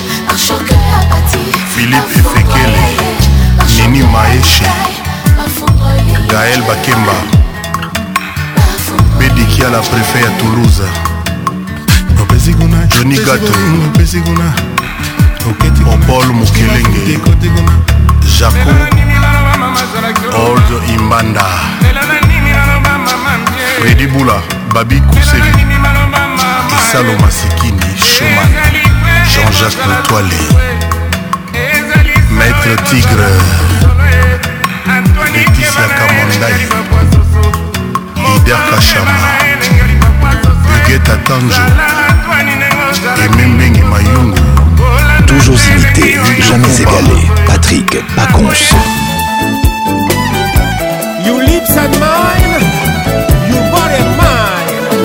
Philippe Efekele Nini Maeche Gaël Bakemba Bédikia la préfet à Toulouse Johnny Gato Paul Mukelenge Jaco Old Imbanda Freddy Boula Babi Koussevi Isalo Masikini Schumann Jean-Jacques Le Toilé Maître Tigre Laetitia Kamondai Lider Kachama Huguette Tanjo et Membengi Mayungu. Toujours imité, jamais égalé. Patrick Pacons. You lips and mine, you body and mine.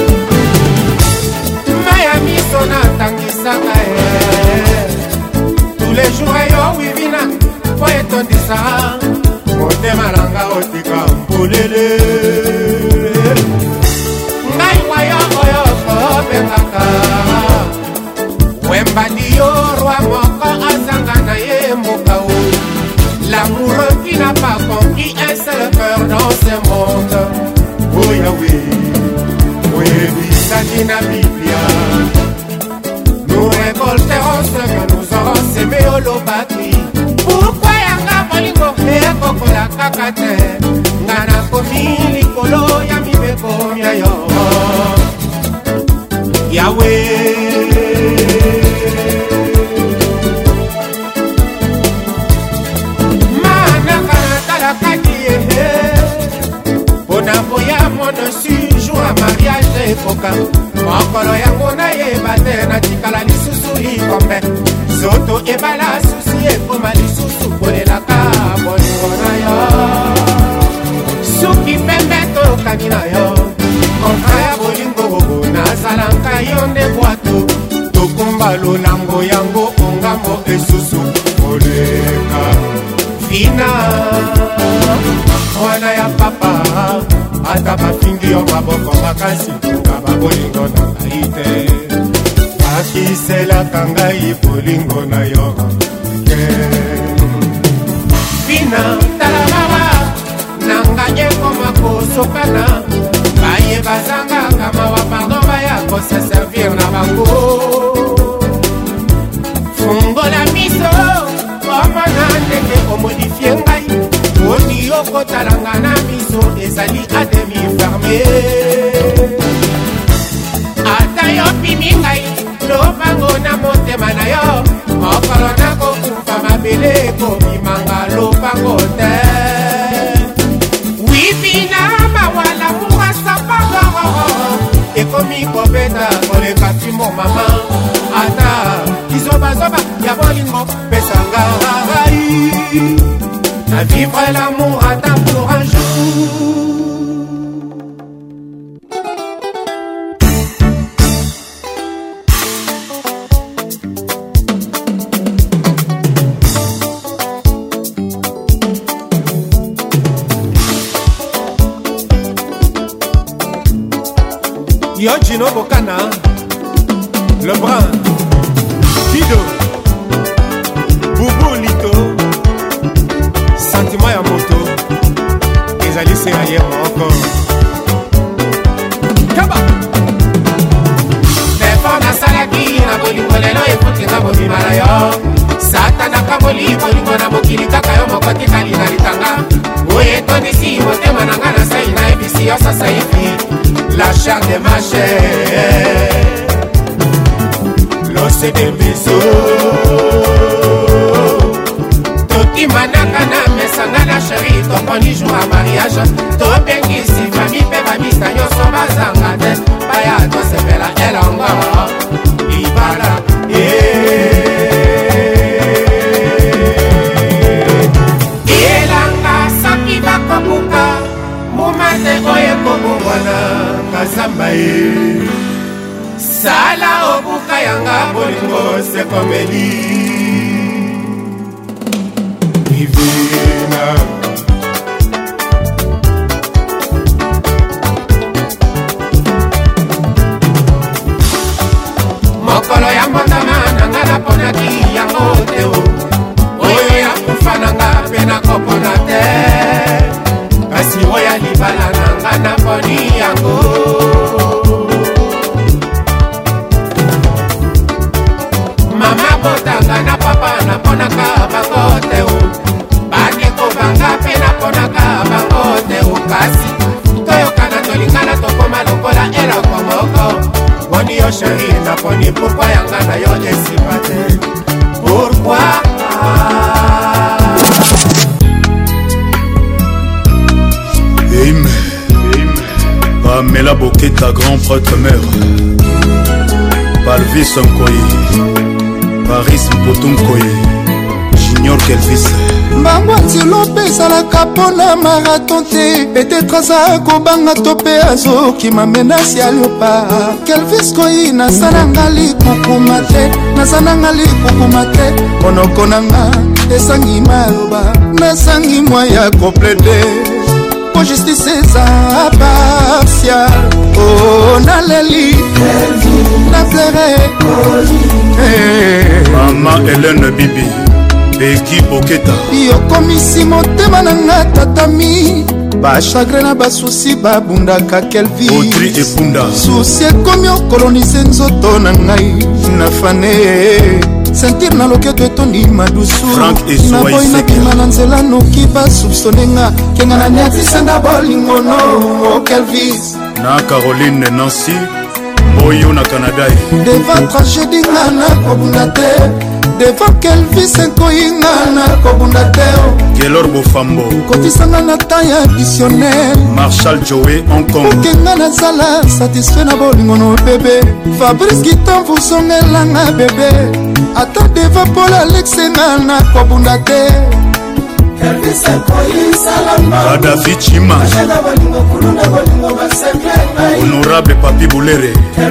Miami Sonata tous les jours yo wivina faut etondisa motema langa otika mpolele ngai wayo oyo kopekaka wembandi yo roi moko azanga na ye mboka o l'amoureux qui n'a pas compris un seul cœur dans ce monde oh Yahweh oyebisaki na Biblia nous récolterons ce que nous aurons semé olobaki pourquoi yanga bolingo ekokola kaka te nga nakomi likolo ya mibeko mia yo Yahweh ekoka mokolo yango nayeba te natikala lisusu likombe zoto ebala susi ekoma lisusu kolelaka bolingo na yo suki pembe tokani na yo kontra ya bolingo nazalanka yo nde bwato tokumba lolango yango ongambo esusu koleka fina mwana ya papa ata bafingi yo maboko makasi nga babolingo na ngai te bakiselaka ngai bolingo na yo fina tala mawa nanga ekoma kosokana baye bazangaka mawa pardon baya kose servir na bango fungola miso omona ndenge omodifie ngai odi okotalanga na miso ezali ademi ferme ata yo pimi ngai lobango na motema na yo mokolo nakokufa mabele ekobimanga lobango te wipina mawala mukasapagoro ekomi kobeta koleka timo mama ata kizobazoba ya bolingo pesanga rai à vivre l'amour attend pour un jour. Yo Gino Bocana, le brun, Kido, Boubou Lito, sentiment ya moto ezali se aye moko kaba defo nasalaki na bolingo lelo efutinga bobima na yo satana kaboli bolingo na mokili kaka yo moko tikali na litanga oyo etondisi motema na nga na sai na ebisi yo sasa hivi la chair de ma chair l'os de mes os tokimanaka na mesanga na sheri toponi jour ya mariage tobengisi fami mpe bamisa nyonso bazanga te baya tosepela elongo libala elanga soki bakobuka mumate oyo ekobongwana kasamba ye sala obuka yanga bolingo sekomeli Divina mokolo ya mbotama nanga naponaki yango te oyo ya kufa nanga mpe nakopona te kasi oyo ya libala nanga naponi yango mama botanga na papa naponaka bango te banga mpe naponaka bango te okasi toyokana tolingana tokoma lokola eloko moko boni yo sheri naponi pourkui yanga na yo esipa te pourkui Eime Pamela Boketa, grand prêtre mère Palvis Nkoyi Paris Mpotunkoyi Junior Kelvis mbango nzelo mpe ezalaka mpona marathon te petetre aza kobanga to mpe azokima menasi ya liopa kelvis koyi nasalanga likukuma te nasalanga likukuma te monoko nanga esangi maloba nasangi mwa ya komplete po justice eza partial o naleli na plere mama Hélène Bibi Beki Boketa yokomisi motema na nga tatami bachagre na basusi babundaka kelvi Audrey Ebunda susi ekomi okolonise nzoto na ngai nafane sentir na loketo etondi madusu naboyi nabima na nzela noki basupsonenga kenga na niatisanga bolingono o kelvis na Caroline Nancy Moyo na Canada devant tragédie nga na kobunda te devant kelvis nkoyinga na kobunda te Kelor Bofambo kotisanga na temps ya additionnel Marshall Joey Hong Kong okenga nazala satisfait na bolingo no bebe Fabrice Gitamvu songelanga bebe ata deva Paul Alexenga na kobunda te Kadafi Chima Honorable Papi Boulere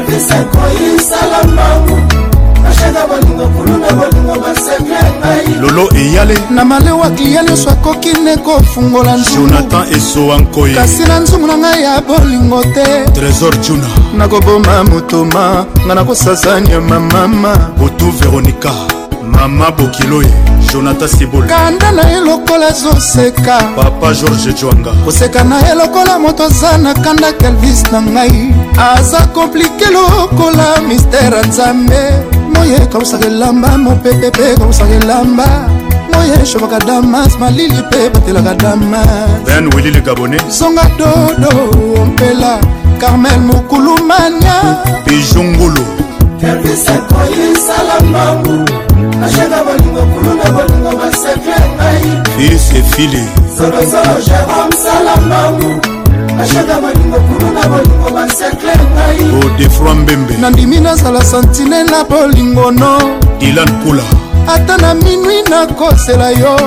Lolo Eyale na malewa klia nyonso akoki ne kofungola nzungu Jonathan Esoankoye kasi na nzungu na ngai ya bolingo te Trésor Juna nakoboma motoma nga nakosasanya mamama Botu Veronica Mama Bokiloye Jonathan Sibola kanda na ye lokola azoseka Papa George Chwanga koseka na ye lokola moto aza na kanda Kelvis na ngai aza komplike lokola mistere nzambe moye kausaka elamba mopepe mpe kausaka elamba moye shobaka damas malili mpe batelaka damas Ben Willy le Gabonais zonga dodo ompela Carmel Mukulumania Bijongolo Kelvis akoyi salamangu Ashaka bolingo kuluna bolingo basekle ngai Fils et fili Zolo Jérôme salamangu Ashaka bolingo kuluna bolingo basekle ngai Godefroy Mbembe nandimi nazala santine na bolingo no Dylan Kula ata na minui nakosela yo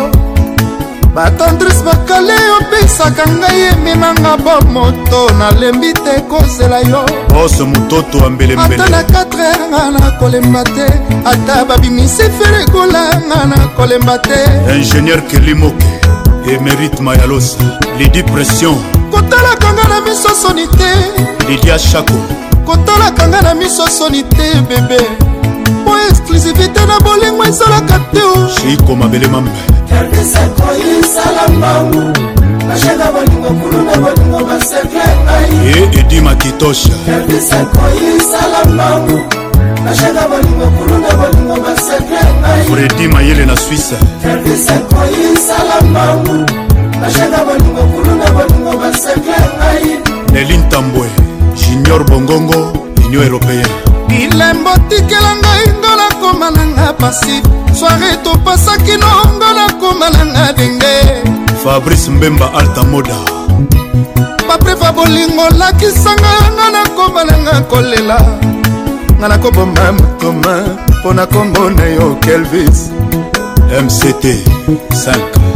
batendrise bakale opesaka ngai ememanga bomoto nalembi te kozela yo Boss Mutoto Ambelembele ata na 4h nga nakolemba te ata babimisi ferekola nga nakolemba te Ingénieur Kelimoke Émérite Mayalos Lady Pression kotalaka nga na miso soni te Lydia Chako kotalaka nga na miso soni te bebe po exclusivité na bolingo ezalaka te o Chiko Mabele Mambe Kelvis akoyi salamangu Ashaka bolingo kuluna bolingo basekle ngai Et Edi Makitosha Kelvis akoyi salamangu Ashaka bolingo kuluna bolingo basekle ngai Freddy Mayele na Suisse Kelvis akoyi salamangu Ashaka bolingo kuluna bolingo basekle ngai Nelin Tambwe Junior Bongongo Union Européenne bilembo tikela ngai ngo nakoma nanga pasi soare topasaki nongo nakoma nanga denge Fabrice Mbemba Alta Moda baprefa bolingo lakisanga nga nakoma nanga kolela nga nakoboma motoma mpo na kombo na yo Kelvis MCT 5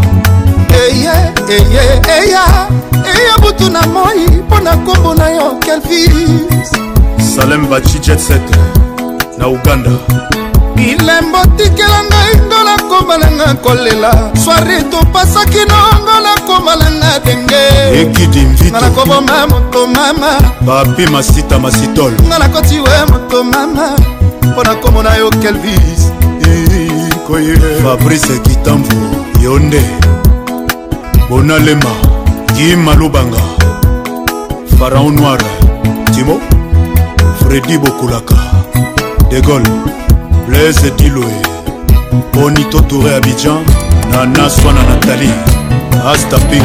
eya butu na moi mpo na kombo na yo Kelvis Salem Bachi Jet Set na Uganda bilembo tikela ngai ngo nakoma nanga kolela soare topasaki nongo nakoma nanga denge Ekidi Mvito nga nakoboma moto mama Papi Masita Masitol nga nakoti we moto mama mpo na kombo na yo Kelvis Fabrice Kitamvu Yonde Bonalema Guy Malubanga Pharaon Noir Timo Freddy Bokulaka De Gaulle Blaise Diloé Bonito Touré Abidjan Nana Swana Nathalie Asta Pink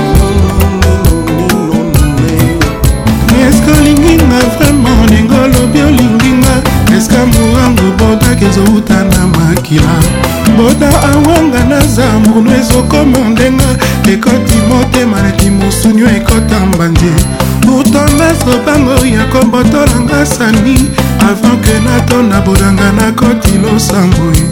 Est-ce que olinginga vraiment ndenge olobi olinginga eske morango bodaki ezouta na makila boda awanga naza murno ezokoma ndenga ekoti motema neti mosunio ekota mbandie pourtant nazobango ya kombotolanga sani avant ke natona bodanga nakoti losamboe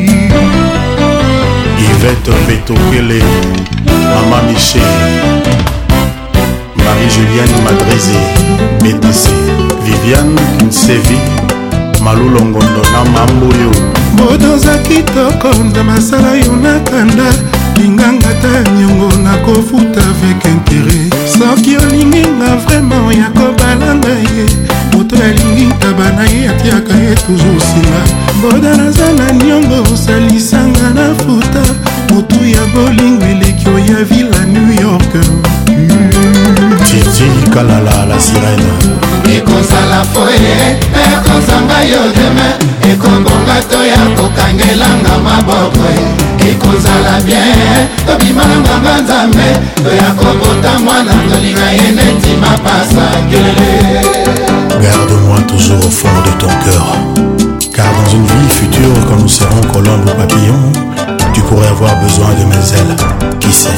Yvette Betokele Mama Michel Marie-Julienne Madrezi BTC Viviane Nsevi Malou Longondo na Mamboyo bodoza kitoko nda masala yo nakanda linganga ta nyongo nakofuta avec intérêt soki olinginga vraiment ya kobalanga ye moto alingi ntaba na ye atiaka ye toujours singa boda naza na nyongo osalisanga na futa motu ya bolingo eleki oya villa New York Titi Kalala la sirène ekozala foye ekozanga yo deme ekobonga to ya kokangelanga maboko ekozala bien tobimalanganga nzambe toya kobota mwana tolinga ye neti mapasa kelele. Garde-moi toujours au fond de ton cœur, car dans une vie future quand nous serons colombes ou papillons, tu pourrais avoir besoin de mes ailes. Qui sait?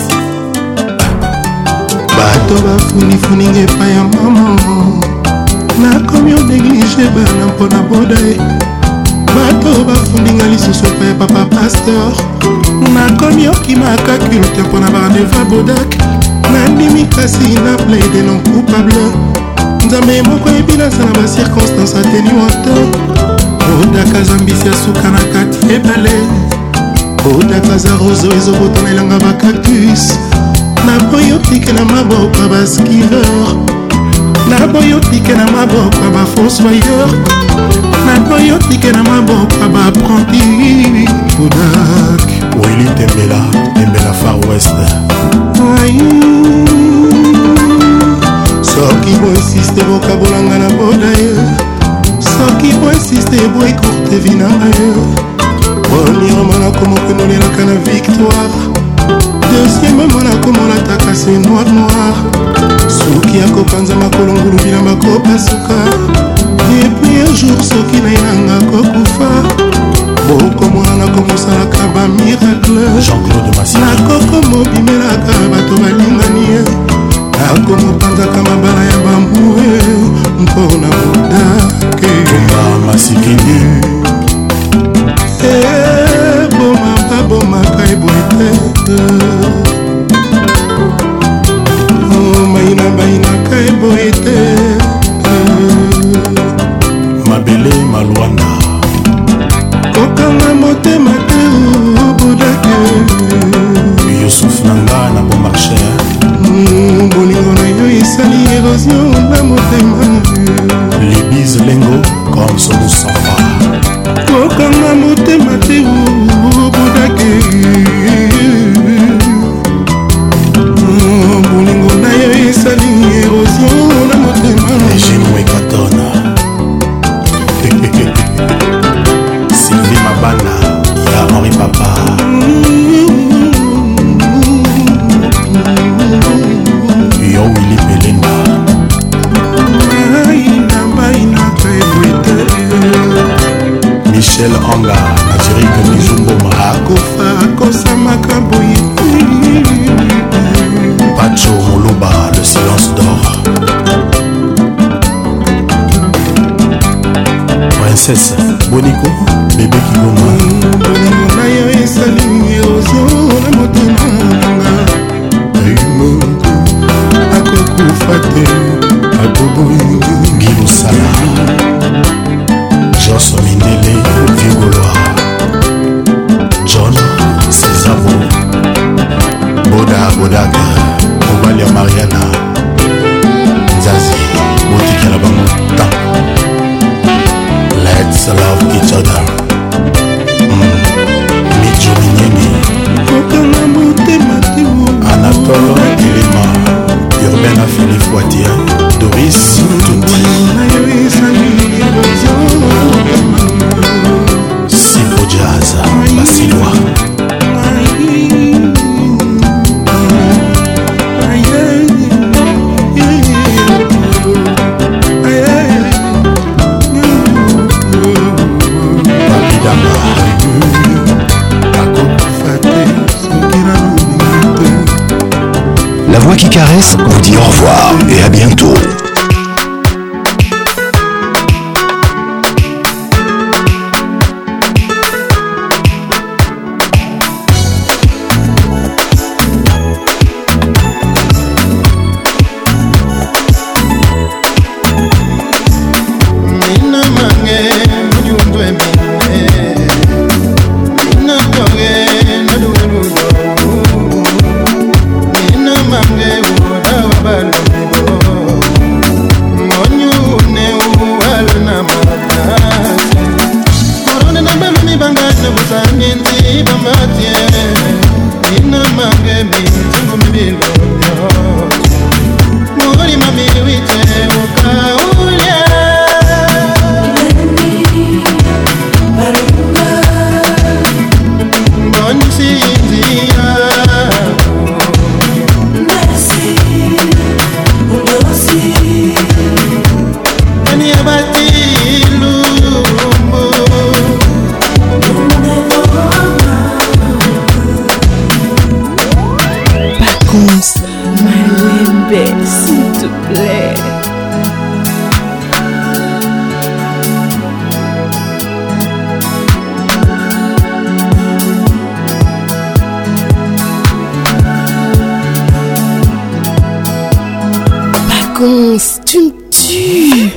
bato bafunifuninga epai ya mama nakomi onéglige bana mpona boda ye bato bafundinga lisusu epai ya papa pasteur nakomi okimaka culte mpona barandeva bodak nandimi kasi na plaide non coupable nzambe moko ebinasa na bacirconstance ateni wata bodaka zambisi ya suka na kati ebale bodaka za roso ezobotana elanga bacactus naboyotike na maboko ya baskiveur naboyotike na maboko ya bafossoyeur naboyotike na maboko ya baapprenti bodak Willy Tembela Far West. soki boinsiste bokabolanga na boda ye soki boinsiste boekourte vi na ye boniromana komokenolelaka na victoire deuxième mona komolataka se noir soki akopanza makolo ngulubi na bakopasuka epui un jour soki na inanga kokufa bokomonana komosalaka bamiracle nakokomobimelaka bato balingani ye nakomopanzaka mabala ya bambue mpona modake masikini bomaka eboete mainaka eboete mabele malwanda kokanga motema te obodake yusuf nanga na bon marché bolingo na yo esali érosion na motema libise lengo comme son safa kokanga motema te obodake bolingo na yo esali érosion na motema ejimwekatona Sylvie Mabana ya Henri Papa yo Willy Belinda Michel Anga Nazirike Mizumboma akofa akosamaka boye Pacho Moloba le silence d'or Princesse Boniko bébé Kigoma bolingo na yo esali érosion na motema nanga eimoto akokufa te aboboyi Gilosala Jos Mindele Vigoloa John Césabo Bodaka mobali ya Mariana Nzazi botikela bango temps Let's love each other. Mijo Minyeni kokanga motema te Anatole Elema Urbain Philippe Voitier Doris Tuti na yo esali érosion Sipo Jazz Basilwa La voix qui caresse vous dit au revoir et à bientôt. bébé, s'il te plaît. Paconce, tu me tues.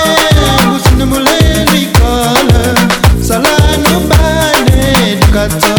got